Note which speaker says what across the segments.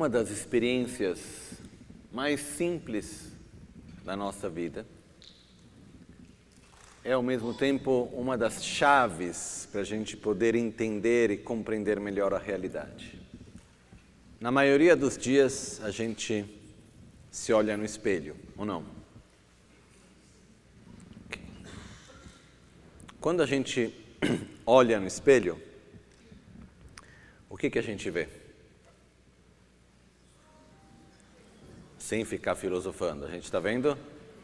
Speaker 1: uma das experiências mais simples da nossa vida é, ao mesmo tempo, uma das chaves para a gente poder entender e compreender melhor a realidade. Na maioria dos dias, a gente se olha no espelho, ou não? Okay. Quando a gente olha no espelho, o que a gente vê? Sem ficar filosofando, a gente está vendo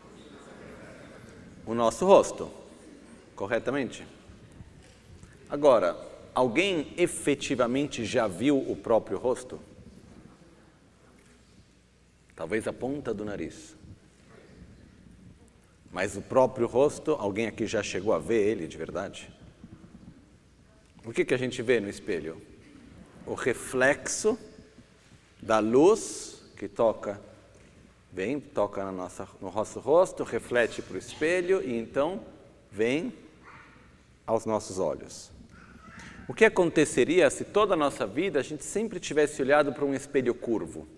Speaker 1: o nosso rosto, corretamente? Agora, alguém efetivamente já viu o próprio rosto? Talvez a ponta do nariz. Mas o próprio rosto, alguém aqui já chegou a ver ele de verdade? O que a gente vê no espelho? O reflexo da luz que toca no nosso rosto, reflete para o espelho e então vem aos nossos olhos. O que aconteceria se toda a nossa vida a gente sempre tivesse olhado para um espelho curvo?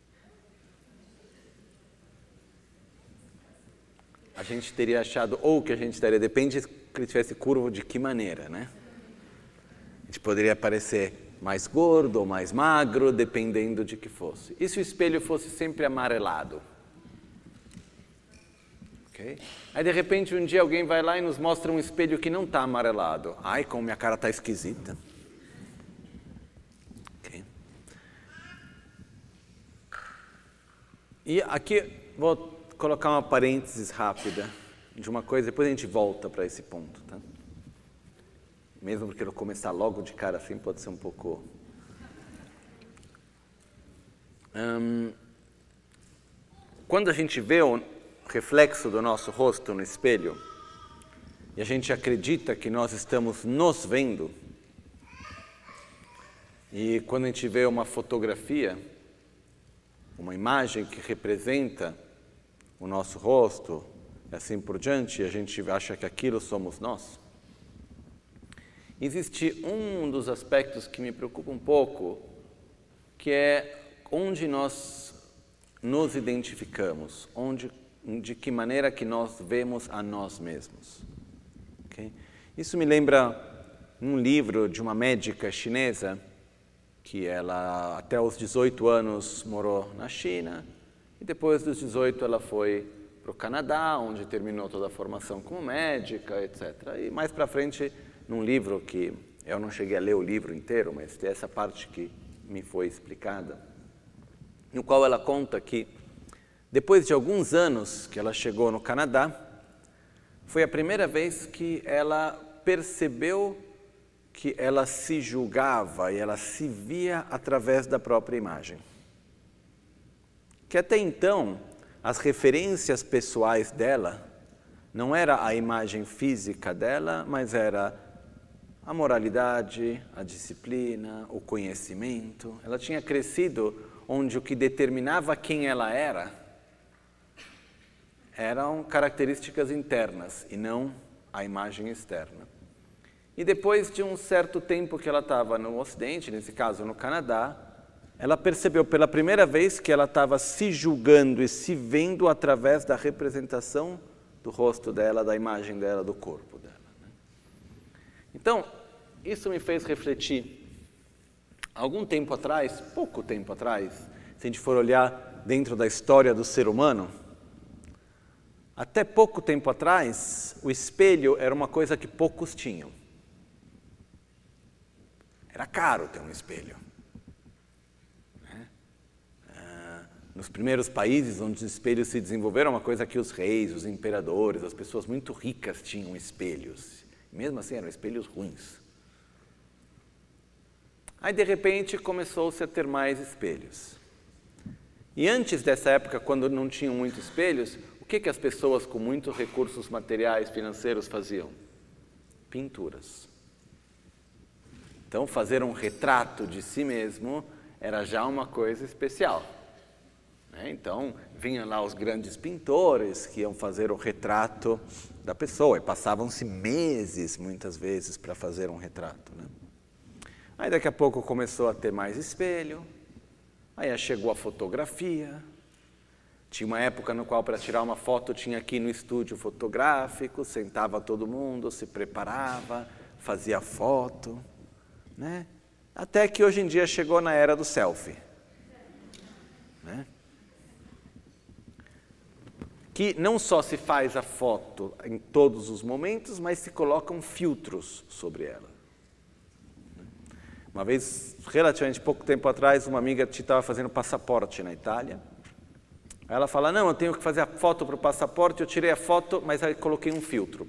Speaker 1: A gente teria achado, ou que a gente estaria, depende que ele tivesse curvo de que maneira, né? A gente poderia parecer mais gordo ou mais magro, dependendo de que fosse. E se o espelho fosse sempre amarelado? Okay? Aí, de repente, um dia alguém vai lá e nos mostra um espelho que não está amarelado. Ai, como minha cara está esquisita. Okay. E aqui, vou colocar uma parênteses rápida de uma coisa, depois a gente volta para esse ponto, tá? Mesmo porque eu começar logo de cara assim pode ser um pouco... Quando a gente vê o reflexo do nosso rosto no espelho e a gente acredita que nós estamos nos vendo, e quando a gente vê uma fotografia, uma imagem que representa o nosso rosto e assim por diante, e a gente acha que aquilo somos nós, existe um dos aspectos que me preocupa um pouco, que é onde nós nos identificamos, de que maneira que nós vemos a nós mesmos. Okay? Isso me lembra um livro de uma médica chinesa, que ela até os 18 anos morou na China, e depois dos 18 ela foi para o Canadá, onde terminou toda a formação como médica, etc. E mais para frente, num livro que eu não cheguei a ler o livro inteiro, mas tem essa parte que me foi explicada, no qual ela conta que depois de alguns anos que ela chegou no Canadá, foi a primeira vez que ela percebeu que ela se julgava e ela se via através da própria imagem. Que até então, as referências pessoais dela não era a imagem física dela, mas era a moralidade, a disciplina, o conhecimento. Ela tinha crescido onde o que determinava quem ela eram características internas e não a imagem externa. E depois de um certo tempo que ela estava no Ocidente, nesse caso no Canadá, ela percebeu pela primeira vez que ela estava se julgando e se vendo através da representação do rosto dela, da imagem dela, do corpo dela. Então, isso me fez refletir. Algum tempo atrás, pouco tempo atrás, se a gente for olhar dentro da história do ser humano, até pouco tempo atrás, o espelho era uma coisa que poucos tinham. Era caro ter um espelho. Nos primeiros países onde os espelhos se desenvolveram, uma coisa que os reis, os imperadores, as pessoas muito ricas tinham espelhos. Mesmo assim, eram espelhos ruins. Aí, de repente, começou-se a ter mais espelhos. E antes dessa época, quando não tinham muitos espelhos, o que as pessoas com muitos recursos materiais, financeiros faziam? Pinturas. Então, fazer um retrato de si mesmo era já uma coisa especial. Então, vinham lá os grandes pintores que iam fazer o retrato da pessoa e passavam-se meses, muitas vezes, para fazer um retrato. Aí, daqui a pouco, começou a ter mais espelho. Aí chegou a fotografia. Tinha uma época no qual, para tirar uma foto, tinha aqui no estúdio fotográfico, sentava todo mundo, se preparava, fazia foto, né? Até que hoje em dia chegou na era do selfie, né? Que não só se faz a foto em todos os momentos, mas se colocam filtros sobre ela. Uma vez, relativamente pouco tempo atrás, uma amiga estava fazendo passaporte na Itália. Ela fala, não, eu tenho que fazer a foto para o passaporte, eu tirei a foto, mas aí coloquei um filtro.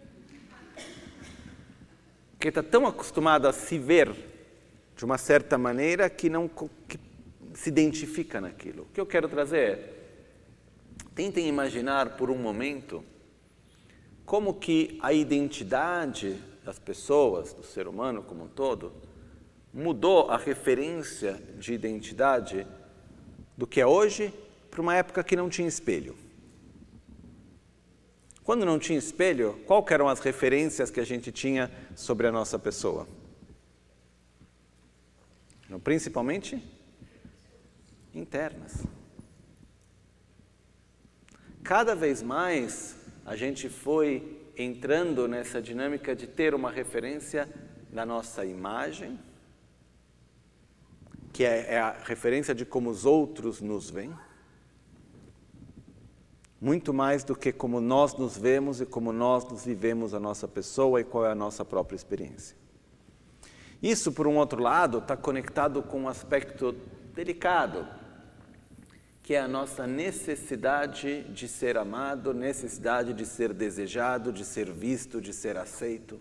Speaker 1: Porque está tão acostumada a se ver de uma certa maneira que não que se identifica naquilo. O que eu quero trazer é, tentem imaginar por um momento como que a identidade das pessoas, do ser humano como um todo, mudou a referência de identidade do que é hoje para uma época que não tinha espelho. Quando não tinha espelho, quais eram as referências que a gente tinha sobre a nossa pessoa? Principalmente internas. Cada vez mais a gente foi entrando nessa dinâmica de ter uma referência da nossa imagem, que é a referência de como os outros nos veem, muito mais do que como nós nos vemos e como nós nos vivemos a nossa pessoa e qual é a nossa própria experiência. Isso, por um outro lado, está conectado com um aspecto delicado, que é a nossa necessidade de ser amado, necessidade de ser desejado, de ser visto, de ser aceito.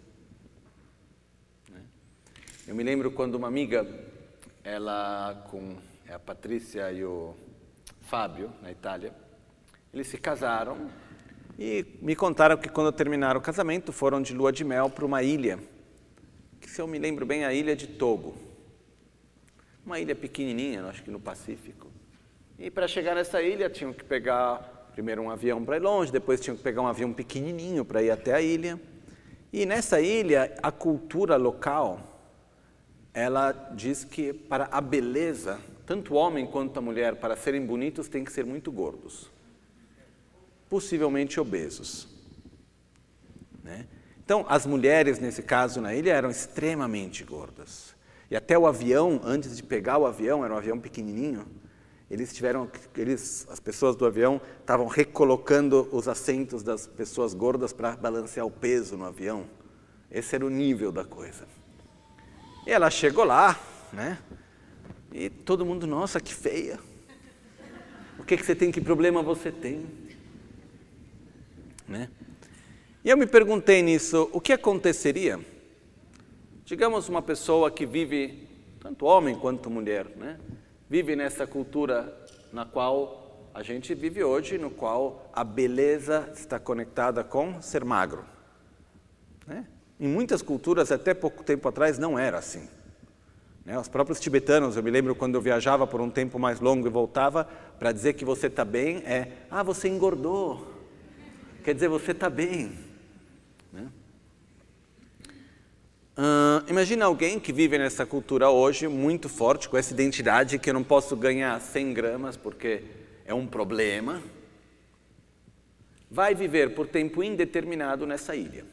Speaker 1: Eu me lembro quando uma amiga, ela com a Patrícia e o Fábio, na Itália, eles se casaram e me contaram que quando terminaram o casamento foram de lua de mel para uma ilha, que se eu me lembro bem, a ilha de Togo. Uma ilha pequenininha, acho que no Pacífico. E para chegar nessa ilha tinham que pegar primeiro um avião para ir longe, depois tinham que pegar um avião pequenininho para ir até a ilha. E nessa ilha, a cultura local, ela diz que para a beleza, tanto o homem quanto a mulher, para serem bonitos, têm que ser muito gordos. Possivelmente obesos, né? Então, as mulheres, nesse caso, na ilha, eram extremamente gordas. E até o avião, antes de pegar o avião, era um avião pequenininho, as pessoas do avião estavam recolocando os assentos das pessoas gordas para balancear o peso no avião. Esse era o nível da coisa. E ela chegou lá, né? E todo mundo, nossa, que feia. O que você tem, que problema você tem? Né? E eu me perguntei nisso, o que aconteceria? Digamos uma pessoa que vive, tanto homem quanto mulher, né? Vive nessa cultura na qual a gente vive hoje, no qual a beleza está conectada com ser magro, né? Em muitas culturas, até pouco tempo atrás, não era assim, né? Os próprios tibetanos, eu me lembro quando eu viajava por um tempo mais longo e voltava, para dizer que você está bem, você engordou. Quer dizer, você está bem, né? Imagina alguém que vive nessa cultura hoje muito forte, com essa identidade que eu não posso ganhar 100 gramas porque é um problema. Vai viver por tempo indeterminado nessa ilha.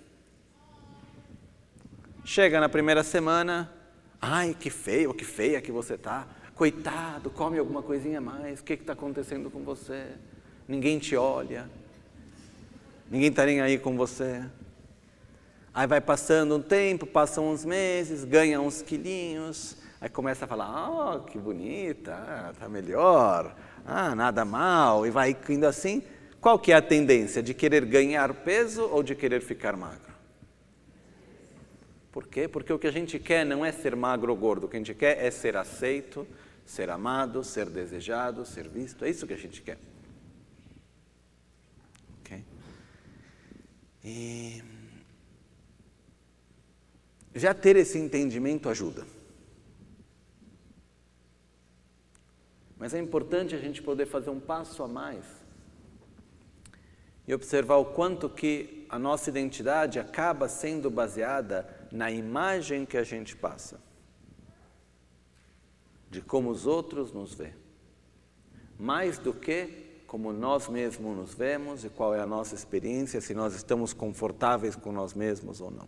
Speaker 1: Chega na primeira semana, ai, que feio, que feia que você está. Coitado, come alguma coisinha a mais, o que está acontecendo com você? Ninguém te olha. Ninguém está nem aí com você. Aí vai passando um tempo, passam uns meses, ganha uns quilinhos, aí começa a falar, que bonita, está melhor, nada mal, e vai indo assim. Qual que é a tendência? De querer ganhar peso ou de querer ficar magro? Por quê? Porque o que a gente quer não é ser magro ou gordo, o que a gente quer é ser aceito, ser amado, ser desejado, ser visto, é isso que a gente quer. E já ter esse entendimento ajuda. Mas é importante a gente poder fazer um passo a mais e observar o quanto que a nossa identidade acaba sendo baseada na imagem que a gente passa, de como os outros nos veem. mais do que como nós mesmos nos vemos e qual é a nossa experiência, se nós estamos confortáveis com nós mesmos ou não.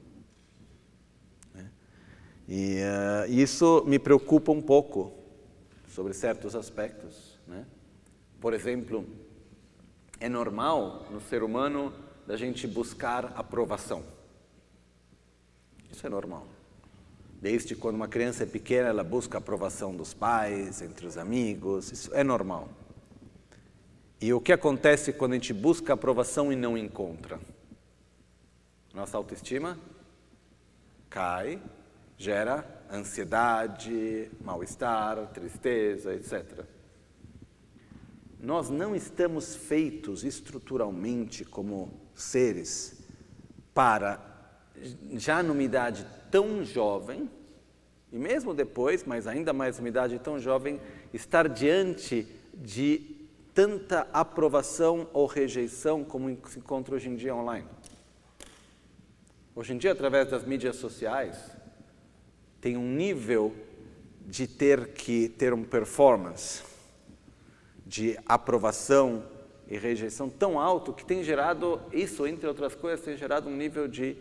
Speaker 1: E isso me preocupa um pouco sobre certos aspectos, né? Por exemplo, é normal no ser humano da gente buscar aprovação. Isso é normal. Desde quando uma criança é pequena, ela busca a aprovação dos pais, entre os amigos, isso é normal. E o que acontece quando a gente busca aprovação e não encontra? Nossa autoestima cai, gera ansiedade, mal-estar, tristeza, etc. Nós não estamos feitos estruturalmente como seres para, já numa idade tão jovem, e mesmo depois, mas ainda mais numa idade tão jovem, estar diante de tanta aprovação ou rejeição como se encontra hoje em dia online. Hoje em dia, através das mídias sociais, tem um nível de ter que ter uma performance de aprovação e rejeição tão alto que tem gerado, isso entre outras coisas, tem gerado um nível de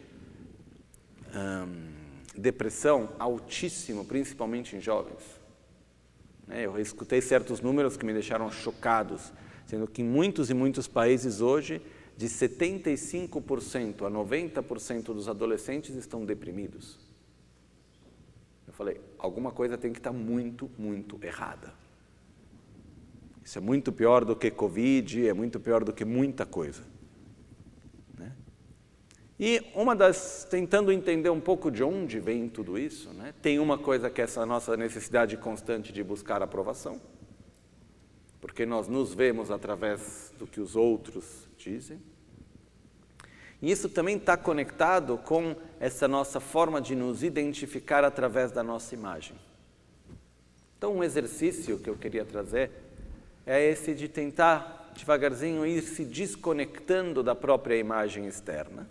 Speaker 1: depressão altíssimo, principalmente em jovens. Eu escutei certos números que me deixaram chocados, sendo que em muitos e muitos países hoje, de 75% a 90% dos adolescentes estão deprimidos. Eu falei, alguma coisa tem que estar muito, muito errada. Isso é muito pior do que Covid, é muito pior do que muita coisa. Né? E tentando entender um pouco de onde vem tudo isso, né? Tem uma coisa que é essa nossa necessidade constante de buscar aprovação, porque nós nos vemos através do que os outros dizem. E isso também está conectado com essa nossa forma de nos identificar através da nossa imagem. Então, um exercício que eu queria trazer é esse de tentar, devagarzinho, ir se desconectando da própria imagem externa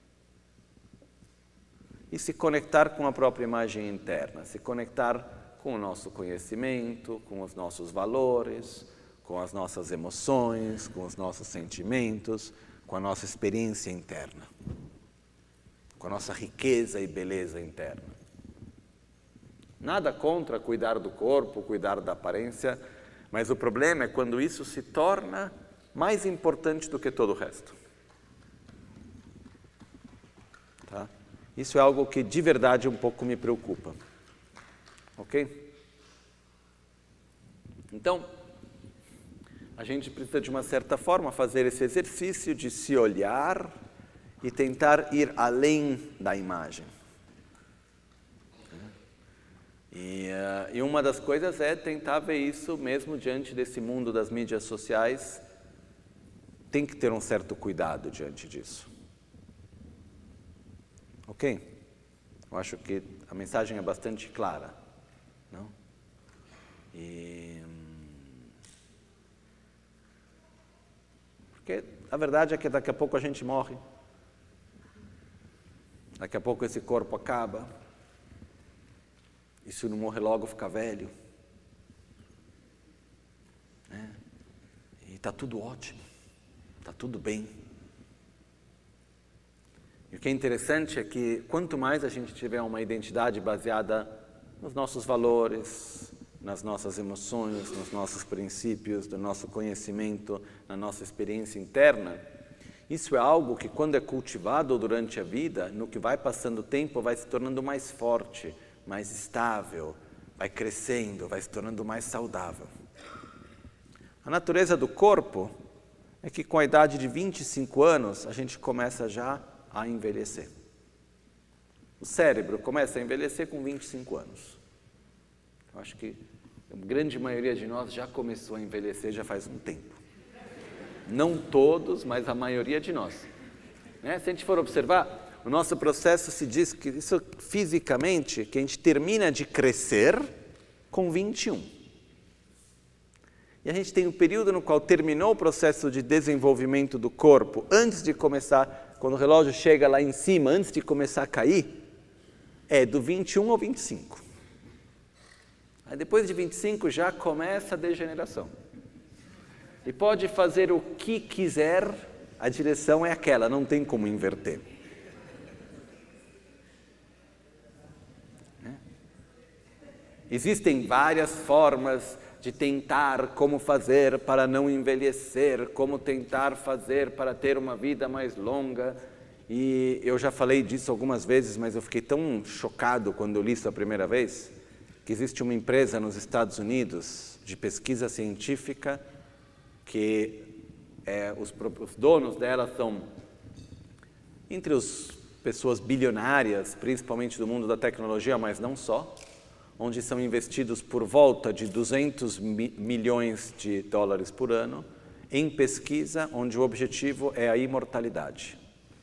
Speaker 1: e se conectar com a própria imagem interna, se conectar com o nosso conhecimento, com os nossos valores, com as nossas emoções, com os nossos sentimentos, com a nossa experiência interna, com a nossa riqueza e beleza interna. Nada contra cuidar do corpo, cuidar da aparência, mas o problema é quando isso se torna mais importante do que todo o resto. Tá? Isso é algo que de verdade um pouco me preocupa. Ok? Então, a gente precisa de uma certa forma fazer esse exercício de se olhar e tentar ir além da imagem. E uma das coisas é tentar ver isso mesmo diante desse mundo das mídias sociais. Tem que ter um certo cuidado diante disso. Ok? Eu acho que a mensagem é bastante clara, não? Porque a verdade é que daqui a pouco a gente morre. Daqui a pouco esse corpo acaba. E se não morrer logo, fica velho. E está tudo ótimo. Está tudo bem. E o que é interessante é que quanto mais a gente tiver uma identidade baseada nos nossos valores, nas nossas emoções, nos nossos princípios, do nosso conhecimento, na nossa experiência interna, isso é algo que quando é cultivado durante a vida, no que vai passando o tempo, vai se tornando mais forte, mais estável, vai crescendo, vai se tornando mais saudável. A natureza do corpo é que com a idade de 25 anos, a gente começa já a envelhecer. O cérebro começa a envelhecer com 25 anos. Eu acho que a grande maioria de nós já começou a envelhecer já faz um tempo. Não todos, mas a maioria de nós. Se a gente for observar, o nosso processo se diz que isso fisicamente, que a gente termina de crescer com 21. E a gente tem um período no qual terminou o processo de desenvolvimento do corpo, antes de começar, quando o relógio chega lá em cima, antes de começar a cair, é do 21 ao 25. Aí depois de 25 já começa a degeneração. e pode fazer o que quiser, a direção é aquela, não tem como inverter. Existem várias formas de tentar como fazer para não envelhecer, como tentar fazer para ter uma vida mais longa. E eu já falei disso algumas vezes, mas eu fiquei tão chocado quando eu li isso a primeira vez, que existe uma empresa nos Estados Unidos de pesquisa científica que os donos dela são entre as pessoas bilionárias, principalmente do mundo da tecnologia, mas não só, onde são investidos por volta de 200 milhões de dólares por ano em pesquisa, onde o objetivo é a imortalidade.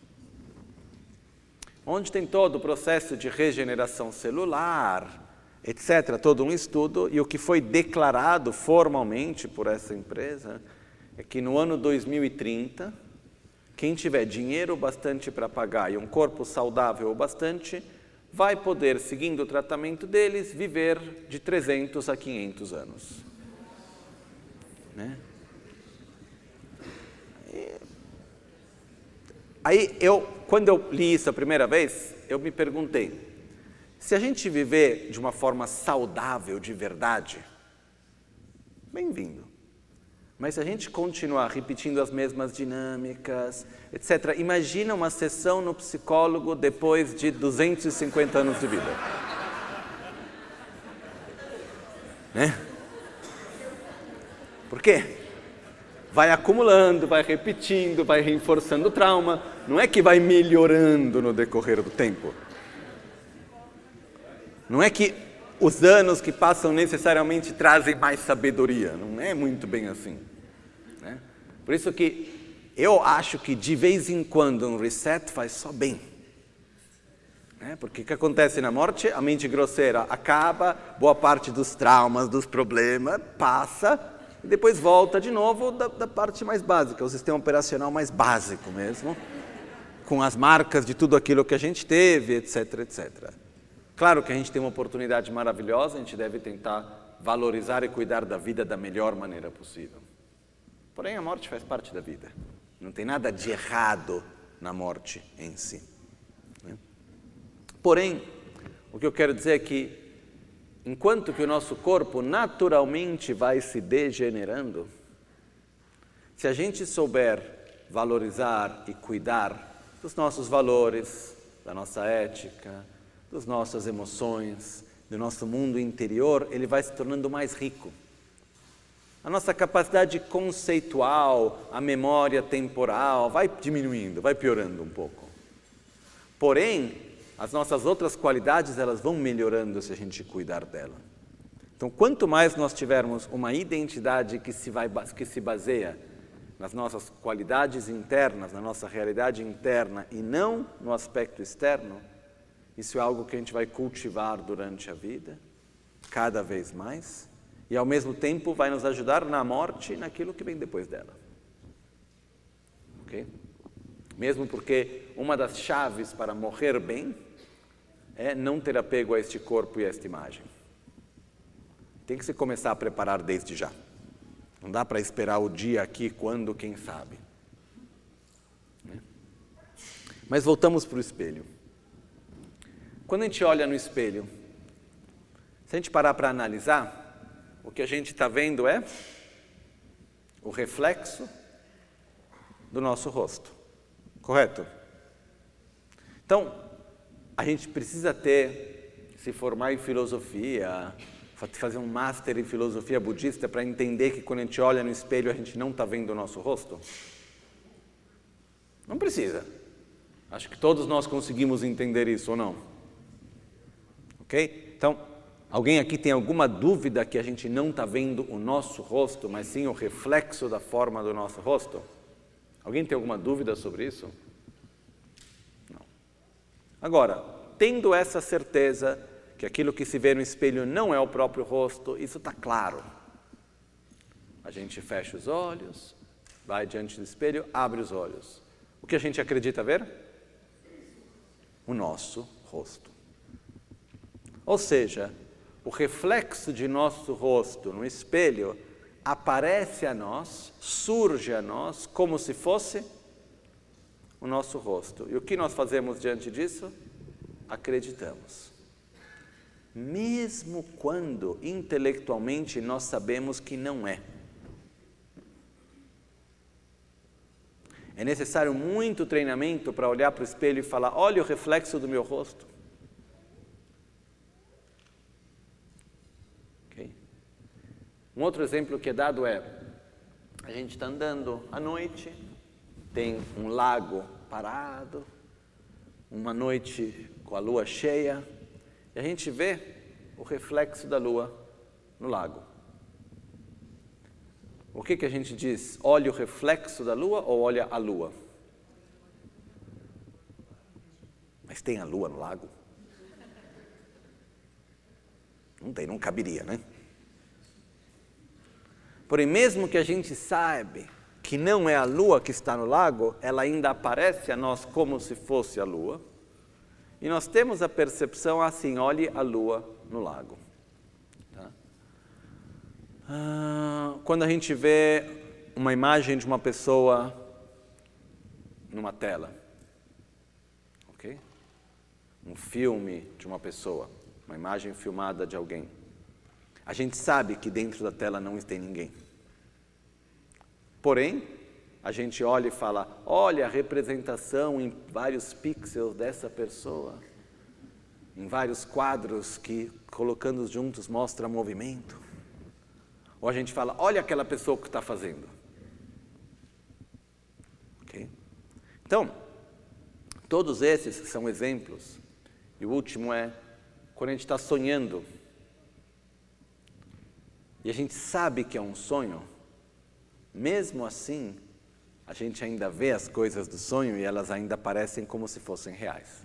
Speaker 1: Onde tem todo o processo de regeneração celular, etc., todo um estudo, e o que foi declarado formalmente por essa empresa é que no ano 2030, quem tiver dinheiro bastante para pagar e um corpo saudável o bastante, vai poder, seguindo o tratamento deles, viver de 300 a 500 anos. Né? Aí, quando eu li isso a primeira vez, eu me perguntei, se a gente viver de uma forma saudável de verdade, bem-vindo. Mas se a gente continuar repetindo as mesmas dinâmicas, etc., imagina uma sessão no psicólogo depois de 250 anos de vida. Né? Por quê? Vai acumulando, vai repetindo, vai reforçando o trauma. Não é que vai melhorando no decorrer do tempo. Não é que os anos que passam necessariamente trazem mais sabedoria. Não é muito bem assim. Né? Por isso que eu acho que de vez em quando um reset faz só bem. Né? Porque o que acontece na morte? A mente grosseira acaba, boa parte dos traumas, dos problemas, passa e depois volta de novo da parte mais básica, o sistema operacional mais básico mesmo, com as marcas de tudo aquilo que a gente teve, etc, etc. Claro que a gente tem uma oportunidade maravilhosa, a gente deve tentar valorizar e cuidar da vida da melhor maneira possível. Porém, a morte faz parte da vida. Não tem nada de errado na morte em si. Porém, o que eu quero dizer é que, enquanto que o nosso corpo naturalmente vai se degenerando, se a gente souber valorizar e cuidar dos nossos valores, da nossa ética, das nossas emoções, do nosso mundo interior, ele vai se tornando mais rico. A nossa capacidade conceitual, a memória temporal, vai diminuindo, vai piorando um pouco. Porém, as nossas outras qualidades, elas vão melhorando se a gente cuidar dela. Então, quanto mais nós tivermos uma identidade que se baseia nas nossas qualidades internas, na nossa realidade interna e não no aspecto externo, isso é algo que a gente vai cultivar durante a vida, cada vez mais, e ao mesmo tempo vai nos ajudar na morte e naquilo que vem depois dela. Ok? Mesmo porque uma das chaves para morrer bem é não ter apego a este corpo e a esta imagem. Tem que se começar a preparar desde já. Não dá para esperar o dia aqui, quando, quem sabe. Mas voltamos para o espelho. Quando a gente olha no espelho, se a gente parar para analisar, o que a gente está vendo é o reflexo do nosso rosto. Correto? Então, a gente precisa se formar em filosofia, fazer um master em filosofia budista para entender que quando a gente olha no espelho a gente não está vendo o nosso rosto? Não precisa. Acho que todos nós conseguimos entender isso, ou não? Ok? Então, alguém aqui tem alguma dúvida que a gente não está vendo o nosso rosto, mas sim o reflexo da forma do nosso rosto? Alguém tem alguma dúvida sobre isso? Não. Agora, tendo essa certeza que aquilo que se vê no espelho não é o próprio rosto, isso está claro. A gente fecha os olhos, vai diante do espelho, abre os olhos. O que a gente acredita ver? O nosso rosto. Ou seja, o reflexo de nosso rosto no espelho aparece a nós, surge a nós, como se fosse o nosso rosto. E o que nós fazemos diante disso? Acreditamos. Mesmo quando, intelectualmente, nós sabemos que não é. É necessário muito treinamento para olhar para o espelho e falar, olha o reflexo do meu rosto. Okay? Um outro exemplo que é dado é, a gente está andando à noite, tem um lago parado, uma noite com a lua cheia, e a gente vê o reflexo da lua no lago. O que a gente diz? Olha o reflexo da lua ou olha a lua? Mas tem a lua no lago? Não tem, não caberia, né? Porém, mesmo que a gente saiba que não é a lua que está no lago, ela ainda aparece a nós como se fosse a lua. E nós temos a percepção assim, olhe a lua no lago. Tá? Quando a gente vê uma imagem de uma pessoa numa tela, ok? Um filme de uma pessoa, uma imagem filmada de alguém, a gente sabe que dentro da tela não tem ninguém. Porém, a gente olha e fala, olha a representação em vários pixels dessa pessoa, em vários quadros que, colocando juntos, mostra movimento. Ou a gente fala, olha aquela pessoa que está fazendo. Okay? Então, todos esses são exemplos. E o último é, quando a gente está sonhando, e a gente sabe que é um sonho, mesmo assim, a gente ainda vê as coisas do sonho e elas ainda parecem como se fossem reais.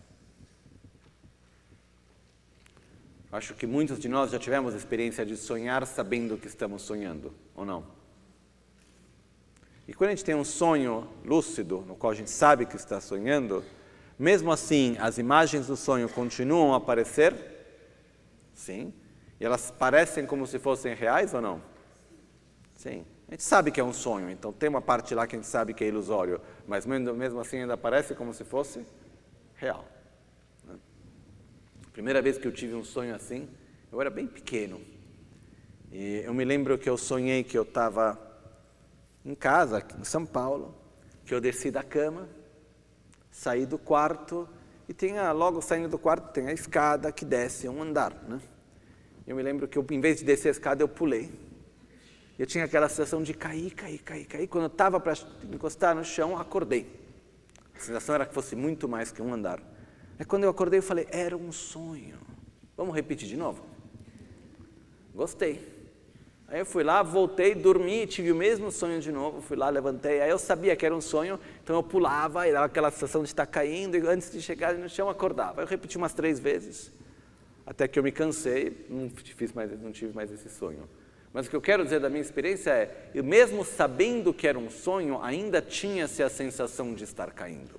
Speaker 1: Acho que muitos de nós já tivemos a experiência de sonhar sabendo que estamos sonhando, ou não? E quando a gente tem um sonho lúcido, no qual a gente sabe que está sonhando, mesmo assim, as imagens do sonho continuam a aparecer? Sim. E elas parecem como se fossem reais ou não? Sim. A gente sabe que é um sonho, então tem uma parte lá que a gente sabe que é ilusório, mas mesmo assim ainda parece como se fosse real. Primeira vez que eu tive um sonho assim, eu era bem pequeno. E eu me lembro que eu sonhei que eu estava em casa, aqui em São Paulo, que eu desci da cama, saí do quarto, e logo saindo do quarto tem a escada que desce um andar, né? Eu me lembro que em vez de descer a escada, eu pulei. Eu tinha aquela sensação de cair. Quando eu estava para encostar no chão, acordei. A sensação era que fosse muito mais que um andar. Aí quando eu acordei, eu falei, era um sonho. Vamos repetir de novo? Gostei. Aí eu fui lá, voltei, dormi, tive o mesmo sonho de novo. Fui lá, levantei. Aí eu sabia que era um sonho, então eu pulava e dava aquela sensação de estar caindo. E antes de chegar no chão, acordava. Aí eu repeti umas 3 vezes, até que eu me cansei, não tive mais esse sonho. Mas o que eu quero dizer da minha experiência é, eu mesmo sabendo que era um sonho, ainda tinha-se a sensação de estar caindo.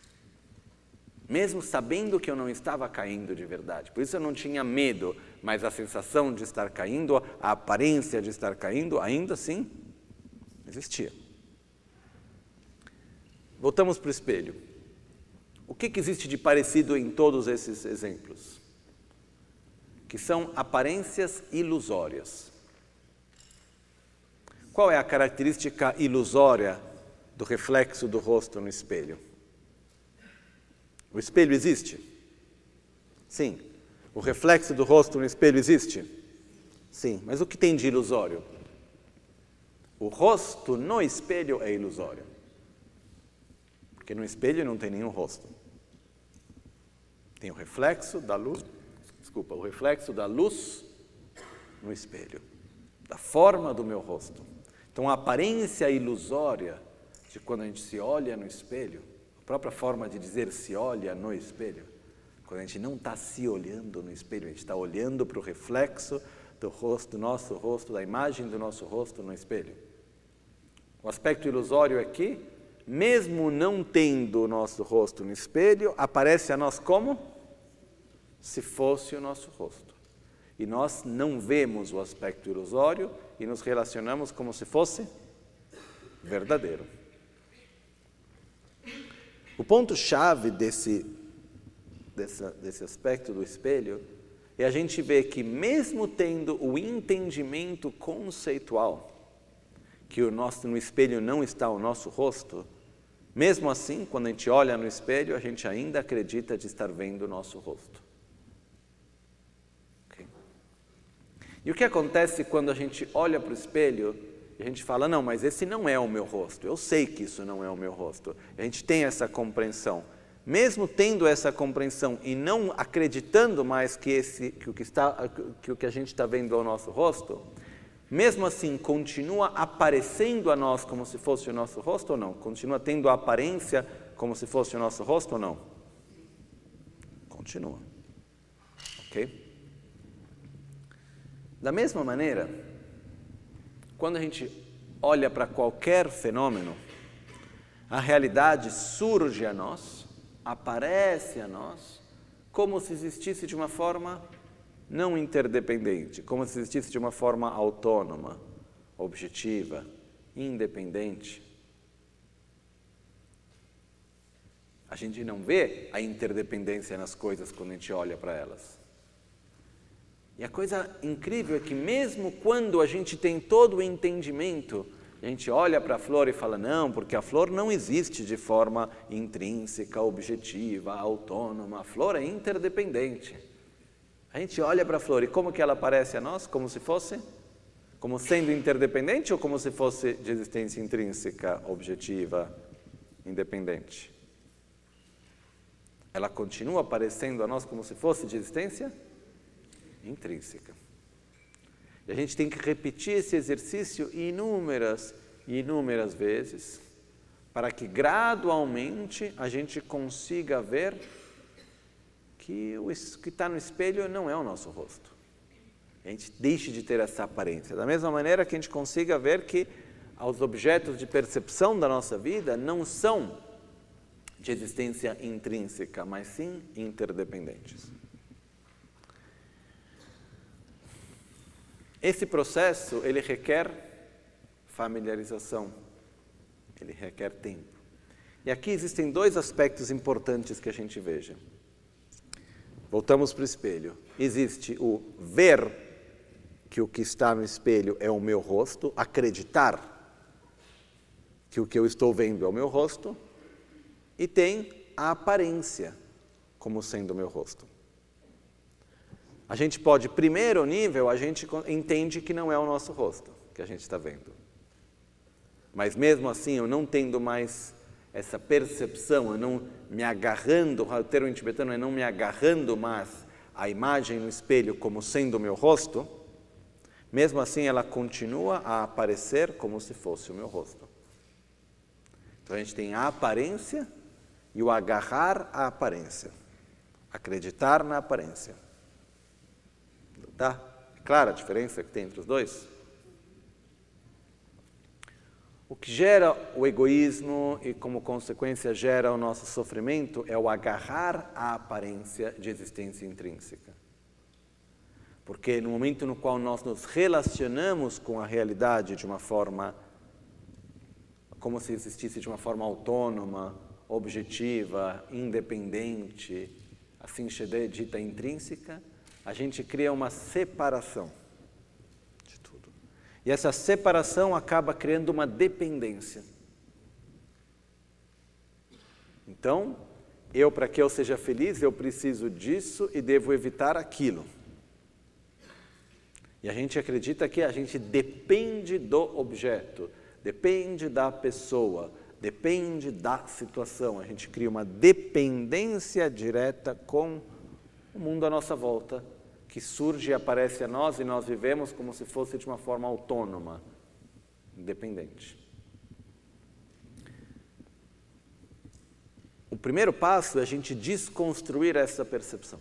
Speaker 1: Mesmo sabendo que eu não estava caindo de verdade. Por isso eu não tinha medo, mas a sensação de estar caindo, a aparência de estar caindo, ainda assim existia. Voltamos para o espelho. O que existe de parecido em todos esses exemplos? Que são aparências ilusórias. Qual é a característica ilusória do reflexo do rosto no espelho? O espelho existe? Sim. O reflexo do rosto no espelho existe? Sim. Mas o que tem de ilusório? O rosto no espelho é ilusório. Porque no espelho não tem nenhum rosto. Tem o reflexo da luz, o reflexo da luz no espelho, da forma do meu rosto. Então, a aparência ilusória de quando a gente se olha no espelho, a própria forma de dizer se olha no espelho, quando a gente não está se olhando no espelho, a gente está olhando para o reflexo do rosto, do nosso rosto, da imagem do nosso rosto no espelho. O aspecto ilusório é que, mesmo não tendo o nosso rosto no espelho, aparece a nós como se fosse o nosso rosto. E nós não vemos o aspecto ilusório e nos relacionamos como se fosse verdadeiro. O ponto-chave desse aspecto do espelho é a gente ver que mesmo tendo o entendimento conceitual que no espelho não está o nosso rosto, mesmo assim, quando a gente olha no espelho, a gente ainda acredita de estar vendo o nosso rosto. Okay? E o que acontece quando a gente olha para o espelho e a gente fala, não, mas esse não é o meu rosto, eu sei que isso não é o meu rosto. A gente tem essa compreensão. Mesmo tendo essa compreensão e não acreditando mais que o que a gente está vendo é o nosso rosto, mesmo assim continua aparecendo a nós como se fosse o nosso rosto ou não? Continua tendo a aparência como se fosse o nosso rosto ou não? Continua. Ok? Da mesma maneira, quando a gente olha para qualquer fenômeno, a realidade surge a nós, aparece a nós, como se existisse de uma forma não interdependente, como se existisse de uma forma autônoma, objetiva, independente. A gente não vê a interdependência nas coisas quando a gente olha para elas. E a coisa incrível é que mesmo quando a gente tem todo o entendimento, a gente olha para a flor e fala, não, porque a flor não existe de forma intrínseca, objetiva, autônoma. A flor é interdependente. A gente olha para a flor e como que ela aparece a nós? Como se fosse? Como sendo interdependente ou como se fosse de existência intrínseca, objetiva, independente? Ela continua aparecendo a nós como se fosse de existência intrínseca. E a gente tem que repetir esse exercício inúmeras e inúmeras vezes para que gradualmente a gente consiga ver que o que está no espelho não é o nosso rosto. A gente deixe de ter essa aparência. Da mesma maneira que a gente consiga ver que os objetos de percepção da nossa vida não são de existência intrínseca, mas sim interdependentes. Esse processo, ele requer familiarização, ele requer tempo. E aqui existem dois aspectos importantes que a gente veja. Voltamos para o espelho. Existe o ver que o que está no espelho é o meu rosto, acreditar que o que eu estou vendo é o meu rosto, e tem a aparência como sendo o meu rosto. A gente pode, primeiro nível, a gente entende que não é o nosso rosto que a gente está vendo. Mas mesmo assim, eu não tendo mais essa percepção, eu não me agarrando, o termo em tibetano é não me agarrando mais à imagem no espelho como sendo o meu rosto, mesmo assim ela continua a aparecer como se fosse o meu rosto. Então a gente tem a aparência e o agarrar à aparência, acreditar na aparência. Tá? Clara a diferença que tem entre os dois? O que gera o egoísmo e, como consequência, gera o nosso sofrimento é o agarrar à aparência de existência intrínseca. Porque no momento no qual nós nos relacionamos com a realidade de uma forma, como se existisse de uma forma autônoma, objetiva, independente, assim dita intrínseca, a gente cria uma separação de tudo. E essa separação acaba criando uma dependência. Então, para que eu seja feliz, eu preciso disso e devo evitar aquilo. E a gente acredita que a gente depende do objeto, depende da pessoa, depende da situação. A gente cria uma dependência direta com o mundo à nossa volta, que surge e aparece a nós e nós vivemos como se fosse de uma forma autônoma, independente. O primeiro passo é a gente desconstruir essa percepção.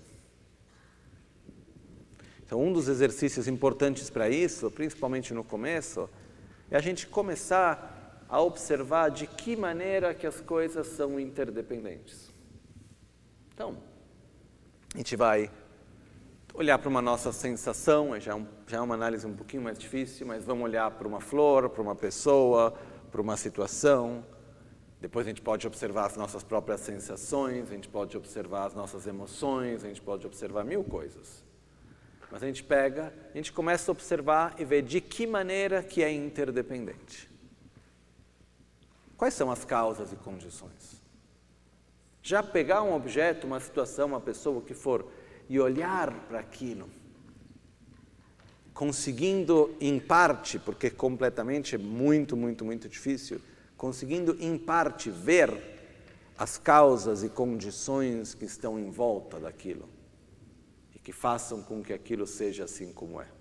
Speaker 1: Então, um dos exercícios importantes para isso, principalmente no começo, é a gente começar a observar de que maneira que as coisas são interdependentes. Então, a gente vai olhar para uma nossa sensação, já é uma análise um pouquinho mais difícil, mas vamos olhar para uma flor, para uma pessoa, para uma situação. Depois a gente pode observar as nossas próprias sensações, a gente pode observar as nossas emoções, a gente pode observar mil coisas. Mas a gente começa a observar e ver de que maneira que é interdependente. Quais são as causas e condições? Já pegar um objeto, uma situação, uma pessoa, o que for, e olhar para aquilo, conseguindo em parte, porque completamente é muito, muito, muito difícil, conseguindo em parte ver as causas e condições que estão em volta daquilo e que façam com que aquilo seja assim como é.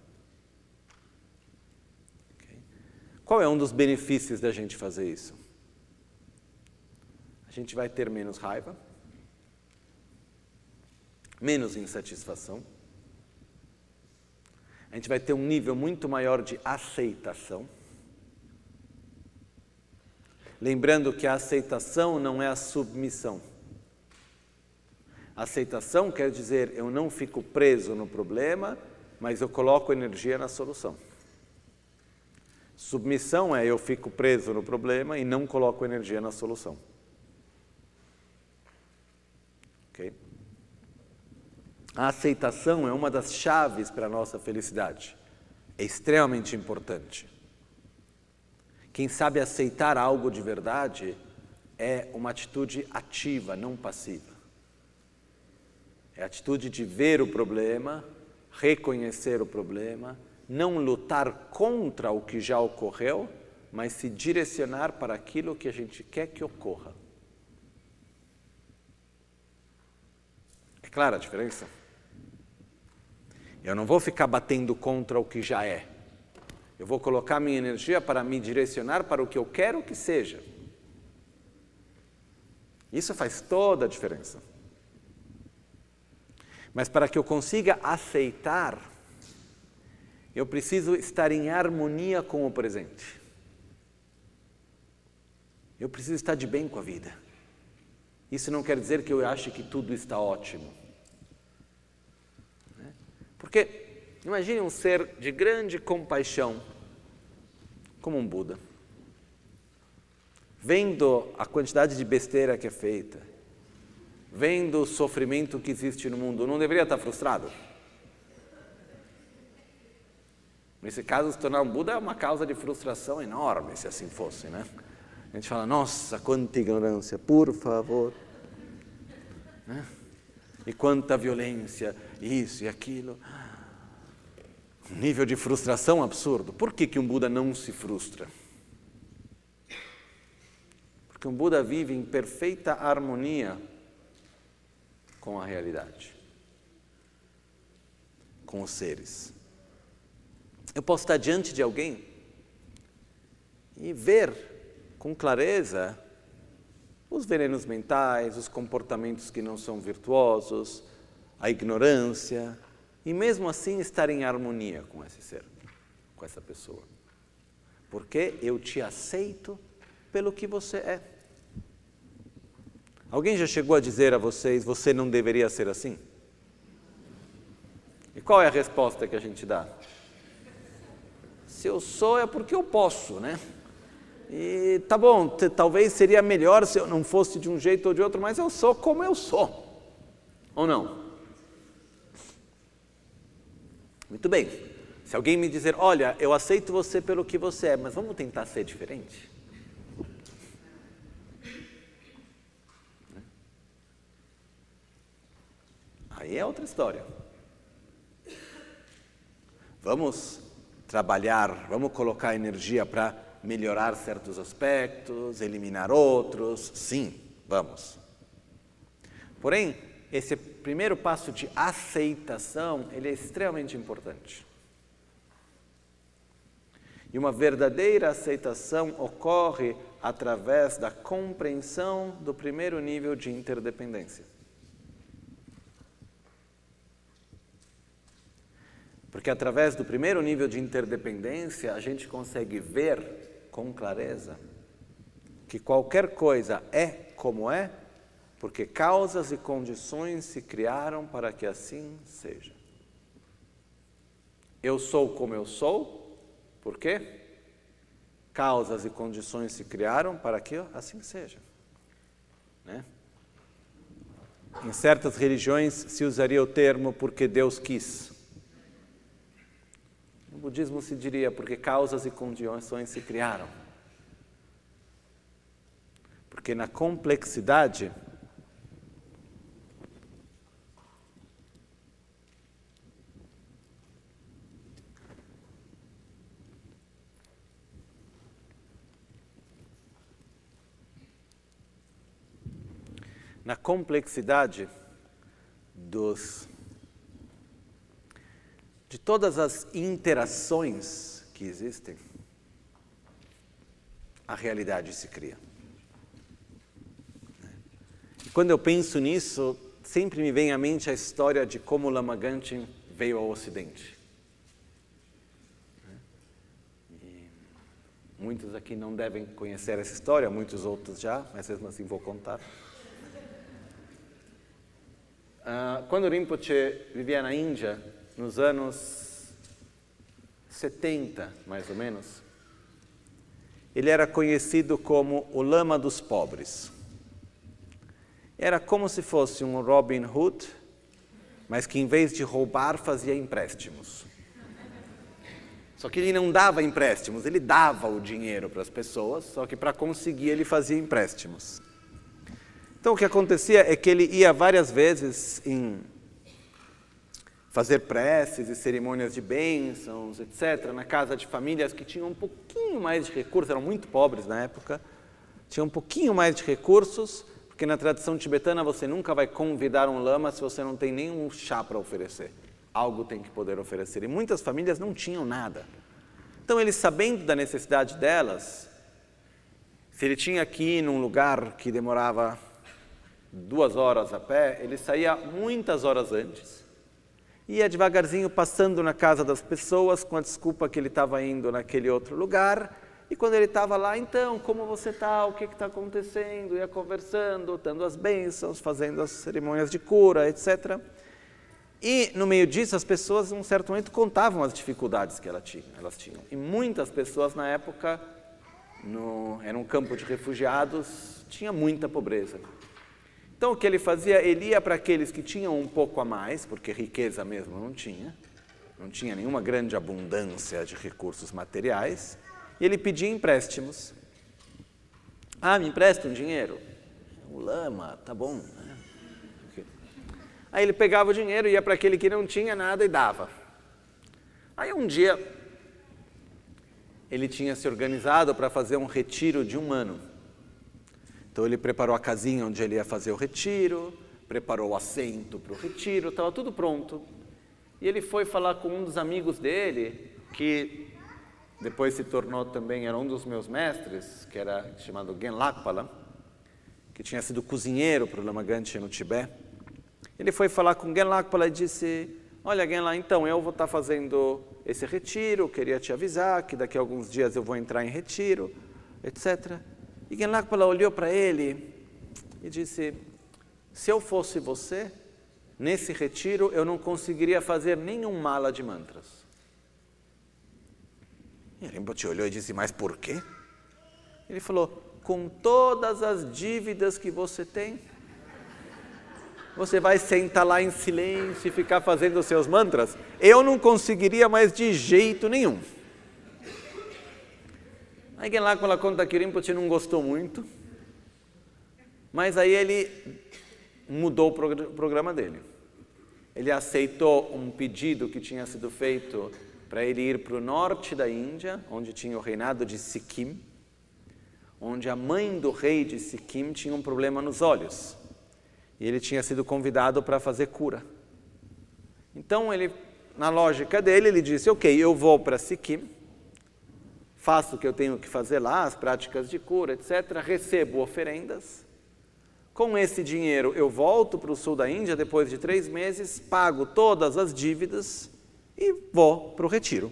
Speaker 1: Okay? Qual é um dos benefícios da gente fazer isso? A gente vai ter menos raiva, menos insatisfação, a gente vai ter um nível muito maior de aceitação. Lembrando que a aceitação não é a submissão. A aceitação quer dizer, eu não fico preso no problema, mas eu coloco energia na solução. Submissão é, eu fico preso no problema e não coloco energia na solução. Ok? A aceitação é uma das chaves para a nossa felicidade. É extremamente importante. Quem sabe aceitar algo de verdade é uma atitude ativa, não passiva. É a atitude de ver o problema, reconhecer o problema, não lutar contra o que já ocorreu, mas se direcionar para aquilo que a gente quer que ocorra. É clara a diferença? Eu não vou ficar batendo contra o que já é. Eu vou colocar minha energia para me direcionar para o que eu quero que seja. Isso faz toda a diferença. Mas para que eu consiga aceitar, eu preciso estar em harmonia com o presente. Eu preciso estar de bem com a vida. Isso não quer dizer que eu ache que tudo está ótimo. Porque imagine um ser de grande compaixão, como um Buda, vendo a quantidade de besteira que é feita, vendo o sofrimento que existe no mundo, não deveria estar frustrado? Nesse caso, se tornar um Buda é uma causa de frustração enorme, se assim fosse, né? A gente fala, nossa, quanta ignorância, por favor. Né? E quanta violência, isso e aquilo. Um nível de frustração absurdo. Por que um Buda não se frustra? Porque um Buda vive em perfeita harmonia com a realidade, com os seres. Eu posso estar diante de alguém e ver com clareza os venenos mentais, os comportamentos que não são virtuosos, a ignorância, e mesmo assim estar em harmonia com esse ser, com essa pessoa. Porque eu te aceito pelo que você é. Alguém já chegou a dizer a vocês, você não deveria ser assim? E qual é a resposta que a gente dá? Se eu sou é porque eu posso, né? E tá bom, talvez seria melhor se eu não fosse de um jeito ou de outro, mas eu sou como eu sou. Ou não? Muito bem. Se alguém me dizer, olha, eu aceito você pelo que você é, mas vamos tentar ser diferente? Aí é outra história. Vamos trabalhar, vamos colocar energia para melhorar certos aspectos, eliminar outros, sim, vamos. Porém, esse primeiro passo de aceitação, ele é extremamente importante. E uma verdadeira aceitação ocorre através da compreensão do primeiro nível de interdependência. Porque através do primeiro nível de interdependência, a gente consegue ver com clareza que qualquer coisa é como é, porque causas e condições se criaram para que assim seja. eu sou como eu sou, por quê? Causas e condições se criaram para que assim seja. Né? Em certas religiões se usaria o termo porque Deus quis. No budismo se diria porque causas e condições se criaram. Porque na complexidade de todas as interações que existem, a realidade se cria. E quando eu penso nisso, sempre me vem à mente a história de como Lama Gangchen veio ao Ocidente. E muitos aqui não devem conhecer essa história, muitos outros já, mas mesmo assim vou contar. Quando Rinpoche vivia na Índia, nos anos 70, mais ou menos, ele era conhecido como o Lama dos Pobres. Era como se fosse um Robin Hood, mas que em vez de roubar, fazia empréstimos. Só que ele não dava empréstimos, ele dava o dinheiro para as pessoas, só que para conseguir ele fazia empréstimos. Então o que acontecia é que ele ia várias vezes em fazer preces e cerimônias de bênçãos, etc., na casa de famílias que tinham um pouquinho mais de recursos, eram muito pobres na época, tinham um pouquinho mais de recursos, porque na tradição tibetana você nunca vai convidar um lama se você não tem nenhum chá para oferecer. Algo tem que poder oferecer. E muitas famílias não tinham nada. Então ele, sabendo da necessidade delas, se ele tinha que ir num lugar que demorava 2 horas a pé, ele saía muitas horas antes, ia devagarzinho passando na casa das pessoas com a desculpa que ele estava indo naquele outro lugar, e quando ele estava lá, então, como você está, o que está acontecendo, ia conversando, dando as bênçãos, fazendo as cerimônias de cura, etc. E no meio disso, as pessoas, em um certo momento, contavam as dificuldades que elas tinham. E muitas pessoas na época, era um campo de refugiados, tinha muita pobreza. Então o que ele fazia? Ele ia para aqueles que tinham um pouco a mais, porque riqueza mesmo não tinha nenhuma grande abundância de recursos materiais, e ele pedia empréstimos. Me empresta um dinheiro? O lama, tá bom. Né? Aí ele pegava o dinheiro, ia para aquele que não tinha nada e dava. Aí um dia ele tinha se organizado para fazer um retiro de 1 ano. Então ele preparou a casinha onde ele ia fazer o retiro, preparou o assento para o retiro, estava tudo pronto. E ele foi falar com um dos amigos dele, que depois se tornou também, era um dos meus mestres, que era chamado Genlakpala, que tinha sido cozinheiro para o Lama Gangchen no Tibete. Ele foi falar com Genlakpala e disse: olha, Genla, então eu vou estar fazendo esse retiro, queria te avisar que daqui a alguns dias eu vou entrar em retiro, etc. E Genlakpala olhou para ele e disse: se eu fosse você, nesse retiro eu não conseguiria fazer nenhum mala de mantras. E Rinpoche olhou e disse: mas por quê? Ele falou: com todas as dívidas que você tem, você vai sentar lá em silêncio e ficar fazendo os seus mantras? Eu não conseguiria mais de jeito nenhum. Aí Genlakpala conta que Rinpoche não gostou muito, mas aí ele mudou o programa dele. Ele aceitou um pedido que tinha sido feito para ele ir para o norte da Índia, onde tinha o reinado de Sikkim, onde a mãe do rei de Sikkim tinha um problema nos olhos. E ele tinha sido convidado para fazer cura. Então, ele, na lógica dele, ele disse: ok, eu vou para Sikkim, faço o que eu tenho que fazer lá, as práticas de cura, etc., recebo oferendas. Com esse dinheiro, eu volto para o sul da Índia, depois de 3 meses, pago todas as dívidas e vou para o retiro.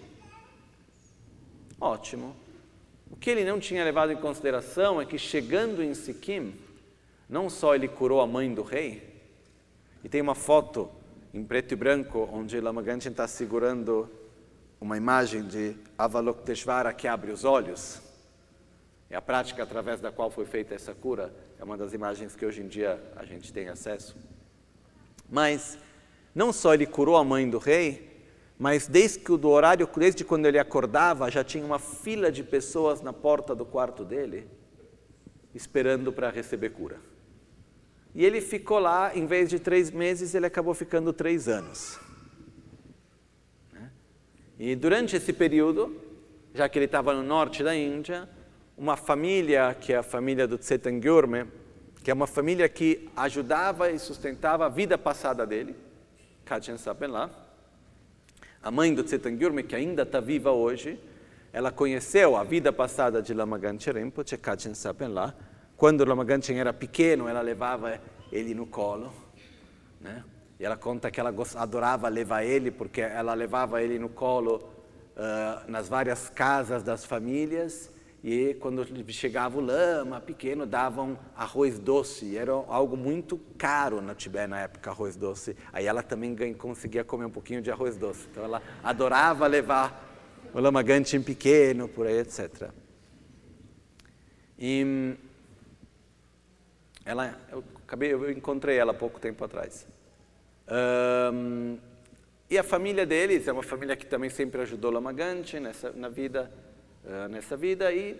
Speaker 1: Ótimo. O que ele não tinha levado em consideração é que, chegando em Sikkim, não só ele curou a mãe do rei, e tem uma foto em preto e branco onde Lama Gangchen está segurando uma imagem de Avalokiteshvara que abre os olhos. É a prática através da qual foi feita essa cura. É uma das imagens que hoje em dia a gente tem acesso. Mas não só ele curou a mãe do rei, mas desde quando ele acordava, já tinha uma fila de pessoas na porta do quarto dele, esperando para receber cura. E ele ficou lá, em vez de 3 meses, ele acabou ficando 3 anos. E durante esse período, já que ele estava no norte da Índia, uma família, que é a família do Tsetan Gyurme, que é uma família que ajudava e sustentava a vida passada dele, Kachen Sapenla. A mãe do Tsetan Gyurme, que ainda está viva hoje, ela conheceu a vida passada de Lama Ganchen Rinpoche, Kachen Sapenla. Quando o Lama Ganchen era pequeno, ela levava ele no colo, né? E ela conta que ela adorava levar ele, porque ela levava ele no colo nas várias casas das famílias, e quando chegava o lama pequeno, davam arroz doce. Era algo muito caro no Tibete na época, arroz doce. Aí ela também conseguia comer um pouquinho de arroz doce. Então ela adorava levar o Lama Ganchen pequeno, por aí, etc. E eu encontrei ela há pouco tempo atrás. E a família deles é uma família que também sempre ajudou Lama Ganchen nessa vida, e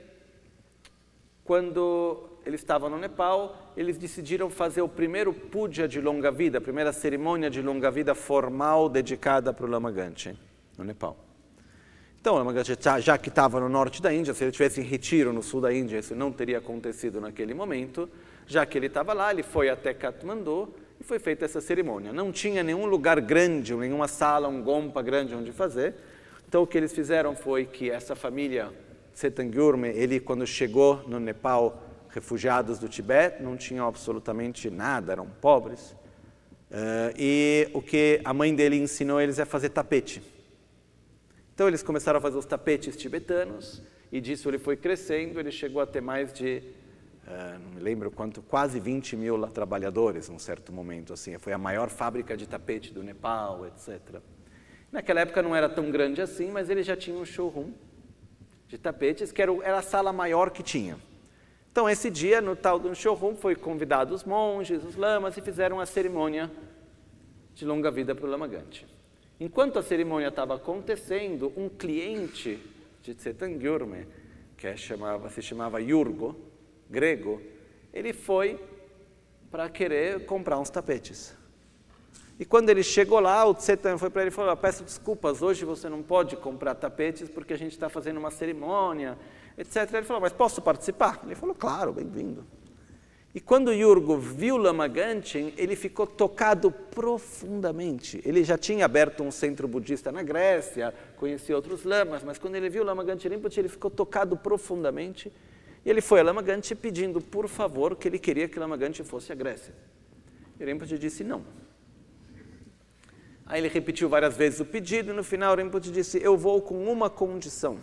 Speaker 1: quando eles estavam no Nepal, eles decidiram fazer o primeiro puja de longa vida, a primeira cerimônia de longa vida formal dedicada para o Lama Ganchen, no Nepal. Então, o Lama Ganchen, já que estava no norte da Índia, se ele tivesse em retiro no sul da Índia, isso não teria acontecido naquele momento. Já que ele estava lá, ele foi até Katmandu e foi feita essa cerimônia. Não tinha nenhum lugar grande, nenhuma sala, um gompa grande onde fazer. Então, o que eles fizeram foi que essa família, Tsetan Gyurme, ele, quando chegou no Nepal, refugiados do Tibete, não tinham absolutamente nada, eram pobres. E o que a mãe dele ensinou eles é fazer tapete. Então, eles começaram a fazer os tapetes tibetanos, e disso ele foi crescendo, ele chegou a ter mais de, não me lembro quanto, quase 20 mil trabalhadores, num certo momento. Assim, foi a maior fábrica de tapete do Nepal, etc. Naquela época não era tão grande assim, mas ele já tinha um showroom de tapetes, que era a sala maior que tinha. Então, esse dia, no tal do showroom, foi convidado os monges, os lamas, e fizeram a cerimônia de longa vida para o Lama Ganchen. Enquanto a cerimônia estava acontecendo, um cliente de Tsetan Gyurme, que se chamava Yurgo, grego, ele foi para querer comprar uns tapetes. E quando ele chegou lá, o Tsetan foi para ele e falou: peço desculpas, hoje você não pode comprar tapetes porque a gente está fazendo uma cerimônia, etc. Ele falou: mas posso participar? Ele falou: claro, bem-vindo. E quando o Yurgo viu Lama Ganchen, ele ficou tocado profundamente. Ele já tinha aberto um centro budista na Grécia, conhecia outros lamas, mas quando ele viu Lama Ganchen Rinpoche, ele ficou tocado profundamente. E ele foi a Lama Ganchen pedindo, por favor, que ele queria que Lama Ganchen fosse à Grécia. E Rinpoche disse não. Aí ele repetiu várias vezes o pedido, e no final Rinpoche disse: eu vou com uma condição,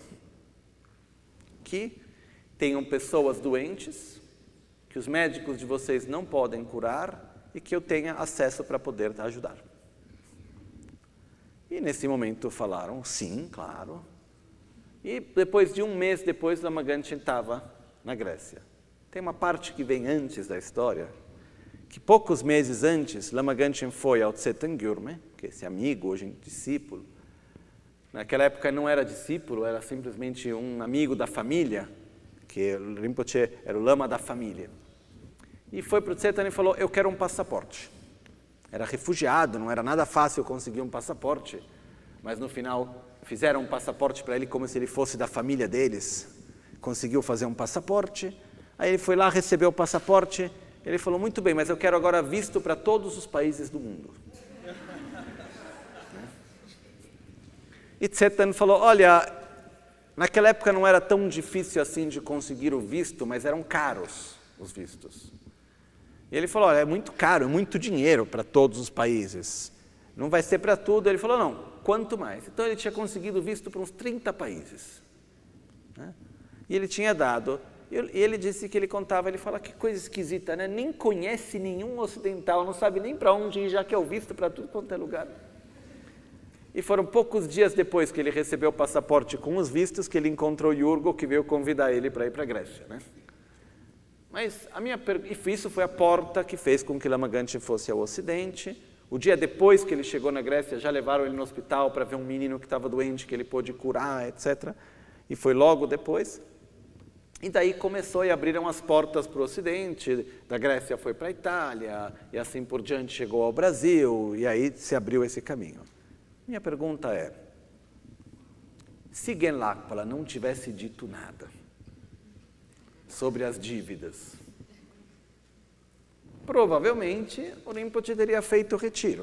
Speaker 1: que tenham pessoas doentes, que os médicos de vocês não podem curar, e que eu tenha acesso para poder ajudar. E nesse momento falaram: sim, claro. E depois de um mês depois, Lama Ganchen estava na Grécia. Tem uma parte que vem antes da história, que poucos meses antes, Lama Ganchen foi ao Tsetan Gyurme, que é esse amigo, hoje discípulo. Naquela época não era discípulo, era simplesmente um amigo da família, que Rinpoche era o lama da família. E foi para o Tsetan e falou: eu quero um passaporte. Era refugiado, não era nada fácil conseguir um passaporte, mas no final fizeram um passaporte para ele como se ele fosse da família deles. Conseguiu fazer um passaporte, aí ele foi lá, recebeu o passaporte, ele falou: muito bem, mas eu quero agora visto para todos os países do mundo. E Tsetan falou: olha, naquela época não era tão difícil assim de conseguir o visto, mas eram caros os vistos. E ele falou: olha, é muito caro, é muito dinheiro para todos os países. Não vai ser para tudo. Ele falou: não, quanto mais. Então ele tinha conseguido visto para uns 30 países. E ele tinha dado. E ele disse que ele contava, ele fala: que coisa esquisita, né? Nem conhece nenhum ocidental, não sabe nem para onde ir, já que é o visto para tudo quanto é lugar. E foram poucos dias depois que ele recebeu o passaporte com os vistos que ele encontrou Iurgo, que veio convidar ele para ir para a Grécia, né? Mas isso foi a porta que fez com que Lama Ganche fosse ao Ocidente. O dia depois que ele chegou na Grécia, já levaram ele no hospital para ver um menino que estava doente, que ele pôde curar, etc. E foi logo depois. E daí começou e abriram as portas para o Ocidente, da Grécia foi para a Itália, e assim por diante chegou ao Brasil, e aí se abriu esse caminho. Minha pergunta é, se Genlakpala não tivesse dito nada sobre as dívidas, provavelmente o Rinpoche teria feito o retiro.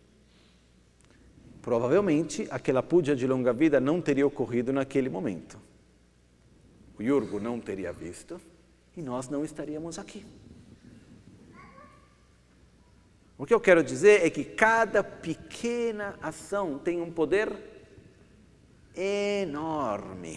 Speaker 1: Provavelmente aquela puja de longa vida não teria ocorrido naquele momento. O Iurgo não teria visto e nós não estaríamos aqui. O que eu quero dizer é que cada pequena ação tem um poder enorme.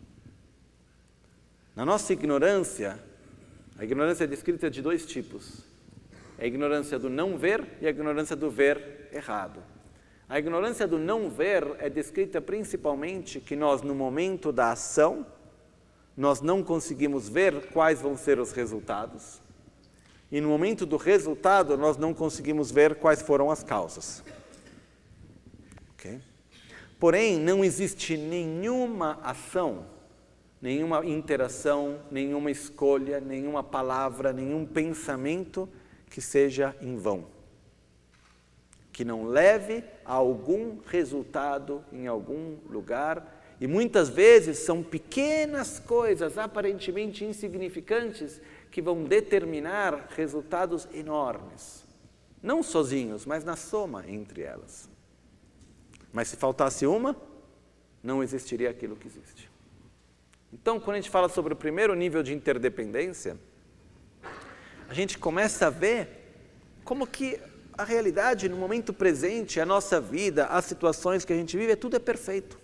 Speaker 1: Na nossa ignorância, a ignorância é descrita de dois tipos. A ignorância do não ver e a ignorância do ver errado. A ignorância do não ver é descrita principalmente que nós, no momento da ação, nós não conseguimos ver quais vão ser os resultados. E no momento do resultado, nós não conseguimos ver quais foram as causas. Okay? Porém, não existe nenhuma ação, nenhuma interação, nenhuma escolha, nenhuma palavra, nenhum pensamento que seja em vão. Que não leve a algum resultado em algum lugar. E muitas vezes são pequenas coisas aparentemente insignificantes que vão determinar resultados enormes. Não sozinhos, mas na soma entre elas. Mas se faltasse uma, não existiria aquilo que existe. Então, quando a gente fala sobre o primeiro nível de interdependência, a gente começa a ver como que a realidade, no momento presente, a nossa vida, as situações que a gente vive, tudo é perfeito.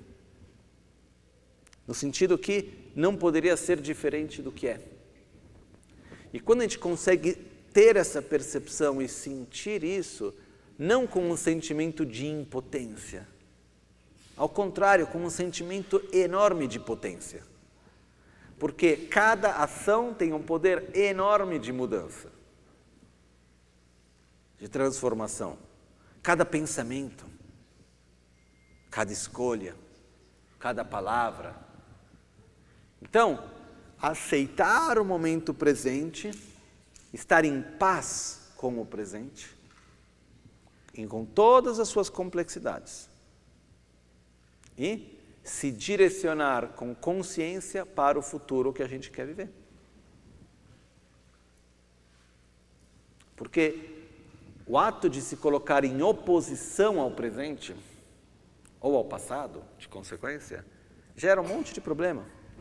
Speaker 1: No sentido que não poderia ser diferente do que é. E quando a gente consegue ter essa percepção e sentir isso, não com um sentimento de impotência, ao contrário, com um sentimento enorme de potência. Porque cada ação tem um poder enorme de mudança, de transformação. Cada pensamento, cada escolha, cada palavra. Então, aceitar o momento presente, estar em paz com o presente, e com todas as suas complexidades. E se direcionar com consciência para o futuro que a gente quer viver. Porque o ato de se colocar em oposição ao presente, ou ao passado, de consequência, gera um monte de problema.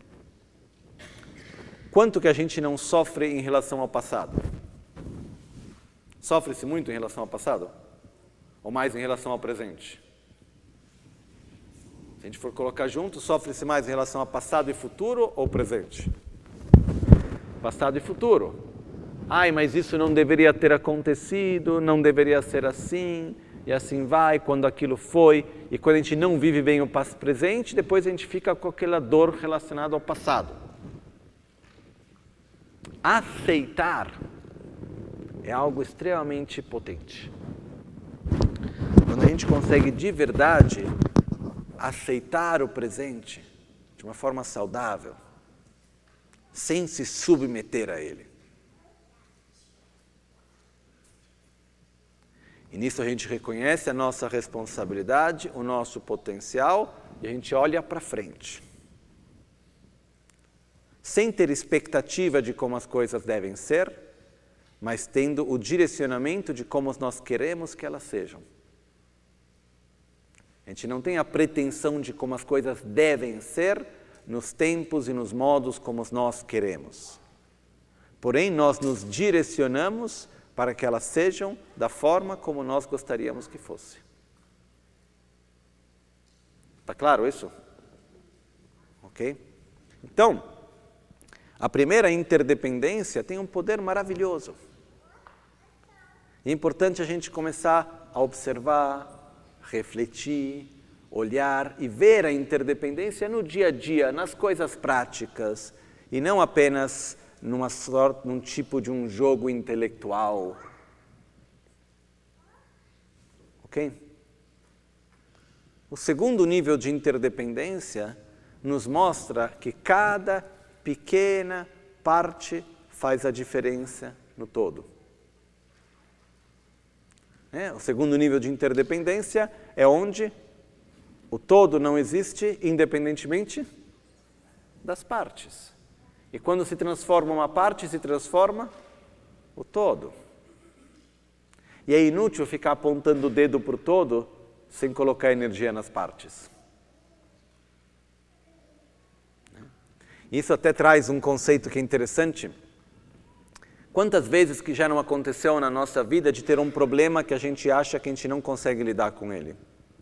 Speaker 1: Quanto que a gente não sofre em relação ao passado? Sofre-se muito em relação ao passado? Ou mais em relação ao presente? Se a gente for colocar junto, sofre-se mais em relação a passado e futuro ou presente? Passado e futuro. Ai, mas isso não deveria ter acontecido, não deveria ser assim, e assim vai, quando aquilo foi, e quando a gente não vive bem o presente, depois a gente fica com aquela dor relacionada ao passado. Aceitar é algo extremamente potente. Quando a gente consegue de verdade aceitar o presente de uma forma saudável, sem se submeter a ele. E nisso a gente reconhece a nossa responsabilidade, o nosso potencial, e a gente olha para frente. Sem ter expectativa de como as coisas devem ser, mas tendo o direcionamento de como nós queremos que elas sejam. A gente não tem a pretensão de como as coisas devem ser nos tempos e nos modos como nós queremos. Porém, nós nos direcionamos para que elas sejam da forma como nós gostaríamos que fosse. Está claro isso? Ok? Então, a primeira interdependência tem um poder maravilhoso. É importante a gente começar a observar, refletir, olhar e ver a interdependência no dia a dia, nas coisas práticas, e não apenas num tipo de um jogo intelectual. Ok? O segundo nível de interdependência nos mostra que cada pequena parte faz a diferença no todo. O segundo nível de interdependência é onde o todo não existe independentemente das partes. E quando se transforma uma parte, se transforma o todo. E é inútil ficar apontando o dedo para o todo sem colocar energia nas partes. Isso até traz um conceito que é interessante. Quantas vezes que já não aconteceu na nossa vida de ter um problema que a gente acha que a gente não consegue lidar com ele?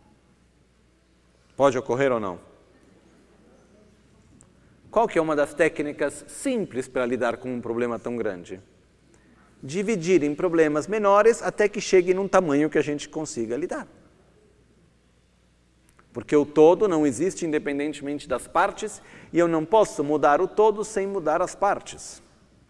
Speaker 1: Pode ocorrer ou não? Qual que é uma das técnicas simples para lidar com um problema tão grande? Dividir em problemas menores até que chegue num tamanho que a gente consiga lidar. Porque o todo não existe independentemente das partes e eu não posso mudar o todo sem mudar as partes.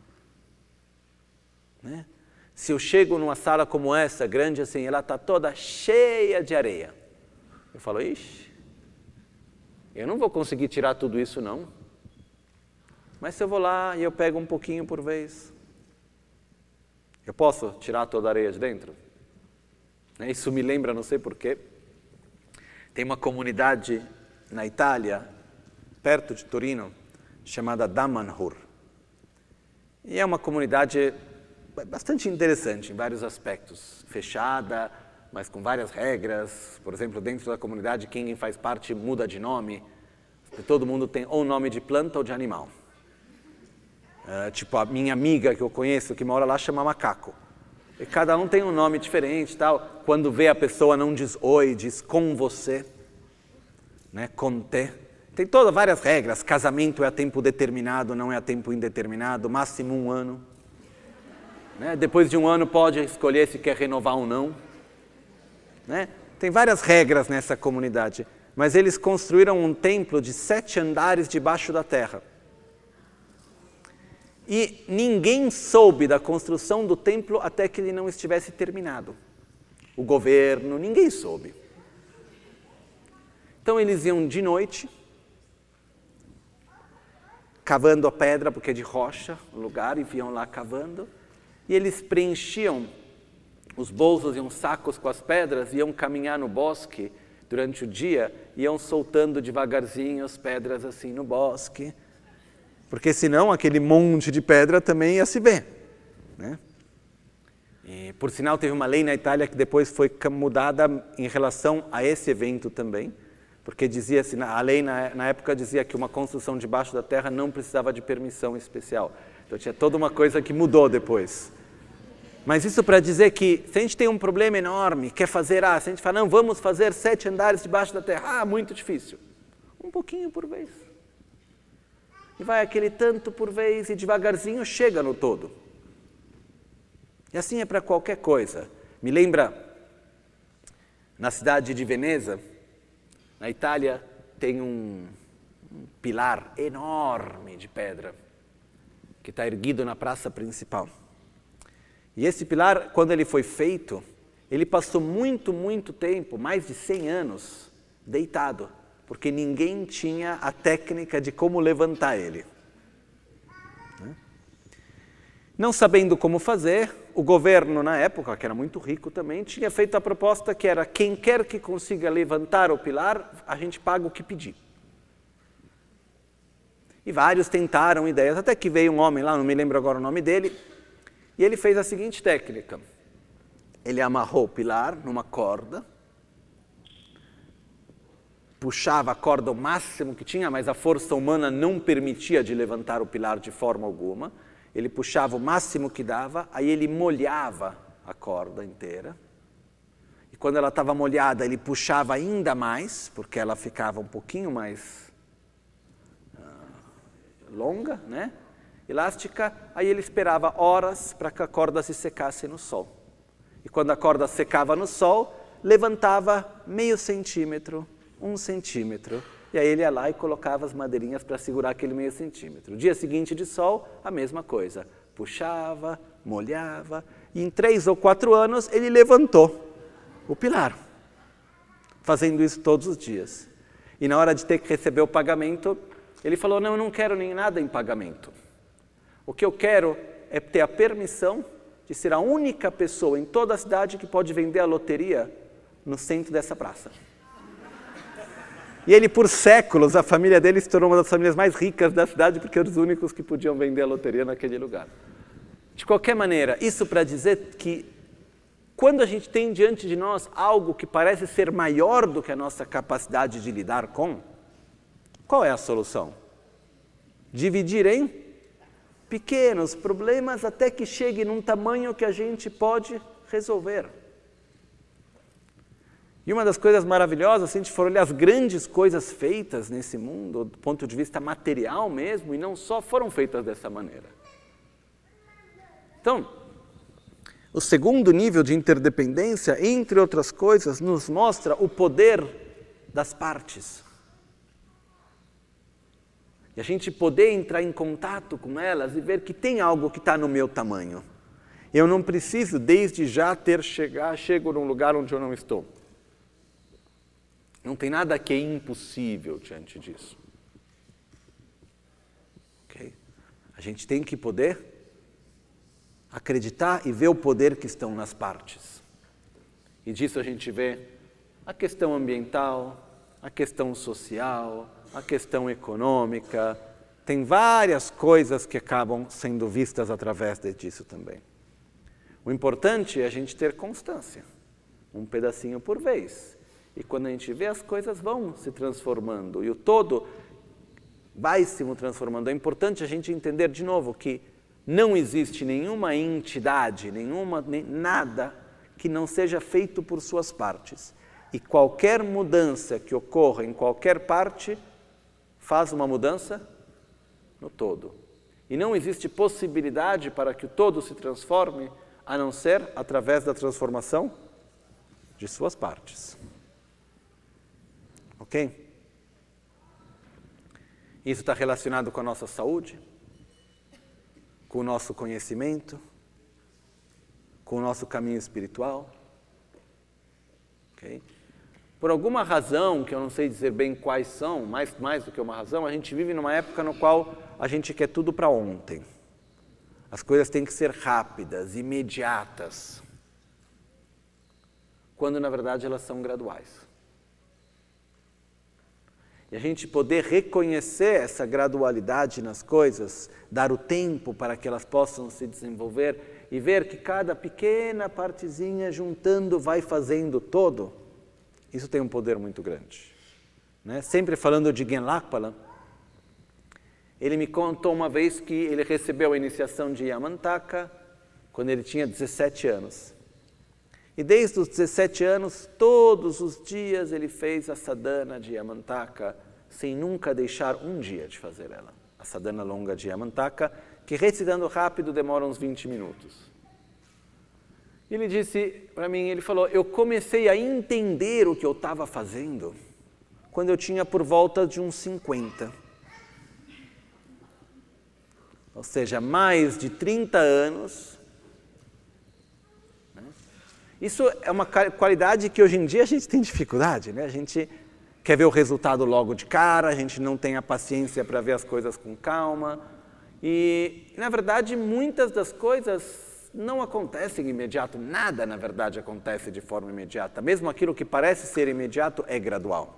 Speaker 1: Se eu chego numa sala como essa, grande assim, ela está toda cheia de areia. Eu falo, ixi, eu não vou conseguir tirar tudo isso não. Mas se eu vou lá e eu pego um pouquinho por vez, eu posso tirar toda a areia de dentro? Isso me lembra, não sei porquê, tem uma comunidade na Itália, perto de Torino, chamada Damanhur. E é uma comunidade bastante interessante em vários aspectos. Fechada, mas com várias regras. Por exemplo, dentro da comunidade, quem faz parte muda de nome. Todo mundo tem ou nome de planta ou de animal. Tipo, a minha amiga que eu conheço, que mora lá, chama Macaco. E cada um tem um nome diferente, tal. Quando vê a pessoa não diz oi, diz com você, com te. Tem todas várias regras. Casamento é a tempo determinado, não é a tempo indeterminado, máximo 1 ano. Depois de 1 ano pode escolher se quer renovar ou não. Tem várias regras nessa comunidade. Mas eles construíram um templo de 7 andares debaixo da terra. E ninguém soube da construção do templo até que ele não estivesse terminado. O governo, ninguém soube. Então eles iam de noite, cavando a pedra, porque é de rocha o lugar, e iam lá cavando, e eles preenchiam os bolsos e uns sacos com as pedras, iam caminhar no bosque durante o dia, iam soltando devagarzinho as pedras assim no bosque, porque senão aquele monte de pedra também ia se ver. E, por sinal, teve uma lei na Itália que depois foi mudada em relação a esse evento também, porque dizia assim, a lei na época dizia que uma construção debaixo da terra não precisava de permissão especial. Então tinha toda uma coisa que mudou depois. Mas isso para dizer que se a gente tem um problema enorme, quer fazer, se a gente fala, não, vamos fazer 7 andares debaixo da terra, muito difícil. Um pouquinho por vez. E vai aquele tanto por vez e devagarzinho chega no todo. E assim é para qualquer coisa. Me lembra, na cidade de Veneza, na Itália, tem um pilar enorme de pedra que está erguido na praça principal. E esse pilar, quando ele foi feito, ele passou muito tempo, mais de 100 anos, deitado, porque ninguém tinha a técnica de como levantar ele. Não sabendo como fazer, o governo na época, que era muito rico também, tinha feito a proposta que era quem quer que consiga levantar o pilar, a gente paga o que pedir. E vários tentaram ideias, até que veio um homem lá, não me lembro agora o nome dele, e ele fez a seguinte técnica. Ele amarrou o pilar numa corda, puxava a corda o máximo que tinha, mas a força humana não permitia de levantar o pilar de forma alguma. Ele puxava o máximo que dava, aí ele molhava a corda inteira. E quando ela estava molhada, ele puxava ainda mais, porque ela ficava um pouquinho mais longa, elástica. Aí ele esperava horas para que a corda se secasse no sol. E quando a corda secava no sol, levantava meio centímetro, 1 centímetro. E aí ele ia lá e colocava as madeirinhas para segurar aquele meio centímetro. Dia seguinte de sol, a mesma coisa. Puxava, molhava, e em 3 ou 4 anos ele levantou o pilar, fazendo isso todos os dias. E na hora de ter que receber o pagamento, ele falou, não, eu não quero nem nada em pagamento. O que eu quero é ter a permissão de ser a única pessoa em toda a cidade que pode vender a loteria no centro dessa praça. E ele, por séculos, a família dele se tornou uma das famílias mais ricas da cidade, porque eram os únicos que podiam vender a loteria naquele lugar. De qualquer maneira, isso para dizer que quando a gente tem diante de nós algo que parece ser maior do que a nossa capacidade de lidar com, qual é a solução? Dividir em pequenos problemas até que chegue num tamanho que a gente pode resolver. E uma das coisas maravilhosas, se a gente for olhar as grandes coisas feitas nesse mundo, do ponto de vista material mesmo, e não só, foram feitas dessa maneira. Então, o segundo nível de interdependência, entre outras coisas, nos mostra o poder das partes. E a gente poder entrar em contato com elas e ver que tem algo que está no meu tamanho. Eu não preciso, desde já, chego num lugar onde eu não estou. Não tem nada que é impossível diante disso. Okay? A gente tem que poder acreditar e ver o poder que estão nas partes. E disso a gente vê a questão ambiental, a questão social, a questão econômica. Tem várias coisas que acabam sendo vistas através disso também. O importante é a gente ter constância, um pedacinho por vez. E quando a gente vê, as coisas vão se transformando e o todo vai se transformando. É importante a gente entender de novo que não existe nenhuma entidade, nada que não seja feito por suas partes. E qualquer mudança que ocorra em qualquer parte faz uma mudança no todo. E não existe possibilidade para que o todo se transforme a não ser através da transformação de suas partes. Ok? Isso está relacionado com a nossa saúde, com o nosso conhecimento, com o nosso caminho espiritual. Ok? Por alguma razão, que eu não sei dizer bem quais são, mais do que uma razão, a gente vive numa época no qual a gente quer tudo para ontem. As coisas têm que ser rápidas, imediatas, quando na verdade elas são graduais. E a gente poder reconhecer essa gradualidade nas coisas, dar o tempo para que elas possam se desenvolver e ver que cada pequena partezinha juntando vai fazendo todo, isso tem um poder muito grande. Né? Sempre falando de Genlakpala, ele me contou uma vez que ele recebeu a iniciação de Yamantaka quando ele tinha 17 anos. E desde os 17 anos, todos os dias ele fez a sadhana de Yamantaka, sem nunca deixar um dia de fazer ela. A sadhana longa de Yamantaka, que recitando rápido demora uns 20 minutos. Ele disse para mim, ele falou, eu comecei a entender o que eu estava fazendo quando eu tinha por volta de uns 50. Ou seja, mais de 30 anos. Isso é uma qualidade que hoje em dia a gente tem dificuldade, né? A gente quer ver o resultado logo de cara, a gente não tem a paciência para ver as coisas com calma. E, na verdade, muitas das coisas não acontecem imediato. Nada, na verdade, acontece de forma imediata. Mesmo aquilo que parece ser imediato é gradual.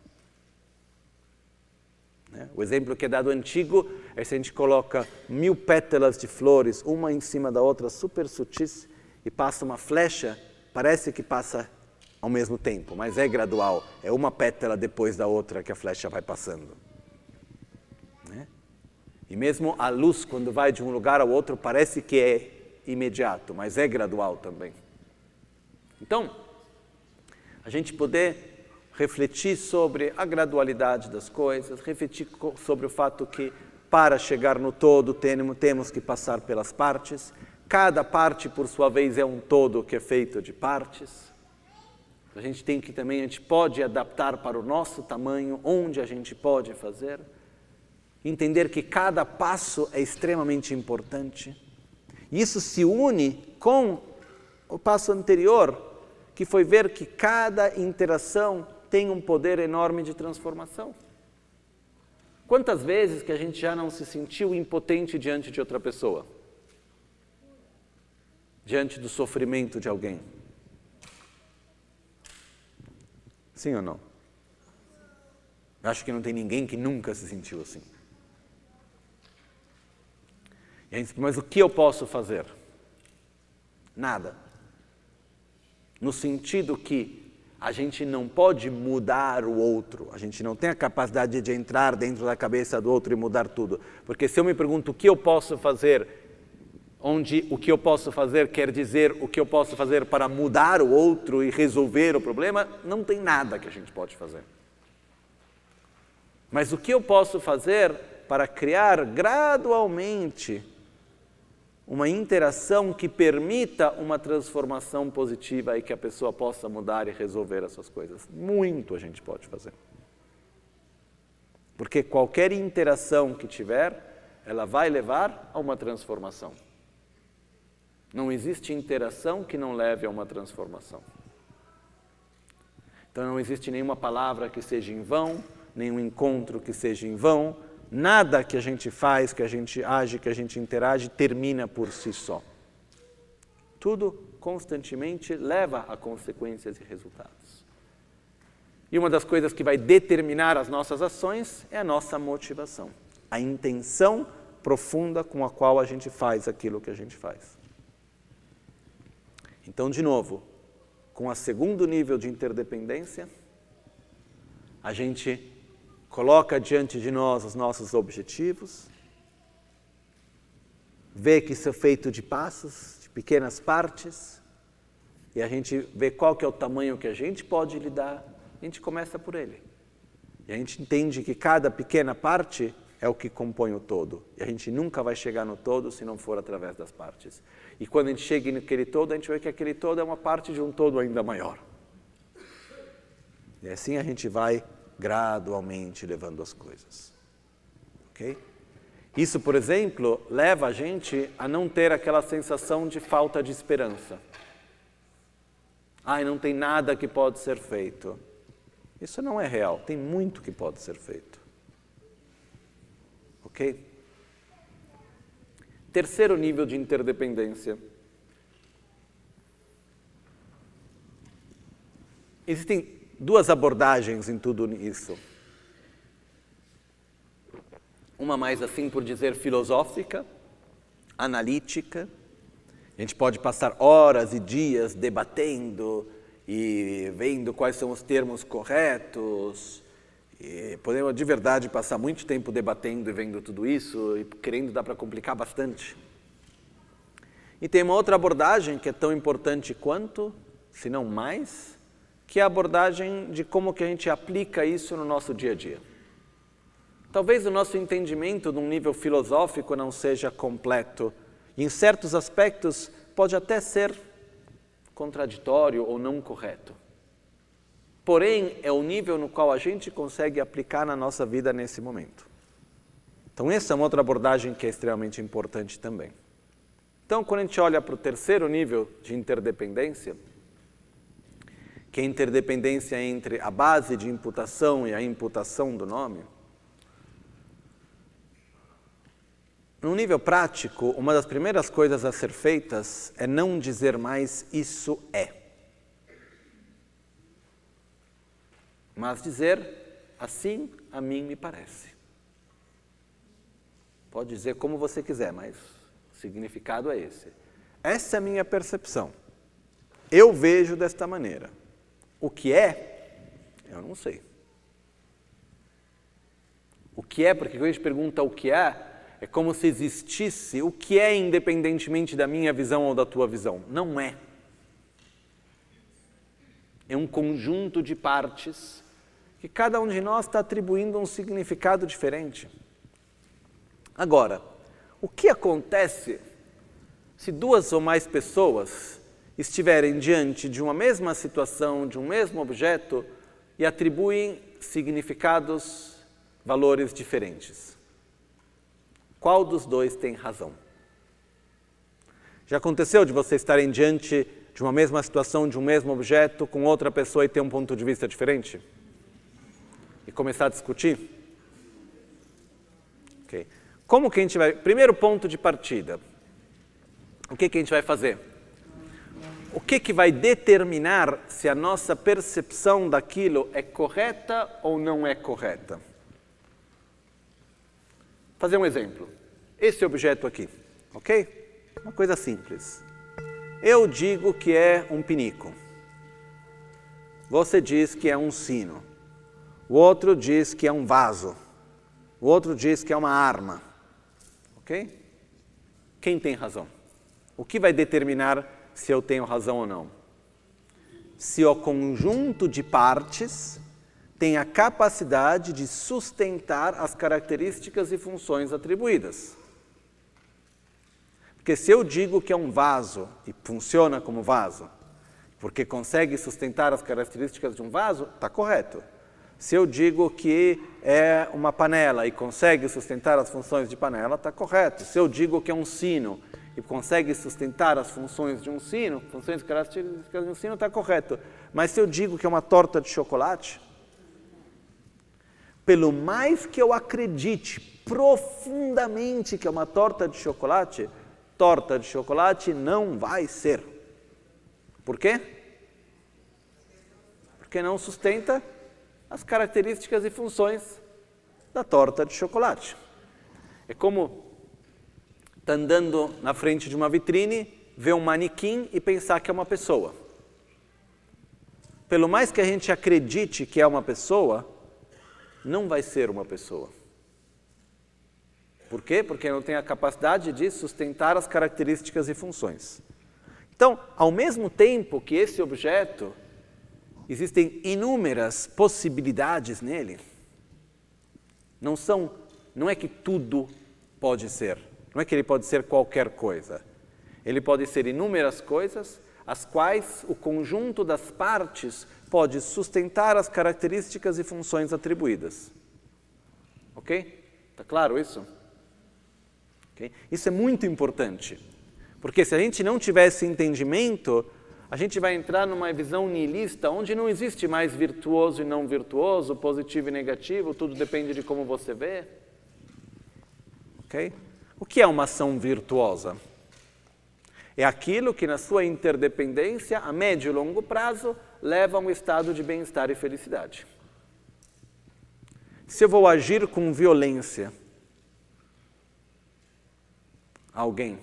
Speaker 1: O exemplo que é dado antigo é se a gente coloca 1000 pétalas de flores, uma em cima da outra, super sutis, e passa uma flecha, parece que passa ao mesmo tempo, mas é gradual. É uma pétala depois da outra que a flecha vai passando. Né? E mesmo a luz, quando vai de um lugar ao outro, parece que é imediato, mas é gradual também. Então, a gente poder refletir sobre a gradualidade das coisas, refletir sobre o fato que, para chegar no todo, temos que passar pelas partes. Cada parte, por sua vez, é um todo que é feito de partes. A gente pode adaptar para o nosso tamanho, onde a gente pode fazer. Entender que cada passo é extremamente importante. Isso se une com o passo anterior, que foi ver que cada interação tem um poder enorme de transformação. Quantas vezes que a gente já não se sentiu impotente diante de outra pessoa? Diante do sofrimento de alguém? Sim ou não? Eu acho que não tem ninguém que nunca se sentiu assim. E a gente diz, mas o que eu posso fazer? Nada. No sentido que a gente não pode mudar o outro, a gente não tem a capacidade de entrar dentro da cabeça do outro e mudar tudo. Porque se eu me pergunto o que eu posso fazer, onde o que eu posso fazer quer dizer o que eu posso fazer para mudar o outro e resolver o problema, não tem nada que a gente pode fazer. Mas o que eu posso fazer para criar gradualmente uma interação que permita uma transformação positiva e que a pessoa possa mudar e resolver as suas coisas. Muito a gente pode fazer. Porque qualquer interação que tiver, ela vai levar a uma transformação. Não existe interação que não leve a uma transformação. Então não existe nenhuma palavra que seja em vão, nenhum encontro que seja em vão. Nada que a gente faz, que a gente age, que a gente interage, termina por si só. Tudo constantemente leva a consequências e resultados. E uma das coisas que vai determinar as nossas ações é a nossa motivação. A intenção profunda com a qual a gente faz aquilo que a gente faz. Então, de novo, com o segundo nível de interdependência, a gente coloca diante de nós os nossos objetivos, vê que isso é feito de passos, de pequenas partes, e a gente vê qual que é o tamanho que a gente pode lidar, a gente começa por ele. E a gente entende que cada pequena parte é o que compõe o todo. E a gente nunca vai chegar no todo se não for através das partes. E quando a gente chega naquele todo, a gente vê que aquele todo é uma parte de um todo ainda maior. E assim a gente vai gradualmente levando as coisas. Ok? Isso, por exemplo, leva a gente a não ter aquela sensação de falta de esperança. Não tem nada que pode ser feito. Isso não é real, tem muito que pode ser feito. Ok? Terceiro nível de interdependência. Existem duas abordagens em tudo isso. Uma mais assim por dizer filosófica, analítica. A gente pode passar horas e dias debatendo e vendo quais são os termos corretos. E podemos de verdade passar muito tempo debatendo e vendo tudo isso e querendo dar para complicar bastante. E tem uma outra abordagem que é tão importante quanto, se não mais, que é a abordagem de como que a gente aplica isso no nosso dia a dia. Talvez o nosso entendimento de um nível filosófico não seja completo, e em certos aspectos pode até ser contraditório ou não correto. Porém, é o nível no qual a gente consegue aplicar na nossa vida nesse momento. Então, essa é uma outra abordagem que é extremamente importante também. Então, quando a gente olha para o terceiro nível de interdependência, que é a interdependência entre a base de imputação e a imputação do nome, no nível prático, uma das primeiras coisas a ser feitas é não dizer mais isso é. Mas dizer, assim a mim me parece. Pode dizer como você quiser, mas o significado é esse. Essa é a minha percepção. Eu vejo desta maneira. O que é, eu não sei. O que é, porque quando a gente pergunta o que é como se existisse o que é independentemente da minha visão ou da tua visão. Não é. É um conjunto de partes que cada um de nós está atribuindo um significado diferente. Agora, o que acontece se duas ou mais pessoas estiverem diante de uma mesma situação, de um mesmo objeto e atribuem significados, valores diferentes? Qual dos dois tem razão? Já aconteceu de vocês estarem diante de uma mesma situação, de um mesmo objeto, com outra pessoa e ter um ponto de vista diferente? E começar a discutir? Okay. Como que a gente vai... Primeiro ponto de partida. O que a gente vai fazer? O que vai determinar se a nossa percepção daquilo é correta ou não é correta? Vou fazer um exemplo. Esse objeto aqui, ok? Uma coisa simples. Eu digo que é um pinico. Você diz que é um sino. O outro diz que é um vaso. O outro diz que é uma arma. Ok? Quem tem razão? O que vai determinar se eu tenho razão ou não? Se o conjunto de partes tem a capacidade de sustentar as características e funções atribuídas. Porque se eu digo que é um vaso e funciona como vaso, porque consegue sustentar as características de um vaso, está correto. Se eu digo que é uma panela e consegue sustentar as funções de panela, está correto. Se eu digo que é um sino e consegue sustentar as funções de um sino, funções e características de um sino, está correto. Mas se eu digo que é uma torta de chocolate, pelo mais que eu acredite profundamente que é uma torta de chocolate não vai ser. Por quê? Porque não sustenta as características e funções da torta de chocolate. É como estar andando na frente de uma vitrine, ver um manequim e pensar que é uma pessoa. Pelo mais que a gente acredite que é uma pessoa, não vai ser uma pessoa. Por quê? Porque não tem a capacidade de sustentar as características e funções. Então, ao mesmo tempo que esse objeto, existem inúmeras possibilidades nele, não é que tudo pode ser, não é que ele pode ser qualquer coisa. Ele pode ser inúmeras coisas, as quais o conjunto das partes pode sustentar as características e funções atribuídas. Ok? Está claro isso? Okay? Isso é muito importante, porque se a gente não tiver esse entendimento, a gente vai entrar numa visão nihilista, onde não existe mais virtuoso e não virtuoso, positivo e negativo, tudo depende de como você vê. Okay? O que é uma ação virtuosa? É aquilo que na sua interdependência, a médio e longo prazo, leva a um estado de bem-estar e felicidade. Se eu vou agir com violência a alguém,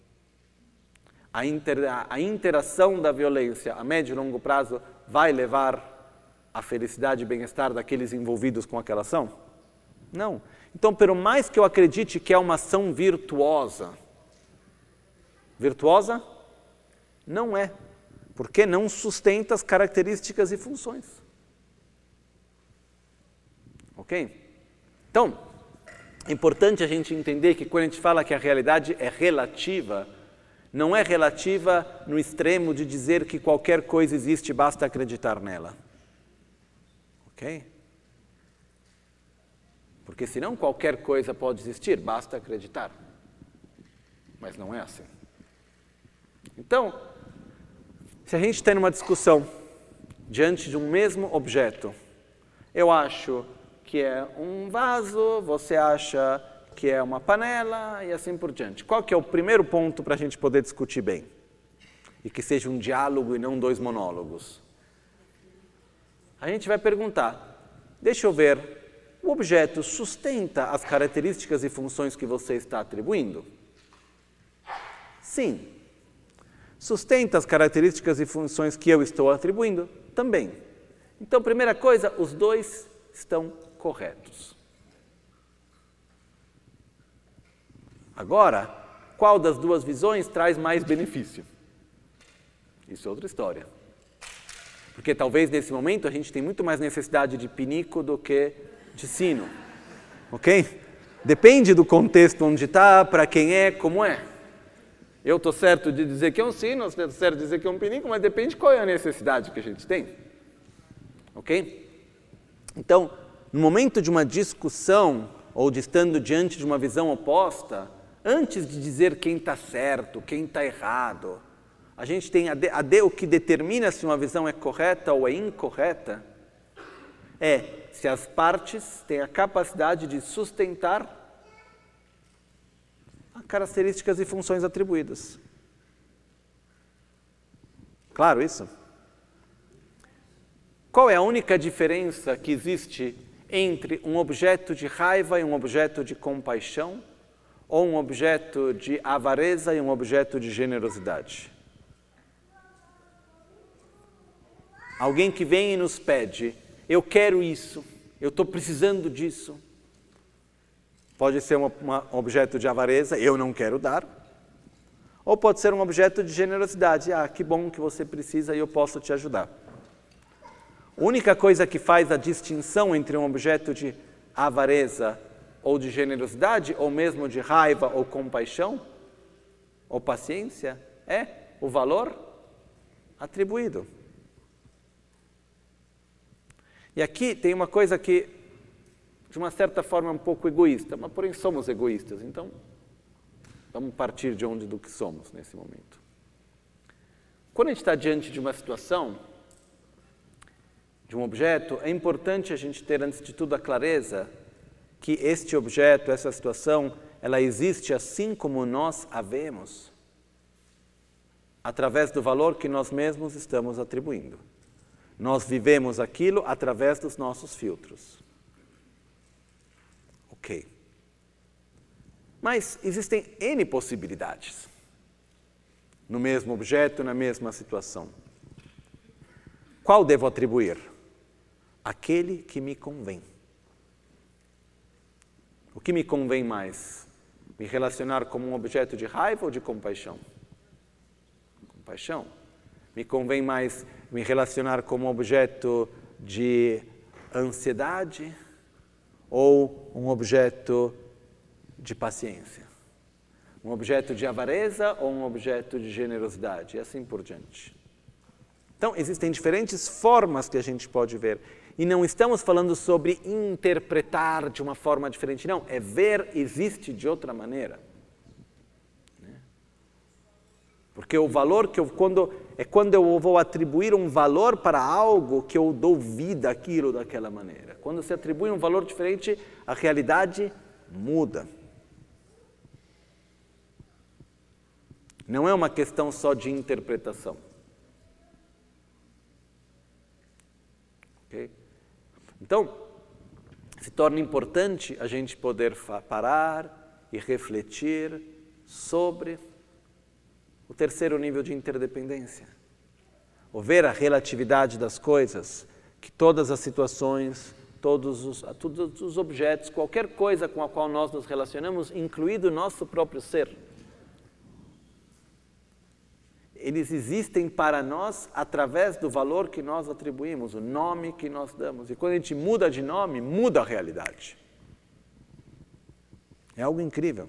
Speaker 1: a interação da violência a médio e longo prazo vai levar à felicidade e bem-estar daqueles envolvidos com aquela ação? Não. Então, por mais que eu acredite que é uma ação virtuosa, não é, porque não sustenta as características e funções. Ok? Então, é importante a gente entender que quando a gente fala que a realidade é relativa, não é relativa no extremo de dizer que qualquer coisa existe e basta acreditar nela. Ok? Porque senão qualquer coisa pode existir, basta acreditar. Mas não é assim. Então, se a gente tem uma discussão diante de um mesmo objeto, eu acho que é um vaso, você acha que é uma panela e assim por diante. Qual que é o primeiro ponto para a gente poder discutir bem? E que seja um diálogo e não dois monólogos. A gente vai perguntar, deixa eu ver, o objeto sustenta as características e funções que você está atribuindo? Sim. Sustenta as características e funções que eu estou atribuindo? Também. Então, primeira coisa, os dois estão corretos. Agora, qual das duas visões traz mais benefício? Isso é outra história. Porque talvez nesse momento a gente tem muito mais necessidade de pinico do que de sino. Ok? Depende do contexto onde está, para quem é, como é. Eu estou certo de dizer que é um sino, eu estou certo de dizer que é um pinico, mas depende qual é a necessidade que a gente tem. Ok? Então, no momento de uma discussão, ou de estando diante de uma visão oposta, antes de dizer quem está certo, quem está errado, a gente tem o que determina se uma visão é correta ou é incorreta, é se as partes têm a capacidade de sustentar as características e funções atribuídas. Claro isso? Qual é a única diferença que existe entre um objeto de raiva e um objeto de compaixão, ou um objeto de avareza e um objeto de generosidade? Alguém que vem e nos pede, eu quero isso, eu estou precisando disso. Pode ser um objeto de avareza, eu não quero dar. Ou pode ser um objeto de generosidade, que bom que você precisa e eu posso te ajudar. A única coisa que faz a distinção entre um objeto de avareza ou de generosidade, ou mesmo de raiva ou compaixão, ou paciência, é o valor atribuído. E aqui tem uma coisa que, de uma certa forma, é um pouco egoísta, mas porém somos egoístas, então vamos partir do que somos nesse momento. Quando a gente está diante de uma situação, de um objeto, é importante a gente ter, antes de tudo, a clareza que este objeto, essa situação, ela existe assim como nós a vemos, através do valor que nós mesmos estamos atribuindo. Nós vivemos aquilo através dos nossos filtros. Ok. Mas existem N possibilidades no mesmo objeto, na mesma situação. Qual devo atribuir? Aquele que me convém. O que me convém mais? Me relacionar como um objeto de raiva ou de compaixão? Compaixão. Me convém mais me relacionar como um objeto de ansiedade ou um objeto de paciência? Um objeto de avareza ou um objeto de generosidade? E assim por diante. Então, existem diferentes formas que a gente pode ver. E não estamos falando sobre interpretar de uma forma diferente, não. É ver existe de outra maneira. Porque o valor que quando eu vou atribuir um valor para algo que eu dou vida àquilo daquela maneira. Quando se atribui um valor diferente, a realidade muda. Não é uma questão só de interpretação. Okay? Então, se torna importante a gente poder parar e refletir sobre o terceiro nível de interdependência. Ou ver a relatividade das coisas, que todas as situações, todos os objetos, qualquer coisa com a qual nós nos relacionamos, incluído o nosso próprio ser, eles existem para nós através do valor que nós atribuímos, o nome que nós damos. E quando a gente muda de nome, muda a realidade. É algo incrível.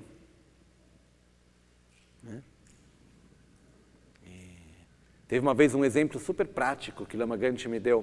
Speaker 1: Teve uma vez um exemplo super prático que Lama Gante me deu,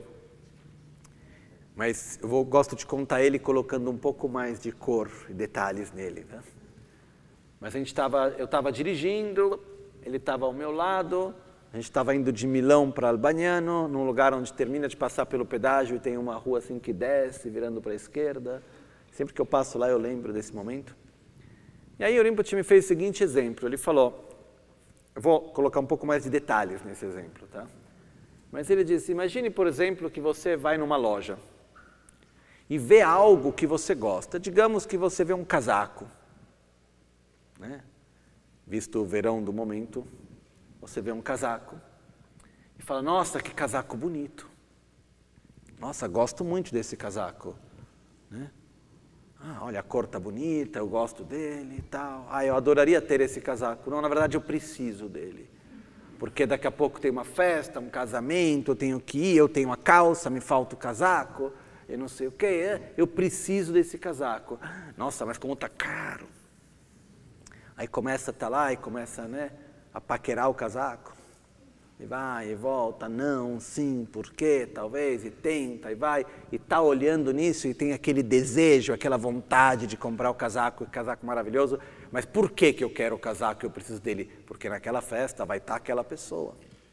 Speaker 1: mas eu gosto de contar ele colocando um pouco mais de cor e detalhes nele. Né? Mas eu estava dirigindo, ele estava ao meu lado, a gente estava indo de Milão para Albagnano, num lugar onde termina de passar pelo pedágio e tem uma rua assim que desce, virando para a esquerda. Sempre que eu passo lá eu lembro desse momento. E aí o Rinpoche me fez o seguinte exemplo, ele falou, eu vou colocar um pouco mais de detalhes nesse exemplo, tá? Mas ele disse, imagine, por exemplo, que você vai numa loja e vê algo que você gosta. Digamos que você vê um casaco, né? Visto o verão do momento, você vê um casaco e fala, nossa, que casaco bonito. Nossa, gosto muito desse casaco, né? Olha, a cor está bonita, eu gosto dele e tal. Eu adoraria ter esse casaco. Não, na verdade, eu preciso dele. Porque daqui a pouco tem uma festa, um casamento, eu tenho que ir, eu tenho a calça, me falta o casaco, eu não sei o que, eu preciso desse casaco. Nossa, mas como está caro. Aí começa a estar lá e começa, né, a paquerar o casaco. E vai, e volta, não, sim, por quê, talvez, e tenta, e vai. E está olhando nisso e tem aquele desejo, aquela vontade de comprar o casaco maravilhoso. Mas por que eu quero o casaco e eu preciso dele? Porque naquela festa vai estar aquela pessoa.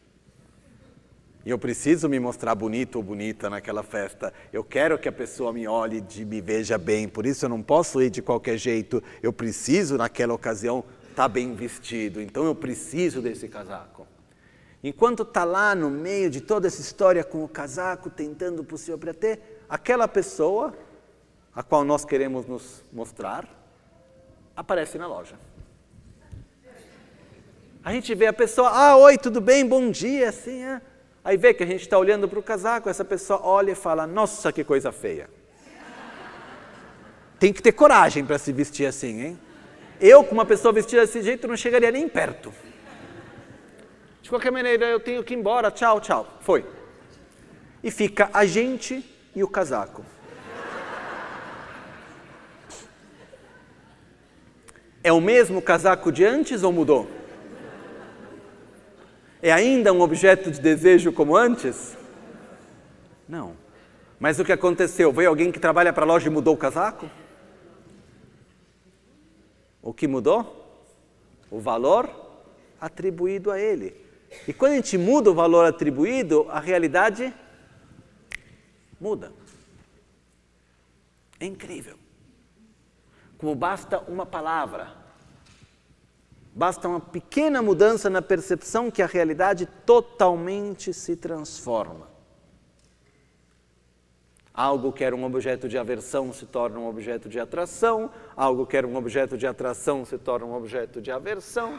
Speaker 1: E eu preciso me mostrar bonito ou bonita naquela festa. Eu quero que a pessoa me olhe e me veja bem. Por isso eu não posso ir de qualquer jeito. Eu preciso, naquela ocasião, estar bem vestido. Então eu preciso desse casaco. Enquanto está lá no meio de toda essa história com o casaco, tentando o possível para ter, aquela pessoa, a qual nós queremos nos mostrar, aparece na loja. A gente vê a pessoa, oi, tudo bem, bom dia, assim, Aí vê que a gente está olhando para o casaco, essa pessoa olha e fala, nossa, que coisa feia. Tem que ter coragem para se vestir assim, hein? Eu, com uma pessoa vestida desse jeito, não chegaria nem perto. De qualquer maneira, eu tenho que ir embora, tchau, tchau. Foi. E fica a gente e o casaco. É o mesmo casaco de antes ou mudou? É ainda um objeto de desejo como antes? Não. Mas o que aconteceu? Veio alguém que trabalha para a loja e mudou o casaco? O que mudou? O valor atribuído a ele. E quando a gente muda o valor atribuído, a realidade muda. É incrível. Como basta uma palavra. Basta uma pequena mudança na percepção que a realidade totalmente se transforma. Algo que era um objeto de aversão se torna um objeto de atração, algo que era um objeto de atração se torna um objeto de aversão.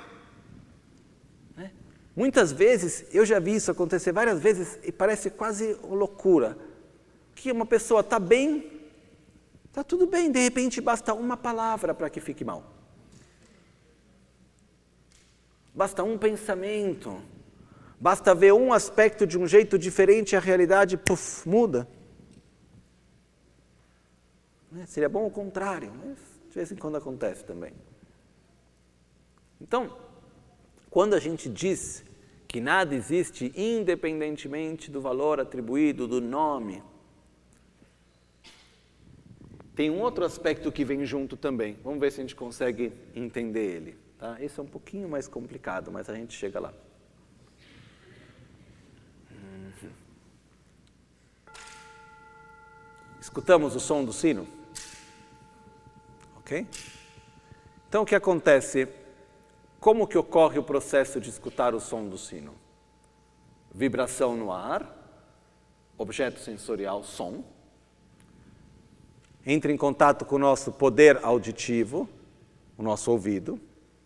Speaker 1: Muitas vezes, eu já vi isso acontecer várias vezes e parece quase loucura, que uma pessoa está bem, está tudo bem, de repente basta uma palavra para que fique mal. Basta um pensamento, basta ver um aspecto de um jeito diferente e a realidade, muda. Seria bom o contrário, mas de vez em quando acontece também. Então, quando a gente diz que nada existe independentemente do valor atribuído, do nome, tem um outro aspecto que vem junto também. Vamos ver se a gente consegue entender ele. Tá? Esse é um pouquinho mais complicado, mas a gente chega lá. Escutamos o som do sino? Ok? Então o que acontece? Como que ocorre o processo de escutar o som do sino? Vibração no ar, objeto sensorial, som. Entra em contato com o nosso poder auditivo, o nosso ouvido,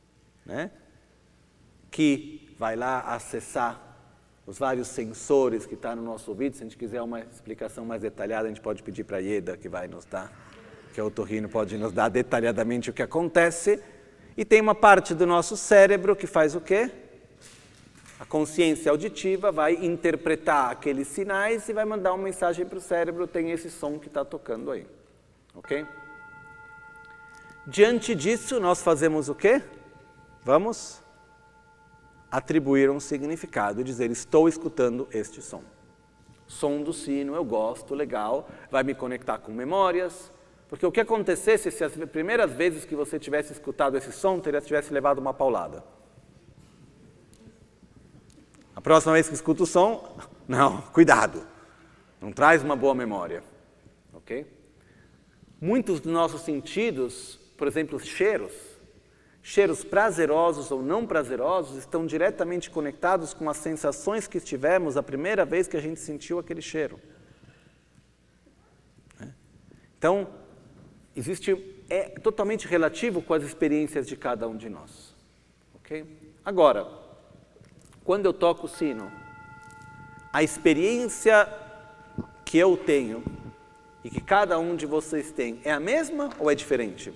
Speaker 1: que vai lá acessar os vários sensores que estão no nosso ouvido. Se a gente quiser uma explicação mais detalhada, a gente pode pedir para a Ieda, que vai nos dar, que é o otorrino, pode nos dar detalhadamente o que acontece. E tem uma parte do nosso cérebro que faz o quê? A consciência auditiva vai interpretar aqueles sinais e vai mandar uma mensagem para o cérebro, tem esse som que está tocando aí. Ok? Diante disso, nós fazemos o quê? Vamos atribuir um significado e dizer, estou escutando este som. Som do sino, eu gosto, legal, vai me conectar com memórias, porque o que acontecesse se as primeiras vezes que você tivesse escutado esse som, tivesse levado uma paulada? A próxima vez que escuta o som, não, cuidado, não traz uma boa memória. Ok? Muitos dos nossos sentidos, por exemplo, cheiros prazerosos ou não prazerosos, estão diretamente conectados com as sensações que tivemos a primeira vez que a gente sentiu aquele cheiro. Então, é totalmente relativo com as experiências de cada um de nós. Ok? Agora, quando eu toco o sino, a experiência que eu tenho e que cada um de vocês tem é a mesma ou é diferente?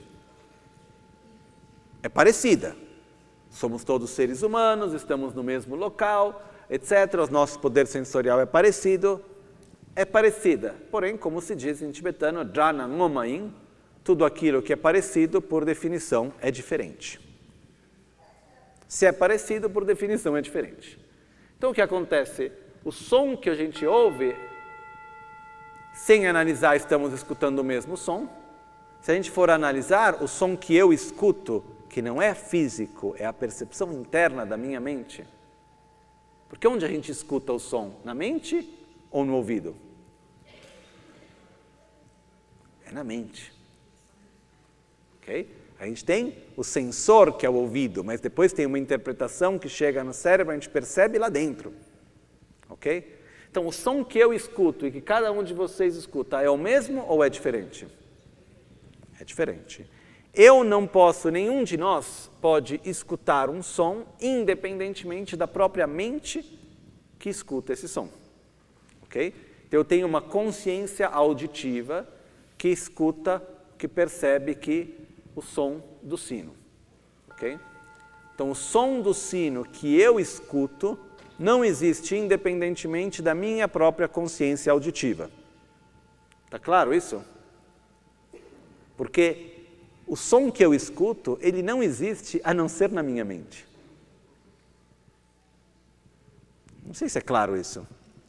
Speaker 1: É parecida. Somos todos seres humanos, estamos no mesmo local, etc. O nosso poder sensorial é parecido. É parecida. Porém, como se diz em tibetano, Jana Ngomain, tudo aquilo que é parecido, por definição, é diferente. Se é parecido, por definição, é diferente. Então, o que acontece? O som que a gente ouve, sem analisar, estamos escutando o mesmo som. Se a gente for analisar, o som que eu escuto, que não é físico, é a percepção interna da minha mente. Porque onde a gente escuta o som? Na mente ou no ouvido? É na mente. Ok? A gente tem o sensor, que é o ouvido, mas depois tem uma interpretação que chega no cérebro, a gente percebe lá dentro. Ok? Então, o som que eu escuto e que cada um de vocês escuta é o mesmo ou é diferente? É diferente. Eu não posso, nenhum de nós pode escutar um som independentemente da própria mente que escuta esse som. Ok? Então, eu tenho uma consciência auditiva que escuta, que percebe que o som do sino. Ok? Então, o som do sino que eu escuto não existe independentemente da minha própria consciência auditiva. Está claro isso? Porque o som que eu escuto, ele não existe a não ser na minha mente. Não sei se é claro isso.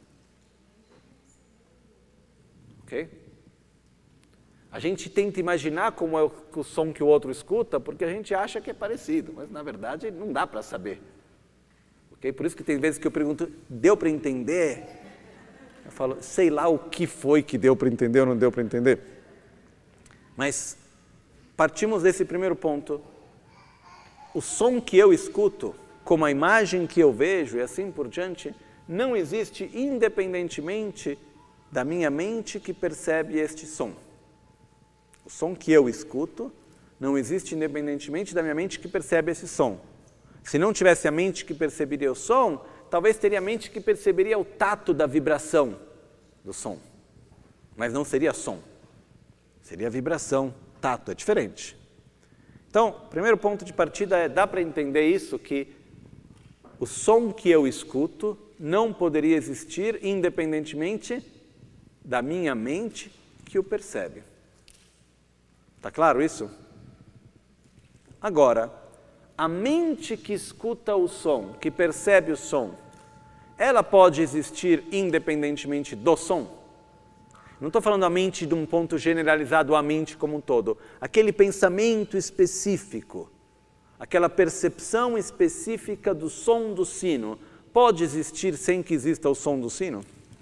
Speaker 1: Ok? A gente tenta imaginar como é o som que o outro escuta, porque a gente acha que é parecido, mas na verdade não dá para saber. Okay? Por isso que tem vezes que eu pergunto, deu para entender? Eu falo, sei lá o que foi que deu para entender ou não deu para entender. Mas partimos desse primeiro ponto. O som que eu escuto, como a imagem que eu vejo e assim por diante, não existe independentemente da minha mente que percebe este som. O som que eu escuto não existe independentemente da minha mente que percebe esse som. Se não tivesse a mente que perceberia o som, talvez teria a mente que perceberia o tato da vibração do som. Mas não seria som. Seria vibração, tato, é diferente. Então, o primeiro ponto de partida é, dá para entender isso, que o som que eu escuto não poderia existir independentemente da minha mente que o percebe. Está claro isso? Agora, a mente que escuta o som, que percebe o som, ela pode existir independentemente do som? Não estou falando a mente de um ponto generalizado, a mente como um todo. Aquele pensamento específico, aquela percepção específica do som do sino, pode existir sem que exista o som do sino?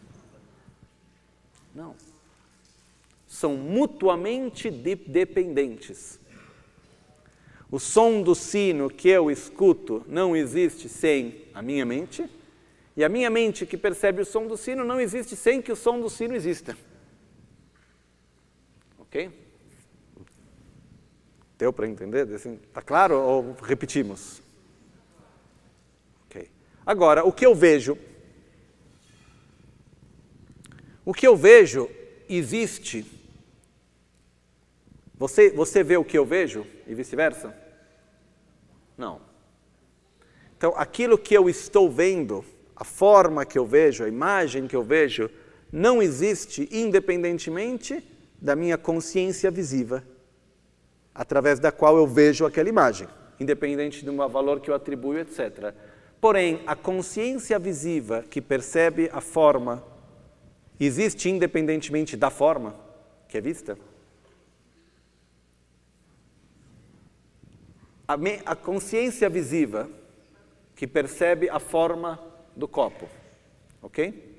Speaker 1: Não. São mutuamente dependentes. O som do sino que eu escuto não existe sem a minha mente, e a minha mente que percebe o som do sino não existe sem que o som do sino exista. Ok? Deu para entender? Está claro ou repetimos? Ok. Agora, o que eu vejo? O que eu vejo existe. Você vê o que eu vejo e vice-versa? Não. Então, aquilo que eu estou vendo, a forma que eu vejo, a imagem que eu vejo, não existe independentemente da minha consciência visiva, através da qual eu vejo aquela imagem, independente do valor que eu atribuo, etc. Porém, a consciência visiva que percebe a forma existe independentemente da forma que é vista? A consciência visiva que percebe a forma do copo, ok?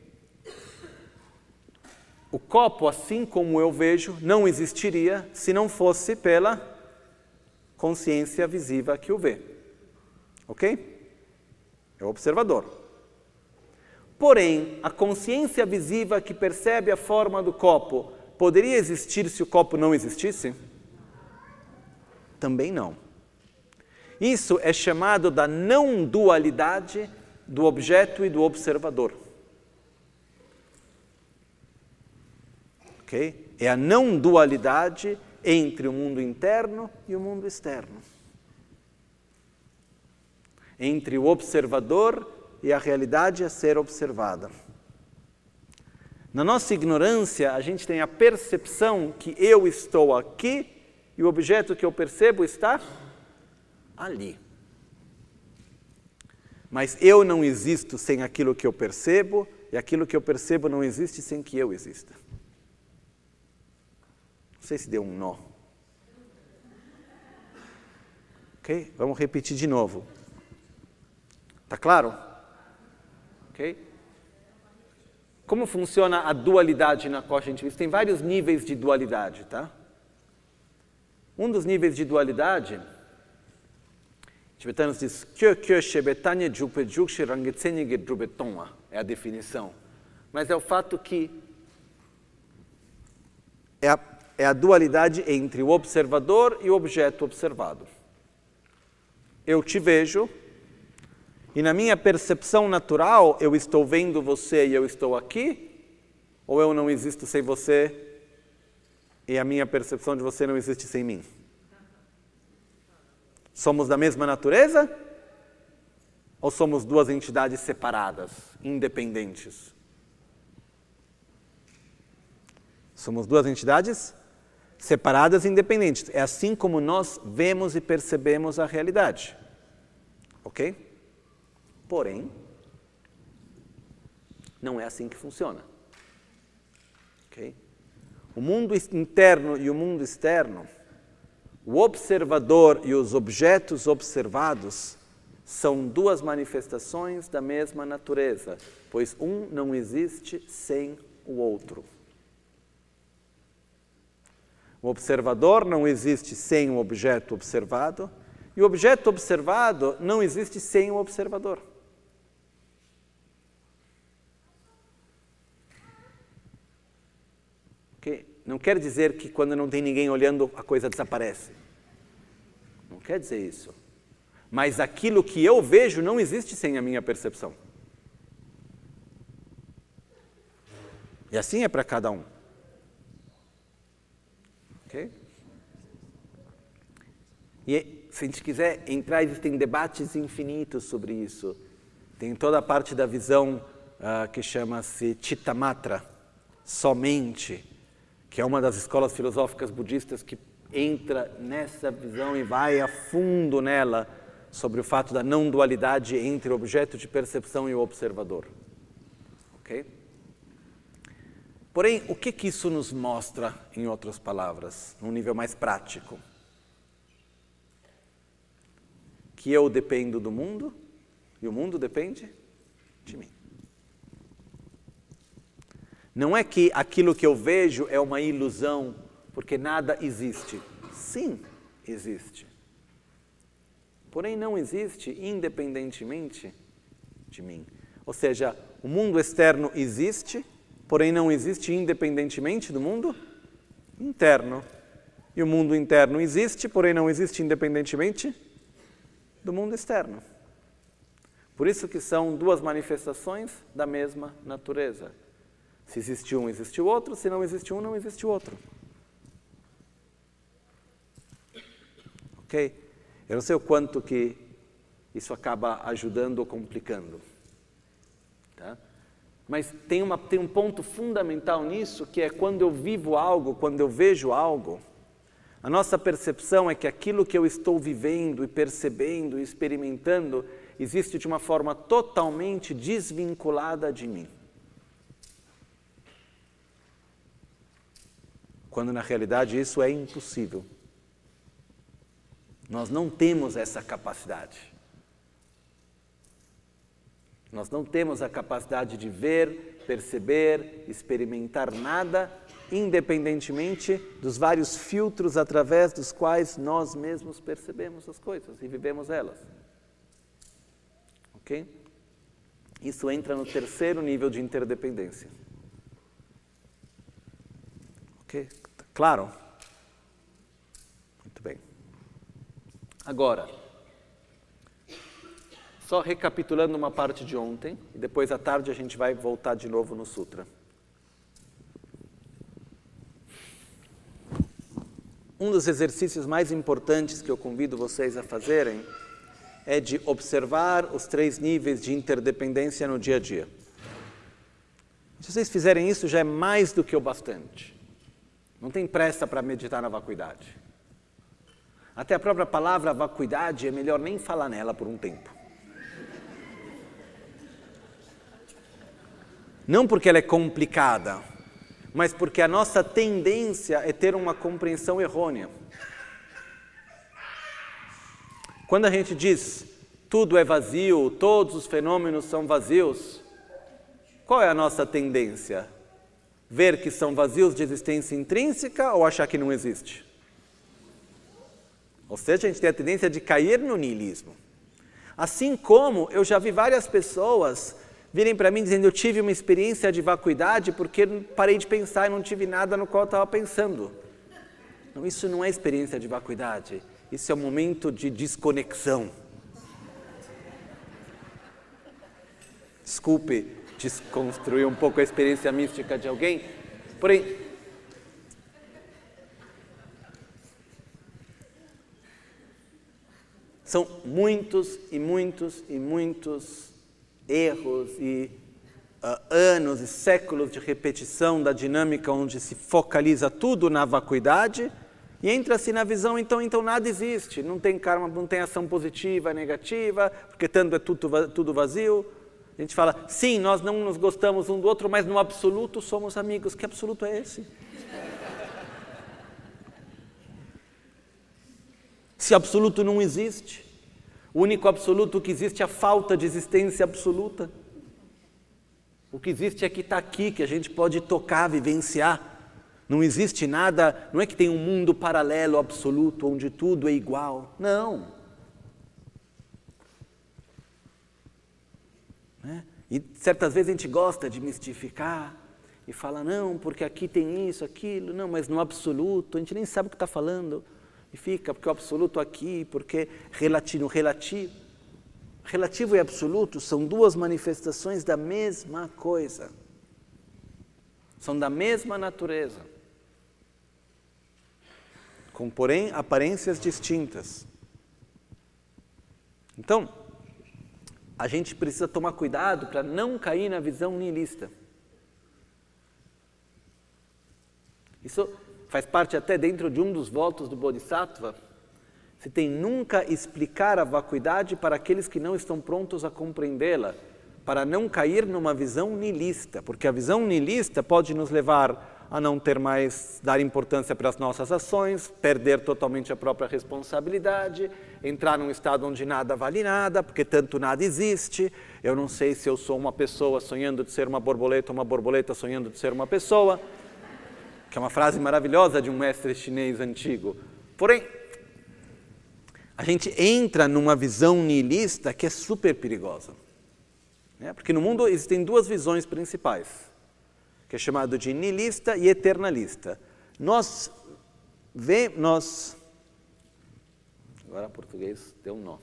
Speaker 1: O copo, assim como eu vejo, não existiria se não fosse pela consciência visiva que o vê, ok? É o observador. Porém, a consciência visiva que percebe a forma do copo poderia existir se o copo não existisse? Também não. Isso é chamado da não dualidade do objeto e do observador. Okay? É a não dualidade entre o mundo interno e o mundo externo. Entre o observador e a realidade a ser observada. Na nossa ignorância, a gente tem a percepção que eu estou aqui e o objeto que eu percebo está ali. Mas eu não existo sem aquilo que eu percebo, e aquilo que eu percebo não existe sem que eu exista. Não sei se deu um nó. Ok? Vamos repetir de novo. Tá claro? Ok? Como funciona a dualidade na qual a gente vive? Tem vários níveis de dualidade, tá? Um dos níveis de dualidade, tibetanos diz, é a definição. Mas é o fato que é a dualidade entre o observador e o objeto observado. Eu te vejo, e na minha percepção natural, eu estou vendo você e eu estou aqui, ou eu não existo sem você e a minha percepção de você não existe sem mim? Somos da mesma natureza? Ou somos duas entidades separadas, independentes? Somos duas entidades separadas e independentes. É assim como nós vemos e percebemos a realidade. Ok? Porém, não é assim que funciona. Okay? O mundo interno e o mundo externo, o observador e os objetos observados são duas manifestações da mesma natureza, pois um não existe sem o outro. O observador não existe sem o objeto observado, e o objeto observado não existe sem o observador. Okay? Não quer dizer que quando não tem ninguém olhando, a coisa desaparece. Não quer dizer isso. Mas aquilo que eu vejo não existe sem a minha percepção. E assim é para cada um. Ok? E se a gente quiser entrar, existem debates infinitos sobre isso. Tem toda a parte da visão que chama-se Chittamatra, somente, que é uma das escolas filosóficas budistas que entra nessa visão e vai a fundo nela sobre o fato da não dualidade entre o objeto de percepção e o observador. Ok? Porém, o que isso nos mostra, em outras palavras, num nível mais prático? Que eu dependo do mundo e o mundo depende de mim. Não é que aquilo que eu vejo é uma ilusão, porque nada existe. Sim, existe. Porém, não existe independentemente de mim. Ou seja, o mundo externo existe, porém não existe independentemente do mundo interno. E o mundo interno existe, porém não existe independentemente do mundo externo. Por isso que são duas manifestações da mesma natureza. Se existe um, existe o outro. Se não existe um, não existe o outro. Ok? Eu não sei o quanto que isso acaba ajudando ou complicando. Tá? Mas tem um ponto fundamental nisso, que é quando eu vivo algo, quando eu vejo algo, a nossa percepção é que aquilo que eu estou vivendo e percebendo e experimentando existe de uma forma totalmente desvinculada de mim. Quando na realidade isso é impossível. Nós não temos essa capacidade. Nós não temos a capacidade de ver, perceber, experimentar nada, independentemente dos vários filtros através dos quais nós mesmos percebemos as coisas e vivemos elas. Ok? Isso entra no terceiro nível de interdependência. Ok? Claro? Muito bem. Agora, só recapitulando uma parte de ontem, e depois à tarde a gente vai voltar de novo no Sutra. Um dos exercícios mais importantes que eu convido vocês a fazerem é de observar os 3 níveis de interdependência no dia a dia. Se vocês fizerem isso, já é mais do que o bastante. Não tem pressa para meditar na vacuidade. Até a própria palavra vacuidade é melhor nem falar nela por um tempo. Não porque ela é complicada, mas porque a nossa tendência é ter uma compreensão errônea. Quando a gente diz tudo é vazio, todos os fenômenos são vazios, qual é a nossa tendência? Ver que são vazios de existência intrínseca ou achar que não existe? Ou seja, a gente tem a tendência de cair no niilismo. Assim como eu já vi várias pessoas virem para mim dizendo eu tive uma experiência de vacuidade porque parei de pensar e não tive nada no qual eu estava pensando. Não, isso não é experiência de vacuidade, isso é um momento de desconexão. Desculpe desconstruir um pouco a experiência mística de alguém, porém, são muitos e muitos e muitos erros e anos e séculos de repetição da dinâmica onde se focaliza tudo na vacuidade e entra-se na visão, então nada existe, não tem karma, não tem ação positiva, negativa, porque tanto é tudo vazio. A gente fala, sim, nós não nos gostamos um do outro, mas no absoluto somos amigos. Que absoluto é esse? Se absoluto não existe, o único absoluto que existe é a falta de existência absoluta. O que existe é que está aqui, que a gente pode tocar, vivenciar. Não existe nada, não é que tem um mundo paralelo absoluto, onde tudo é igual. Não. E certas vezes a gente gosta de mistificar e fala, não, porque aqui tem isso, aquilo, não, mas no absoluto, a gente nem sabe o que está falando. E fica, porque o absoluto aqui, porque relativo e absoluto são duas manifestações da mesma coisa. São da mesma natureza. Com, porém, aparências distintas. Então, a gente precisa tomar cuidado para não cair na visão nihilista. Isso faz parte até dentro de um dos votos do Bodhisattva. Você tem nunca explicar a vacuidade para aqueles que não estão prontos a compreendê-la, para não cair numa visão nihilista, porque a visão nihilista pode nos levar a não ter mais, dar importância para as nossas ações, perder totalmente a própria responsabilidade, entrar num estado onde nada vale nada, porque tanto nada existe. Eu não sei se eu sou uma pessoa sonhando de ser uma borboleta ou uma borboleta sonhando de ser uma pessoa, que é uma frase maravilhosa de um mestre chinês antigo. Porém, a gente entra numa visão nihilista que é super perigosa. Porque no mundo existem duas visões principais, que é chamado de nihilista e eternalista. Agora português deu um nó.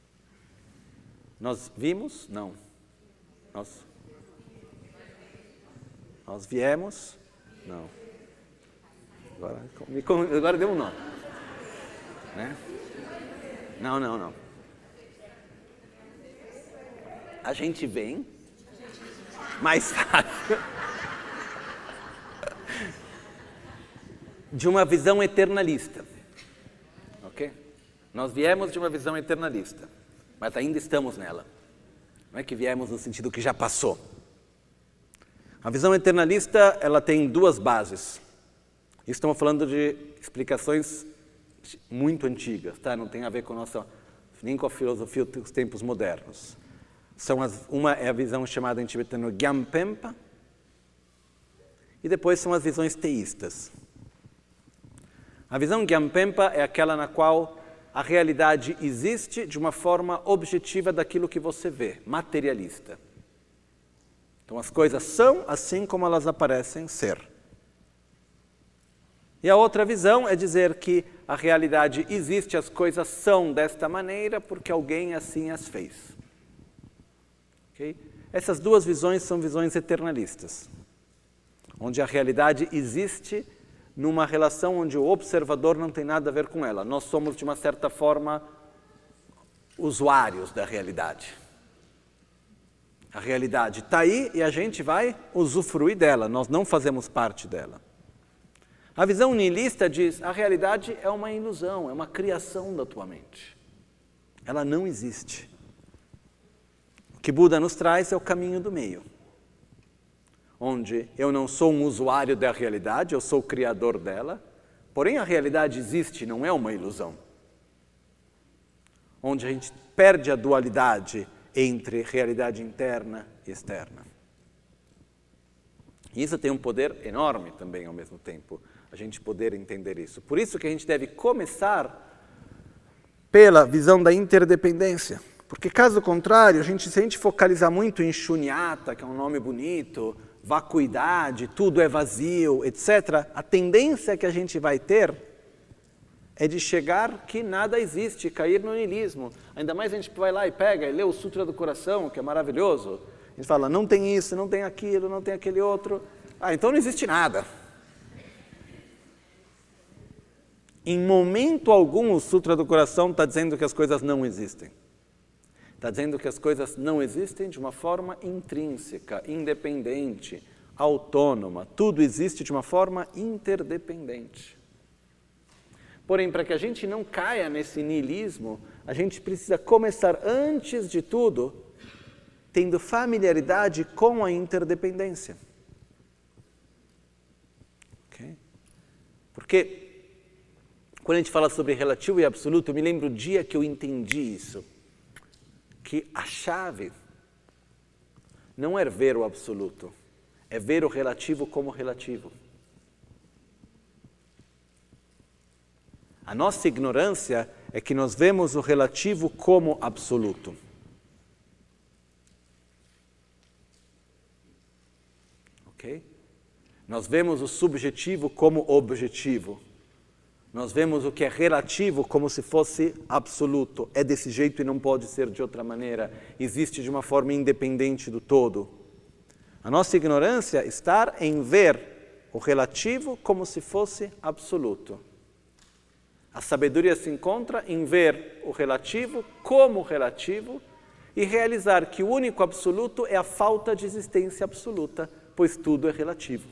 Speaker 1: Nós vimos? Não. Nós viemos? Não. Agora deu um nó. Né? Não. A gente vem, mais fácil, de uma visão eternalista. Ok? Nós viemos de uma visão eternalista, mas ainda estamos nela. Não é que viemos no sentido que já passou. A visão eternalista, ela tem duas bases. Estamos falando de explicações muito antigas, tá? Não tem a ver com nem com a filosofia dos tempos modernos. Uma é a visão chamada em tibetano Gyampenpa, e depois são as visões teístas. A visão Gyampenpa é aquela na qual a realidade existe de uma forma objetiva daquilo que você vê, materialista. Então as coisas são assim como elas aparecem ser. E a outra visão é dizer que a realidade existe, as coisas são desta maneira porque alguém assim as fez. Okay? Essas duas visões são visões eternalistas, onde a realidade existe numa relação onde o observador não tem nada a ver com ela. Nós somos, de uma certa forma, usuários da realidade. A realidade está aí e a gente vai usufruir dela, nós não fazemos parte dela. A visão nihilista diz, a realidade é uma ilusão, é uma criação da tua mente. Ela não existe. O que Buda nos traz é o caminho do meio. onde eu não sou um usuário da realidade, eu sou o criador dela, porém a realidade existe, não é uma ilusão. Onde a gente perde a dualidade entre realidade interna e externa. E isso tem um poder enorme também ao mesmo tempo, a gente poder entender isso. Por isso que a gente deve começar pela visão da interdependência. Porque caso contrário, se a gente focalizar muito em shunyata, que é um nome bonito, vacuidade, tudo é vazio, etc., a tendência que a gente vai ter é de chegar que nada existe, cair no niilismo. Ainda mais a gente vai lá e pega e lê o Sutra do Coração, que é maravilhoso. A gente fala, não tem isso, não tem aquilo, não tem aquele outro. Então não existe nada. Em momento algum o Sutra do Coração está dizendo que as coisas não existem. Está dizendo que as coisas não existem de uma forma intrínseca, independente, autônoma. Tudo existe de uma forma interdependente. Porém, para que a gente não caia nesse niilismo, a gente precisa começar, antes de tudo, tendo familiaridade com a interdependência. Okay? Porque, quando a gente fala sobre relativo e absoluto, eu me lembro o dia que eu entendi isso. Que a chave não é ver o absoluto, é ver o relativo como relativo. A nossa ignorância é que nós vemos o relativo como absoluto. Ok? Nós vemos o subjetivo como objetivo. Nós vemos o que é relativo como se fosse absoluto. É desse jeito e não pode ser de outra maneira. Existe de uma forma independente do todo. A nossa ignorância está em ver o relativo como se fosse absoluto. A sabedoria se encontra em ver o relativo como relativo e realizar que o único absoluto é a falta de existência absoluta, pois tudo é relativo.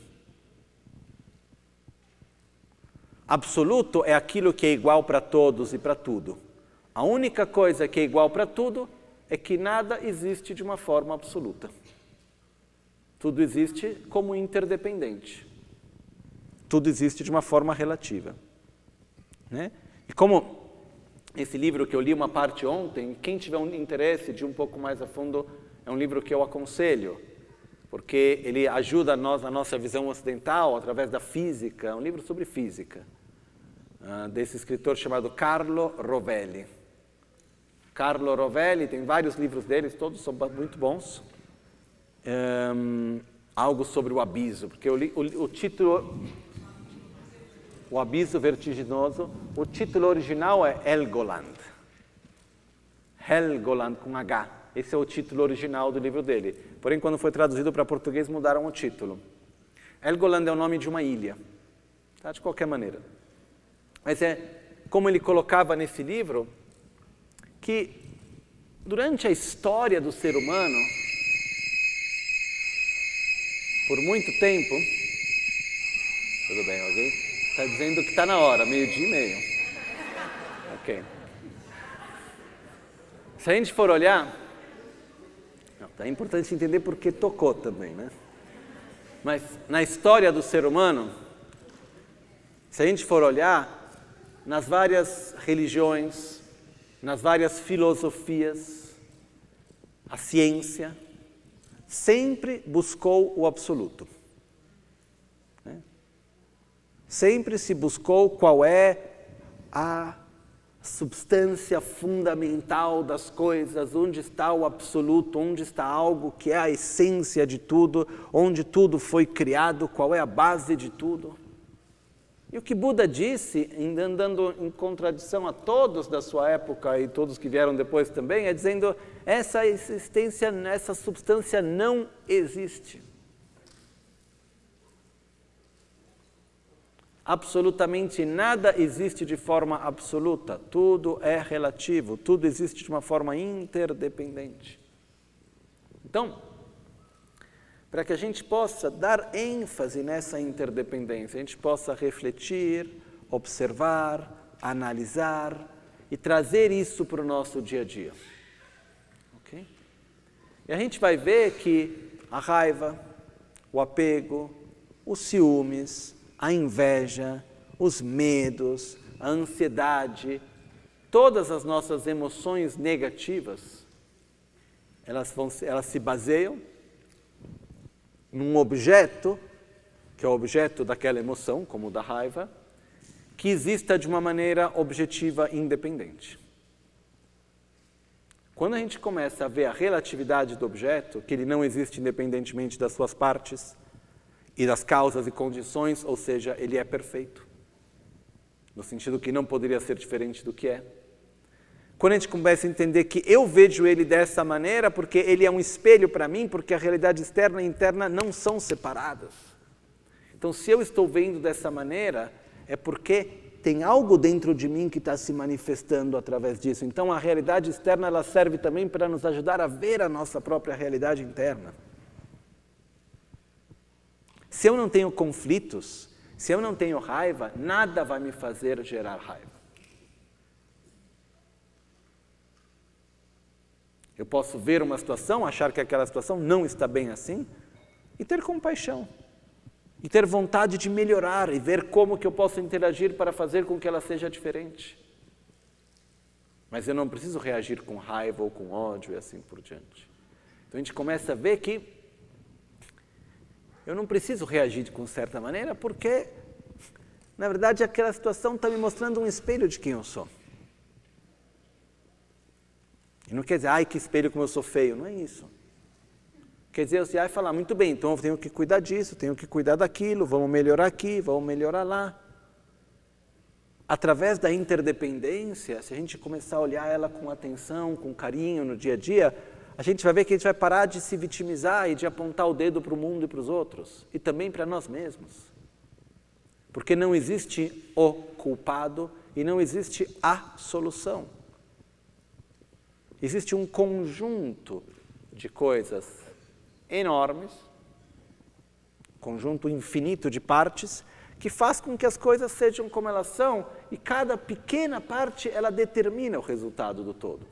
Speaker 1: Absoluto é aquilo que é igual para todos e para tudo. A única coisa que é igual para tudo é que nada existe de uma forma absoluta. Tudo existe como interdependente. Tudo existe de uma forma relativa. Né? E como esse livro que eu li uma parte ontem, quem tiver um interesse de um pouco mais a fundo, é um livro que eu aconselho, porque ele ajuda nós, a nossa visão ocidental, através da física, é um livro sobre física, desse escritor chamado Carlo Rovelli. Carlo Rovelli, tem vários livros deles, todos são muito bons. Algo sobre o abismo, porque eu li o título... O Abismo Vertiginoso, o título original é Helgoland. Helgoland com H. Esse é o título original do livro dele. Porém, quando foi traduzido para português, mudaram o título. Helgoland é o nome de uma ilha, tá? De qualquer maneira. Mas é como ele colocava nesse livro, que durante a história do ser humano, por muito tempo... Tudo bem, ok? Está dizendo que está na hora, 12:30. Ok. Se a gente for olhar... É importante entender porque tocou também, né? Mas na história do ser humano, se a gente for olhar nas várias religiões, nas várias filosofias, a ciência sempre buscou o absoluto. Sempre se buscou qual é a substância fundamental das coisas, onde está o absoluto, onde está algo que é a essência de tudo, onde tudo foi criado, qual é a base de tudo. E o que Buda disse, andando em contradição a todos da sua época e todos que vieram depois também, é dizendo, essa existência, essa substância não existe. Absolutamente nada existe de forma absoluta, tudo é relativo, tudo existe de uma forma interdependente. Então, para que a gente possa dar ênfase nessa interdependência, a gente possa refletir, observar, analisar e trazer isso para o nosso dia a dia. Okay? E a gente vai ver que a raiva, o apego, os ciúmes, a inveja, os medos, a ansiedade, todas as nossas emoções negativas, elas se baseiam num objeto, que é o objeto daquela emoção, como o da raiva, que exista de uma maneira objetiva e independente. Quando a gente começa a ver a relatividade do objeto, que ele não existe independentemente das suas partes e das causas e condições, ou seja, ele é perfeito, no sentido que não poderia ser diferente do que é. Quando a gente começa a entender que eu vejo ele dessa maneira, porque ele é um espelho para mim, porque a realidade externa e interna não são separadas. Então, se eu estou vendo dessa maneira, é porque tem algo dentro de mim que está se manifestando através disso. Então, a realidade externa ela serve também para nos ajudar a ver a nossa própria realidade interna. Se eu não tenho conflitos, se eu não tenho raiva, nada vai me fazer gerar raiva. Eu posso ver uma situação, achar que aquela situação não está bem assim, e ter compaixão. E ter vontade de melhorar e ver como que eu posso interagir para fazer com que ela seja diferente. Mas eu não preciso reagir com raiva ou com ódio e assim por diante. Então a gente começa a ver que eu não preciso reagir com certa maneira porque, na verdade, aquela situação está me mostrando um espelho de quem eu sou. E não quer dizer, ai que espelho como eu sou feio, não é isso. Quer dizer, você vai falar, muito bem, então eu tenho que cuidar disso, tenho que cuidar daquilo, vamos melhorar aqui, vamos melhorar lá. Através da interdependência, se a gente começar a olhar ela com atenção, com carinho no dia a dia, a gente vai ver que a gente vai parar de se vitimizar e de apontar o dedo para o mundo e para os outros, e também para nós mesmos. Porque não existe o culpado e não existe a solução. Existe um conjunto de coisas enormes, conjunto infinito de partes, que faz com que as coisas sejam como elas são e cada pequena parte ela determina o resultado do todo.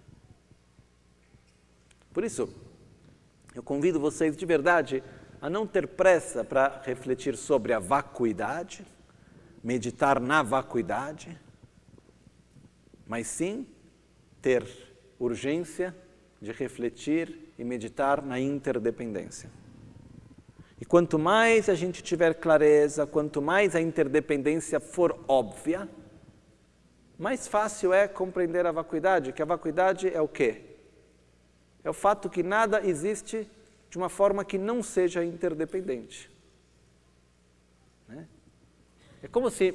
Speaker 1: Por isso, eu convido vocês de verdade a não ter pressa para refletir sobre a vacuidade, meditar na vacuidade, mas sim ter urgência de refletir e meditar na interdependência. E quanto mais a gente tiver clareza, quanto mais a interdependência for óbvia, mais fácil é compreender a vacuidade, que a vacuidade é o quê? É o fato que nada existe de uma forma que não seja interdependente. Né? É como se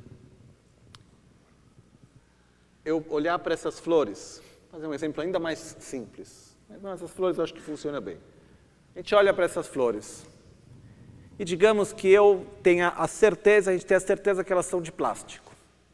Speaker 1: eu olhar para essas flores, fazer um exemplo ainda mais simples. Mas essas flores eu acho que funciona bem. A gente olha para essas flores e digamos que eu tenha a certeza, a gente tem a certeza que elas são de plástico.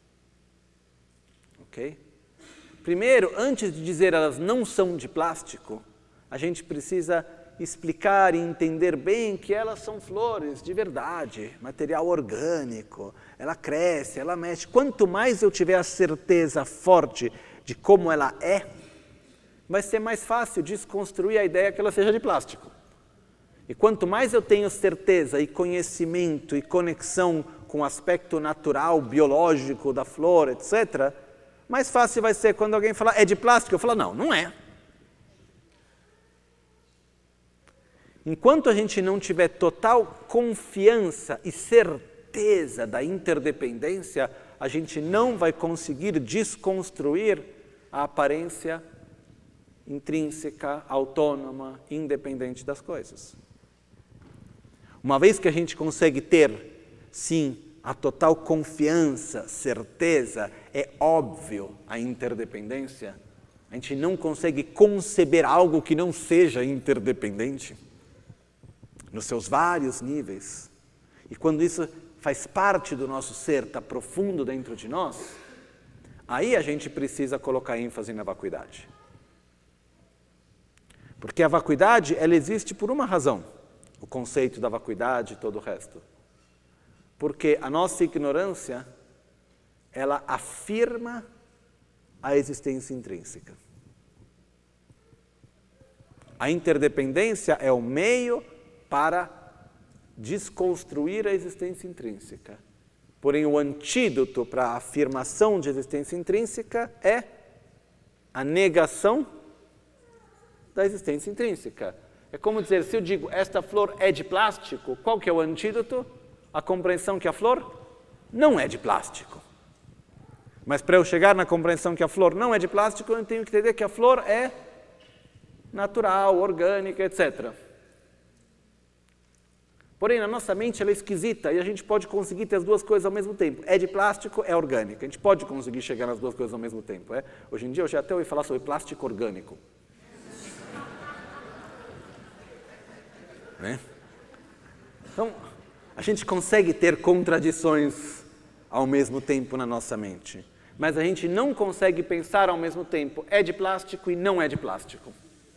Speaker 1: Ok? Primeiro, antes de dizer elas não são de plástico, a gente precisa explicar e entender bem que elas são flores de verdade, material orgânico, ela cresce, ela mexe. Quanto mais eu tiver a certeza forte de como ela é, vai ser mais fácil desconstruir a ideia que ela seja de plástico. E quanto mais eu tenho certeza e conhecimento e conexão com o aspecto natural, biológico da flor, etc., mais fácil vai ser quando alguém falar, é de plástico? Eu falo, não, não é. Enquanto a gente não tiver total confiança e certeza da interdependência, a gente não vai conseguir desconstruir a aparência intrínseca, autônoma, independente das coisas. Uma vez que a gente consegue ter, sim, a total confiança, certeza, é óbvio a interdependência, a gente não consegue conceber algo que não seja interdependente, nos seus vários níveis. E quando isso faz parte do nosso ser, está profundo dentro de nós, aí a gente precisa colocar ênfase na vacuidade. Porque a vacuidade, ela existe por uma razão, o conceito da vacuidade e todo o resto. Porque a nossa ignorância, ela afirma a existência intrínseca. A interdependência é o meio para desconstruir a existência intrínseca. Porém, o antídoto para a afirmação de existência intrínseca é a negação da existência intrínseca. É como dizer, se eu digo, esta flor é de plástico, qual que é o antídoto? A compreensão que a flor não é de plástico. Mas para eu chegar na compreensão que a flor não é de plástico, eu tenho que entender que a flor é natural, orgânica, etc. Porém, na nossa mente ela é esquisita e a gente pode conseguir ter as duas coisas ao mesmo tempo. É de plástico, é orgânica. A gente pode conseguir chegar nas duas coisas ao mesmo tempo. Hoje em dia eu já até ouvi falar sobre plástico orgânico. Então, a gente consegue ter contradições ao mesmo tempo na nossa mente. Mas a gente não consegue pensar ao mesmo tempo, é de plástico e não é de plástico.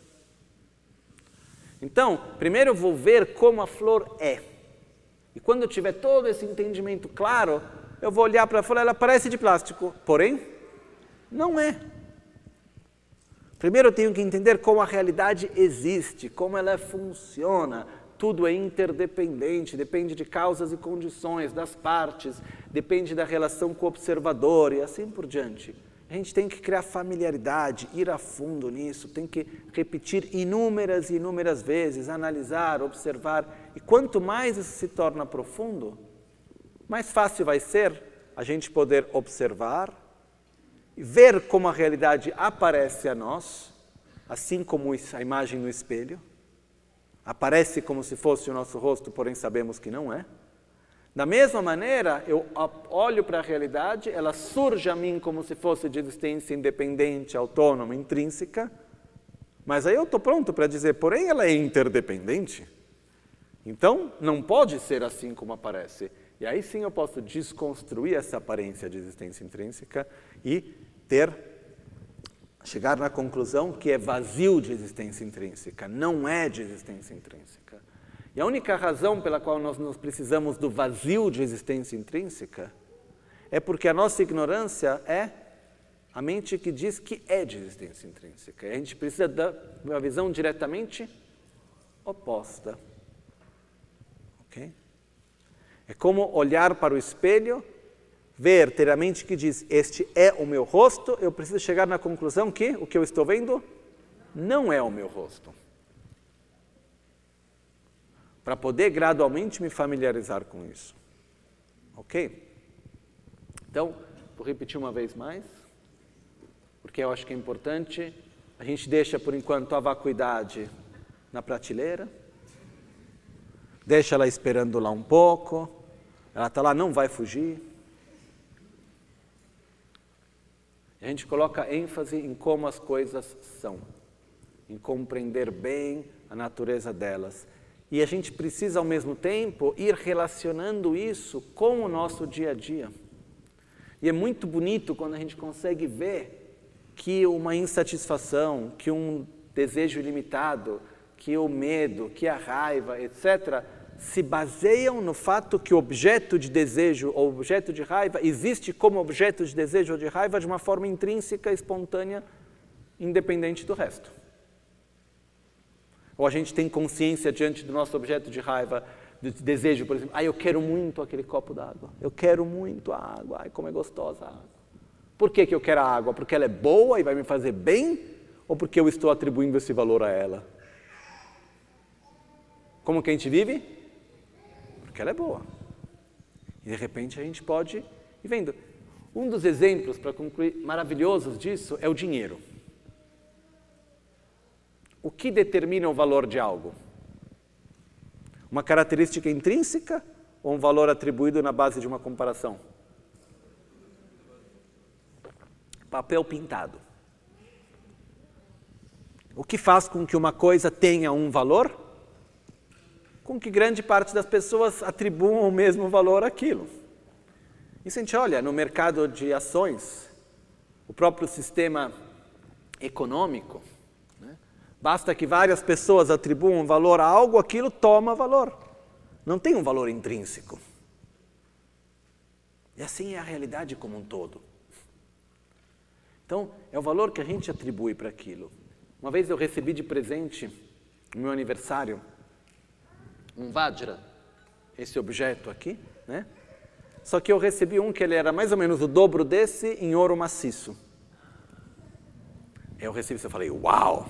Speaker 1: Então, primeiro eu vou ver como a flor é. E quando eu tiver todo esse entendimento claro, eu vou olhar para a flor, ela parece de plástico, porém, não é. Primeiro eu tenho que entender como a realidade existe, como ela funciona. Tudo é interdependente, depende de causas e condições, das partes, depende da relação com o observador e assim por diante. A gente tem que criar familiaridade, ir a fundo nisso, tem que repetir inúmeras e inúmeras vezes, analisar, observar. E quanto mais isso se torna profundo, mais fácil vai ser a gente poder observar e ver como a realidade aparece a nós, assim como a imagem no espelho. Aparece como se fosse o nosso rosto, porém sabemos que não é. Da mesma maneira, eu olho para a realidade, ela surge a mim como se fosse de existência independente, autônoma, intrínseca, mas aí eu estou pronto para dizer, porém ela é interdependente. Então, não pode ser assim como aparece. E aí sim eu posso desconstruir essa aparência de existência intrínseca e chegar na conclusão que é vazio de existência intrínseca, não é de existência intrínseca. E a única razão pela qual nós precisamos do vazio de existência intrínseca é porque a nossa ignorância é a mente que diz que é de existência intrínseca. E a gente precisa de uma visão diretamente oposta. Ok? É como olhar para o espelho, ter a mente que diz, este é o meu rosto, eu preciso chegar na conclusão que o que eu estou vendo não é o meu rosto. Para poder gradualmente me familiarizar com isso. Ok? Então, vou repetir uma vez mais, porque eu acho que é importante. A gente deixa, por enquanto, a vacuidade na prateleira, deixa ela esperando lá um pouco, ela está lá, não vai fugir. A gente coloca ênfase em como as coisas são, em compreender bem a natureza delas. E a gente precisa, ao mesmo tempo, ir relacionando isso com o nosso dia a dia. E é muito bonito quando a gente consegue ver que uma insatisfação, que um desejo ilimitado, que o medo, que a raiva, etc., se baseiam no fato que o objeto de desejo ou objeto de raiva existe como objeto de desejo ou de raiva de uma forma intrínseca, espontânea, independente do resto. Ou a gente tem consciência diante do nosso objeto de raiva, de desejo, por exemplo, eu quero muito aquele copo d'água, eu quero muito a água, ai, como é gostosa a água. Por que eu quero a água? Porque ela é boa e vai me fazer bem? Ou porque eu estou atribuindo esse valor a ela? Como que a gente vive? Porque ela é boa. E de repente a gente pode ir vendo. Um dos exemplos, para concluir, maravilhosos disso é o dinheiro. O que determina o valor de algo? Uma característica intrínseca ou um valor atribuído na base de uma comparação? Papel pintado. O que faz com que uma coisa tenha um valor? Com que grande parte das pessoas atribuam o mesmo valor àquilo. Isso a gente olha no mercado de ações, o próprio sistema econômico. Basta que várias pessoas atribuam valor a algo, aquilo toma valor. Não tem um valor intrínseco. E assim é a realidade como um todo. Então, é o valor que a gente atribui para aquilo. Uma vez eu recebi de presente, no meu aniversário, um Vajra, esse objeto aqui, né? Só que eu recebi um que ele era mais ou menos o dobro desse em ouro maciço. Eu recebi isso e falei, uau!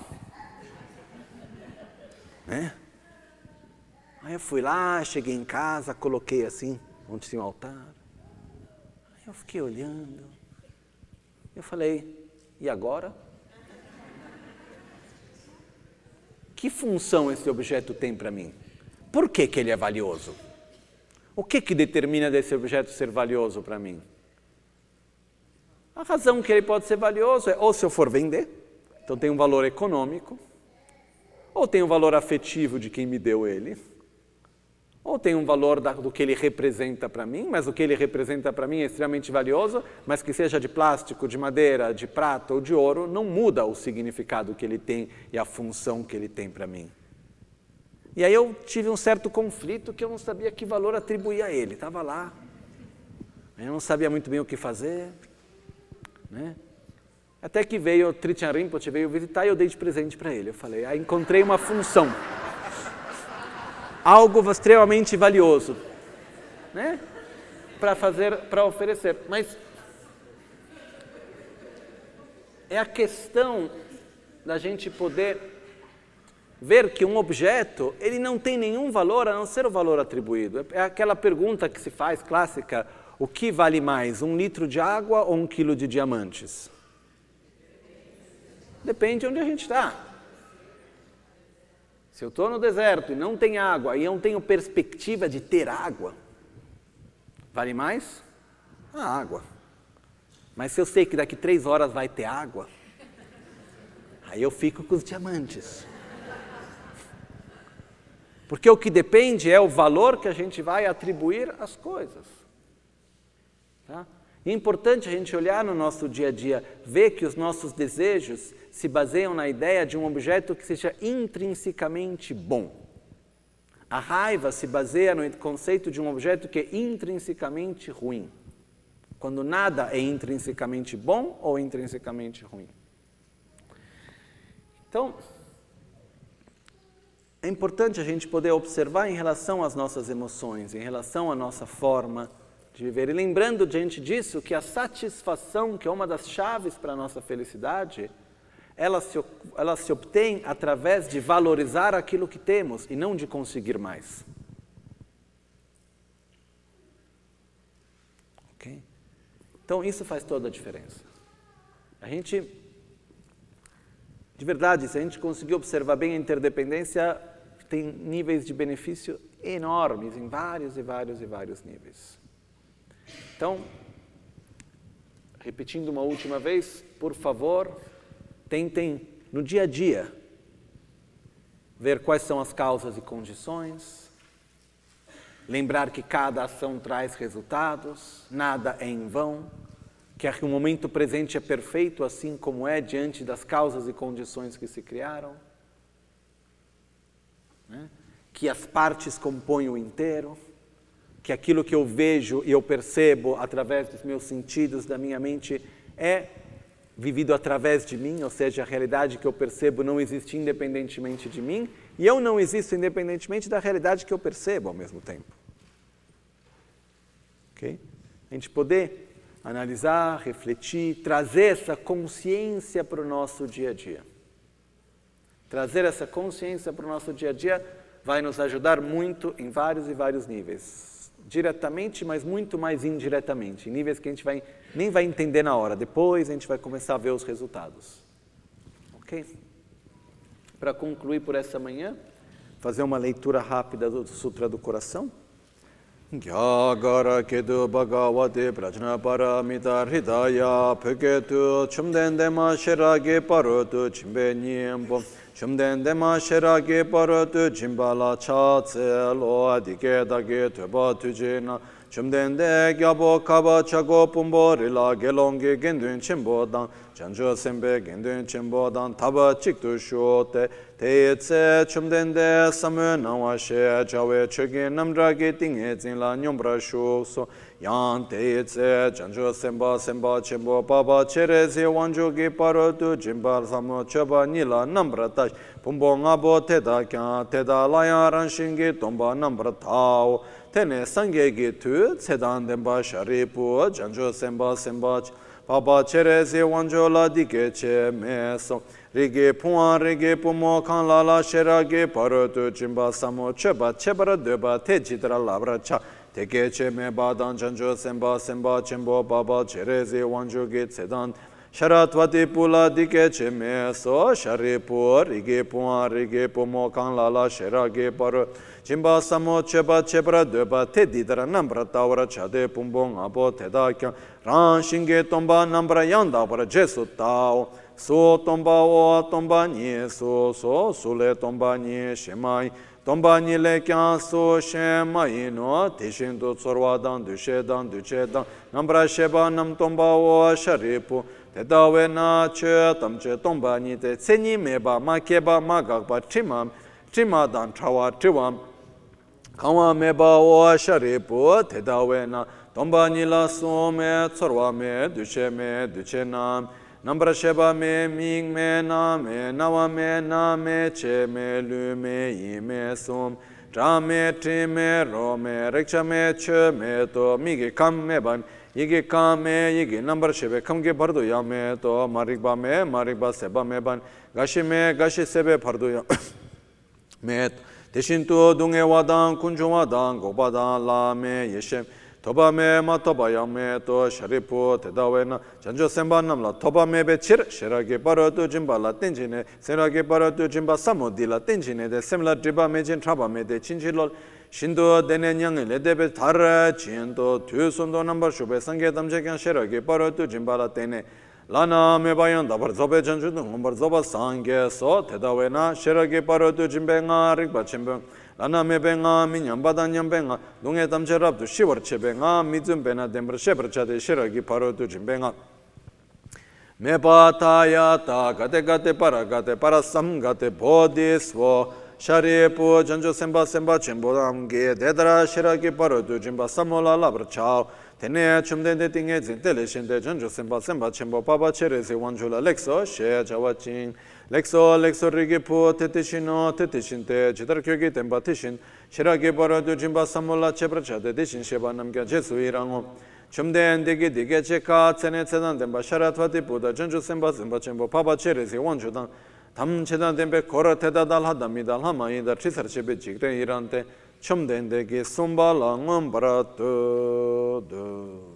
Speaker 1: Né? Aí eu fui lá, cheguei em casa, coloquei assim, onde tinha o altar. Aí eu fiquei olhando. Eu falei, e agora? Que função esse objeto tem para mim? Por que ele é valioso? O que determina desse objeto ser valioso para mim? A razão que ele pode ser valioso é ou se eu for vender, então tem um valor econômico, ou tem um valor afetivo de quem me deu ele, ou tem um valor do que ele representa para mim, mas o que ele representa para mim é extremamente valioso, mas que seja de plástico, de madeira, de prata ou de ouro, não muda o significado que ele tem e a função que ele tem para mim. E aí eu tive um certo conflito que eu não sabia que valor atribuir a ele. Estava lá, eu não sabia muito bem o que fazer, né? Até que veio o Trijang Rinpoche, veio visitar e eu dei de presente para ele. Eu falei, encontrei uma função, algo extremamente valioso, né? Para oferecer. Mas é a questão da gente poder ver que um objeto, ele não tem nenhum valor a não ser o valor atribuído. É aquela pergunta que se faz, clássica, o que vale mais, 1 litro de água ou 1 quilo de diamantes? Depende de onde a gente está. Se eu estou no deserto e não tem água, e eu não tenho perspectiva de ter água, vale mais a água. Mas se eu sei que daqui 3 horas vai ter água, aí eu fico com os diamantes. Porque o que depende é o valor que a gente vai atribuir às coisas. Tá? E é importante a gente olhar no nosso dia a dia, ver que os nossos desejos se baseiam na ideia de um objeto que seja intrinsecamente bom. A raiva se baseia no conceito de um objeto que é intrinsecamente ruim. Quando nada é intrinsecamente bom ou intrinsecamente ruim. Então, é importante a gente poder observar em relação às nossas emoções, em relação à nossa forma de viver. E lembrando diante disso que a satisfação, que é uma das chaves para a nossa felicidade, ela se obtém através de valorizar aquilo que temos e não de conseguir mais. Ok? Então isso faz toda a diferença. A gente, de verdade, se a gente conseguir observar bem a interdependência, tem níveis de benefício enormes em vários e vários e vários níveis. Então, repetindo uma última vez, por favor, tentem no dia a dia ver quais são as causas e condições, lembrar que cada ação traz resultados, nada é em vão, que o momento presente é perfeito assim como é diante das causas e condições que se criaram, né? Que as partes compõem o inteiro, que aquilo que eu vejo e eu percebo através dos meus sentidos, da minha mente, é vivido através de mim, ou seja, a realidade que eu percebo não existe independentemente de mim, e eu não existo independentemente da realidade que eu percebo ao mesmo tempo. Ok? A gente poder analisar, refletir, trazer essa consciência para o nosso dia a dia. Trazer essa consciência para o nosso dia a dia vai nos ajudar muito em vários e vários níveis. Diretamente, mas muito mais indiretamente. Em níveis que a gente nem vai entender na hora. Depois a gente vai começar a ver os resultados. Ok? Para concluir por essa manhã, fazer uma leitura rápida do Sutra do Coração. Gyagara kedu bhagavate prajna paramita hridaya peketu chumdendema sherage parotu chimbenyembo chumdendema sherage parotu chimbala chatse lo adike tuba tujena chumdende gyabo kaba chago pumbo rila gelongi gendun chimbodang chanjo sembe gendun chimbodang taba chiktu shote Teitse chumdende samu nawashe chawe chogi namdragi tinghe zinla nyombra shukso Yang teitse chanjo semba chimbo baba cherezi wanjogi parotu jimbal samu choba nila nambra tash Pumbo ngabo teda kya teda laya ranshingi tomba nambra tao tene sangegi tu tsedan denpa sharipu janjo semba semba Baba cherezi wanjo la dike che meso Rigi puan rigi pumo kan la la sheragi paro tu jimba samo cheba chebara deba te jidra labra cha Teke che me badan janjo semba semba chembo baba cherezi wanjo gi tsedan Sharatvati pula dike che meso sharipu rigi puan rigi pumo kan la la sheragi paro Jimba samo cheba chebra deba te didra nambra tawra chade pumbong abo teda kya ran shinge tomba nambra yanda para jesu tao so tomba o tomba ni so sule tomba ni shemai tomba ni le kya so shemai no tishin do tsorwa dan duche dan nambra sheba nam tomba o sharipu teda we na che tamche tomba ni te tseni meba makeba magakba chima dan chawa chiwam Kawa meba o sharipu tedawe na tomba nila so me tsorwa me duche nam nambra sheba me ming me nawa me na me che me lu me yi me sum tra me tri me ro me reksha me che me to migi kam me ban yigi kam me yigi nambra shebe kamge bardo ya me to marikba seba me ban gashi sebe bardo ya me 대신 또 동해와당 군중와당 고바당 라메 예셴 토바메 마토바야메 또 샤리푸 대다웨나 전조 셈반남라 토바메 베치르 셰라게 바로도 짐발라 땡지네 세라게 바로도 짐바 사모딜라 땡지네 데 셈라 드바메진 트라바메 데 친질로 신도 데네냥에 레데베 다르 진도 뒤손도 넘버 슈베 상게 담제견 셰라게 바로도 짐발라 땡네 라나 메바연 다버 조베 전주도 넘버 조바 상게서 대다웨나 셰라게 바로도 짐뱅아 릭바 쳔뱅 라나 메뱅아 미냠바단 냠뱅아 농에 담제랍도 시월 쳔뱅아 미즘베나 뎀버 셰버차데 셰라게 바로도 짐뱅아 메바타야타 가데가데 파라삼가데 보디스워 샤리푸 전조 셈바 쳔보담게 데드라 셰라게 바로도 짐바 사몰라 라브차오 Tene chumdende tinge zintele shende janjo semba chembo papa chereze wanjula lexo she jawachin lexo rigi pu tetishino tetishinte jidar kyogi temba tishin shirage baradu jimba samola chebrachade tishin sheba namgya jesu irango chumdende dige cheka tsene tsedan temba sharatvati puda janjo semba chembo papa chereze wanjudan tam chedan tembe kora tedadal hadamidal hamaida chisar chebe jigre irante chumdendegi sumbalangam baratudu.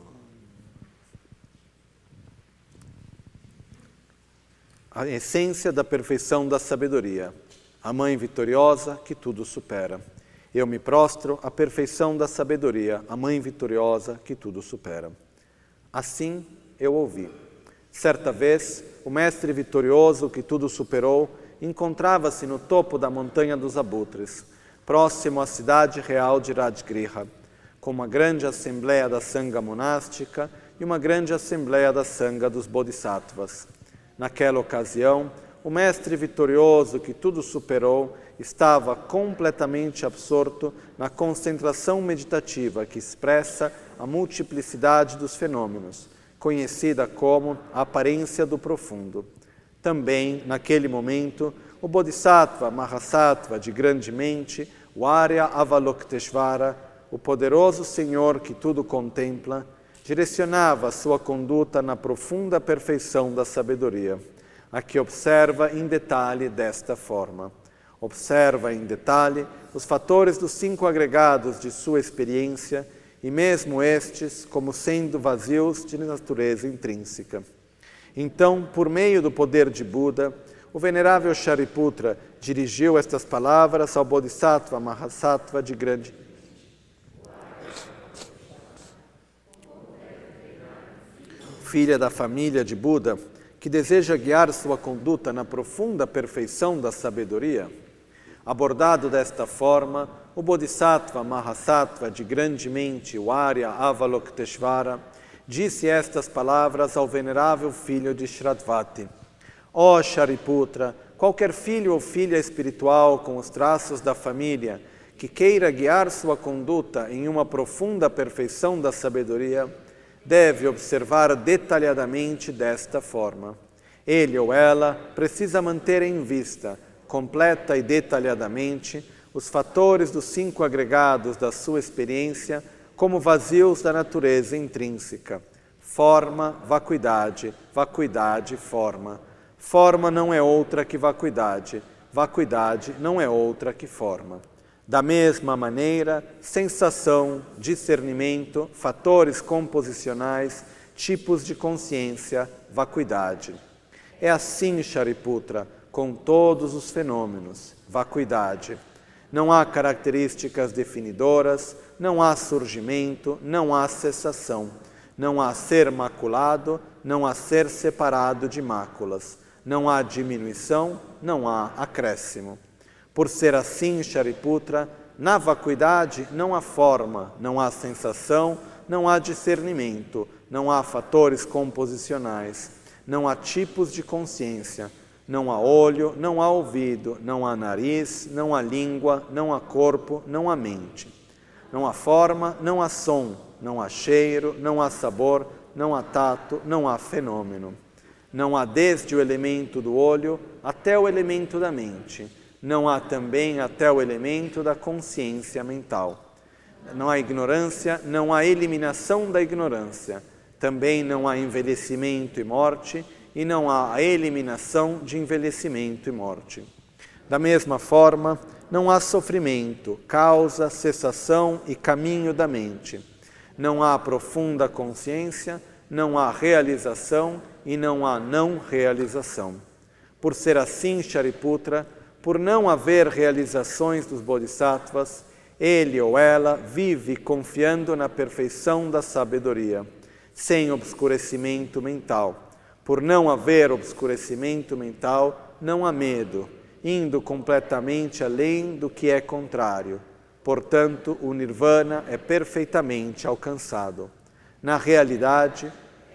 Speaker 1: A essência da perfeição da sabedoria, a mãe vitoriosa que tudo supera. Eu me prostro à perfeição da sabedoria, a mãe vitoriosa que tudo supera. Assim eu ouvi. Certa vez, o mestre vitorioso que tudo superou encontrava-se no topo da montanha dos abutres, próximo à cidade real de Rajgriha, com uma grande assembleia da Sangha monástica e uma grande assembleia da Sangha dos Bodhisattvas. Naquela ocasião, o mestre vitorioso que tudo superou estava completamente absorto na concentração meditativa que expressa a multiplicidade dos fenômenos, conhecida como a aparência do profundo. Também, naquele momento, o Bodhisattva Mahasattva de grande mente, o Arya Avalokiteshvara, o poderoso Senhor que tudo contempla, direcionava sua conduta na profunda perfeição da sabedoria, a que observa em detalhe desta forma. Observa em detalhe os fatores dos 5 agregados de sua experiência e mesmo estes como sendo vazios de natureza intrínseca. Então, por meio do poder de Buda, o venerável Shariputra dirigiu estas palavras ao Bodhisattva Mahasattva de grande filha da família de Buda, que deseja guiar sua conduta na profunda perfeição da sabedoria. Abordado desta forma, o Bodhisattva Mahasattva de grande mente, o Arya Avalokiteshvara, disse estas palavras ao venerável filho de Shratvati. Ó Shariputra, qualquer filho ou filha espiritual com os traços da família que queira guiar sua conduta em uma profunda perfeição da sabedoria, deve observar detalhadamente desta forma. Ele ou ela precisa manter em vista, completa e detalhadamente, os fatores dos 5 agregados da sua experiência como vazios da natureza intrínseca. Forma, vacuidade, vacuidade, forma. Forma não é outra que vacuidade, vacuidade não é outra que forma. Da mesma maneira, sensação, discernimento, fatores composicionais, tipos de consciência, vacuidade. É assim, Shariputra, com todos os fenômenos, vacuidade. Não há características definidoras, não há surgimento, não há cessação. Não há ser maculado, não há ser separado de máculas. Não há diminuição, não há acréscimo. Por ser assim, Shariputra, na vacuidade não há forma, não há sensação, não há discernimento, não há fatores composicionais, não há tipos de consciência, não há olho, não há ouvido, não há nariz, não há língua, não há corpo, não há mente. Não há forma, não há som, não há cheiro, não há sabor, não há tato, não há fenômeno. Não há desde o elemento do olho até o elemento da mente. Não há também até o elemento da consciência mental. Não há ignorância, não há eliminação da ignorância. Também não há envelhecimento e morte, e não há a eliminação de envelhecimento e morte. Da mesma forma, não há sofrimento, causa, cessação e caminho da mente. Não há profunda consciência, não há realização e não há não realização. Por ser assim, Shariputra, por não haver realizações dos bodhisattvas, ele ou ela vive confiando na perfeição da sabedoria, sem obscurecimento mental. Por não haver obscurecimento mental, não há medo, indo completamente além do que é contrário. Portanto, o nirvana é perfeitamente alcançado. Na realidade,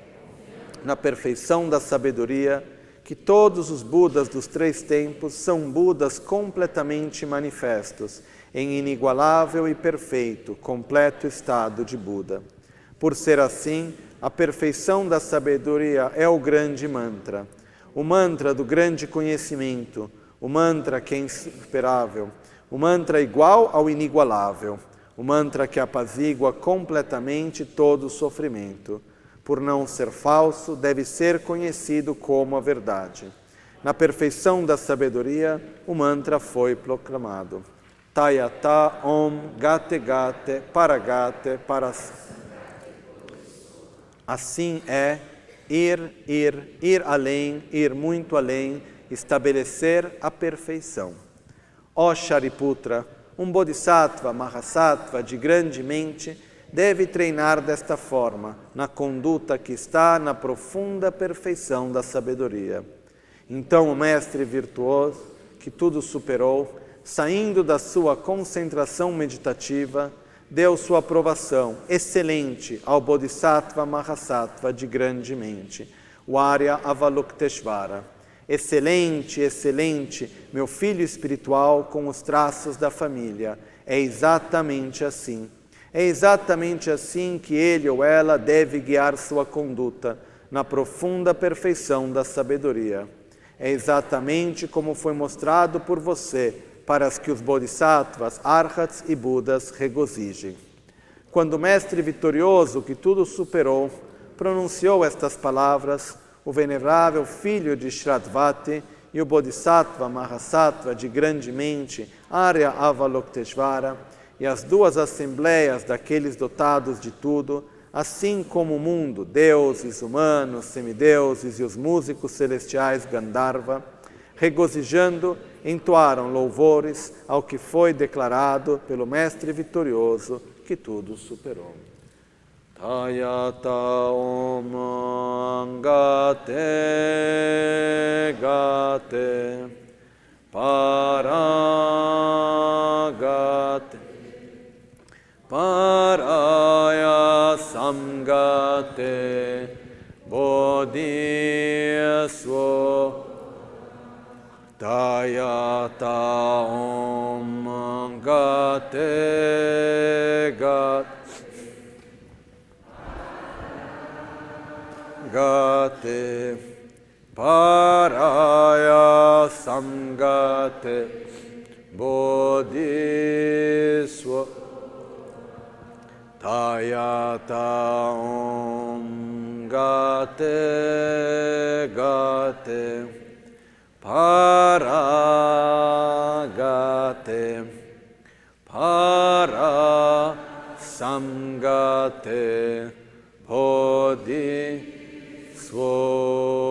Speaker 1: na perfeição da sabedoria, que todos os Budas dos 3 tempos são Budas completamente manifestos, em inigualável e perfeito, completo estado de Buda. Por ser assim, a perfeição da sabedoria é o grande mantra, o mantra do grande conhecimento, o mantra que é insuperável, o mantra igual ao inigualável, o mantra que apazigua completamente todo o sofrimento. Por não ser falso, deve ser conhecido como a verdade. Na perfeição da sabedoria, o mantra foi proclamado. Tayata Om Gate Gate Paragate Paras. Assim é ir além, ir muito além, estabelecer a perfeição. Ó Shariputra, um Bodhisattva, Mahasattva de grande mente, deve treinar desta forma, na conduta que está na profunda perfeição da sabedoria. Então o mestre virtuoso, que tudo superou, saindo da sua concentração meditativa, deu sua aprovação excelente ao Bodhisattva Mahasattva de grande mente, o Arya Avalokiteshvara. Excelente, excelente, meu filho espiritual com os traços da família. É exatamente assim. É exatamente assim que ele ou ela deve guiar sua conduta, na profunda perfeição da sabedoria. É exatamente como foi mostrado por você, para que os Bodhisattvas, Arhats e Budas regozijem. Quando o mestre vitorioso, que tudo superou, pronunciou estas palavras, o venerável filho de Shradvati e o Bodhisattva Mahasattva de grande mente, Arya Avalokiteshvara, e as 2 assembleias daqueles dotados de tudo, assim como o mundo, deuses, humanos, semideuses e os músicos celestiais Gandharva, regozijando, entoaram louvores ao que foi declarado pelo Mestre vitorioso, que tudo superou. Tayata Om Gate Gate Paragate Paraya Samgate Bodhiswa Tayata Om Gate Gate Paraya Samgate Bodhiswa bodhiswa tayata om gate gate paragate para samgate bodhiswa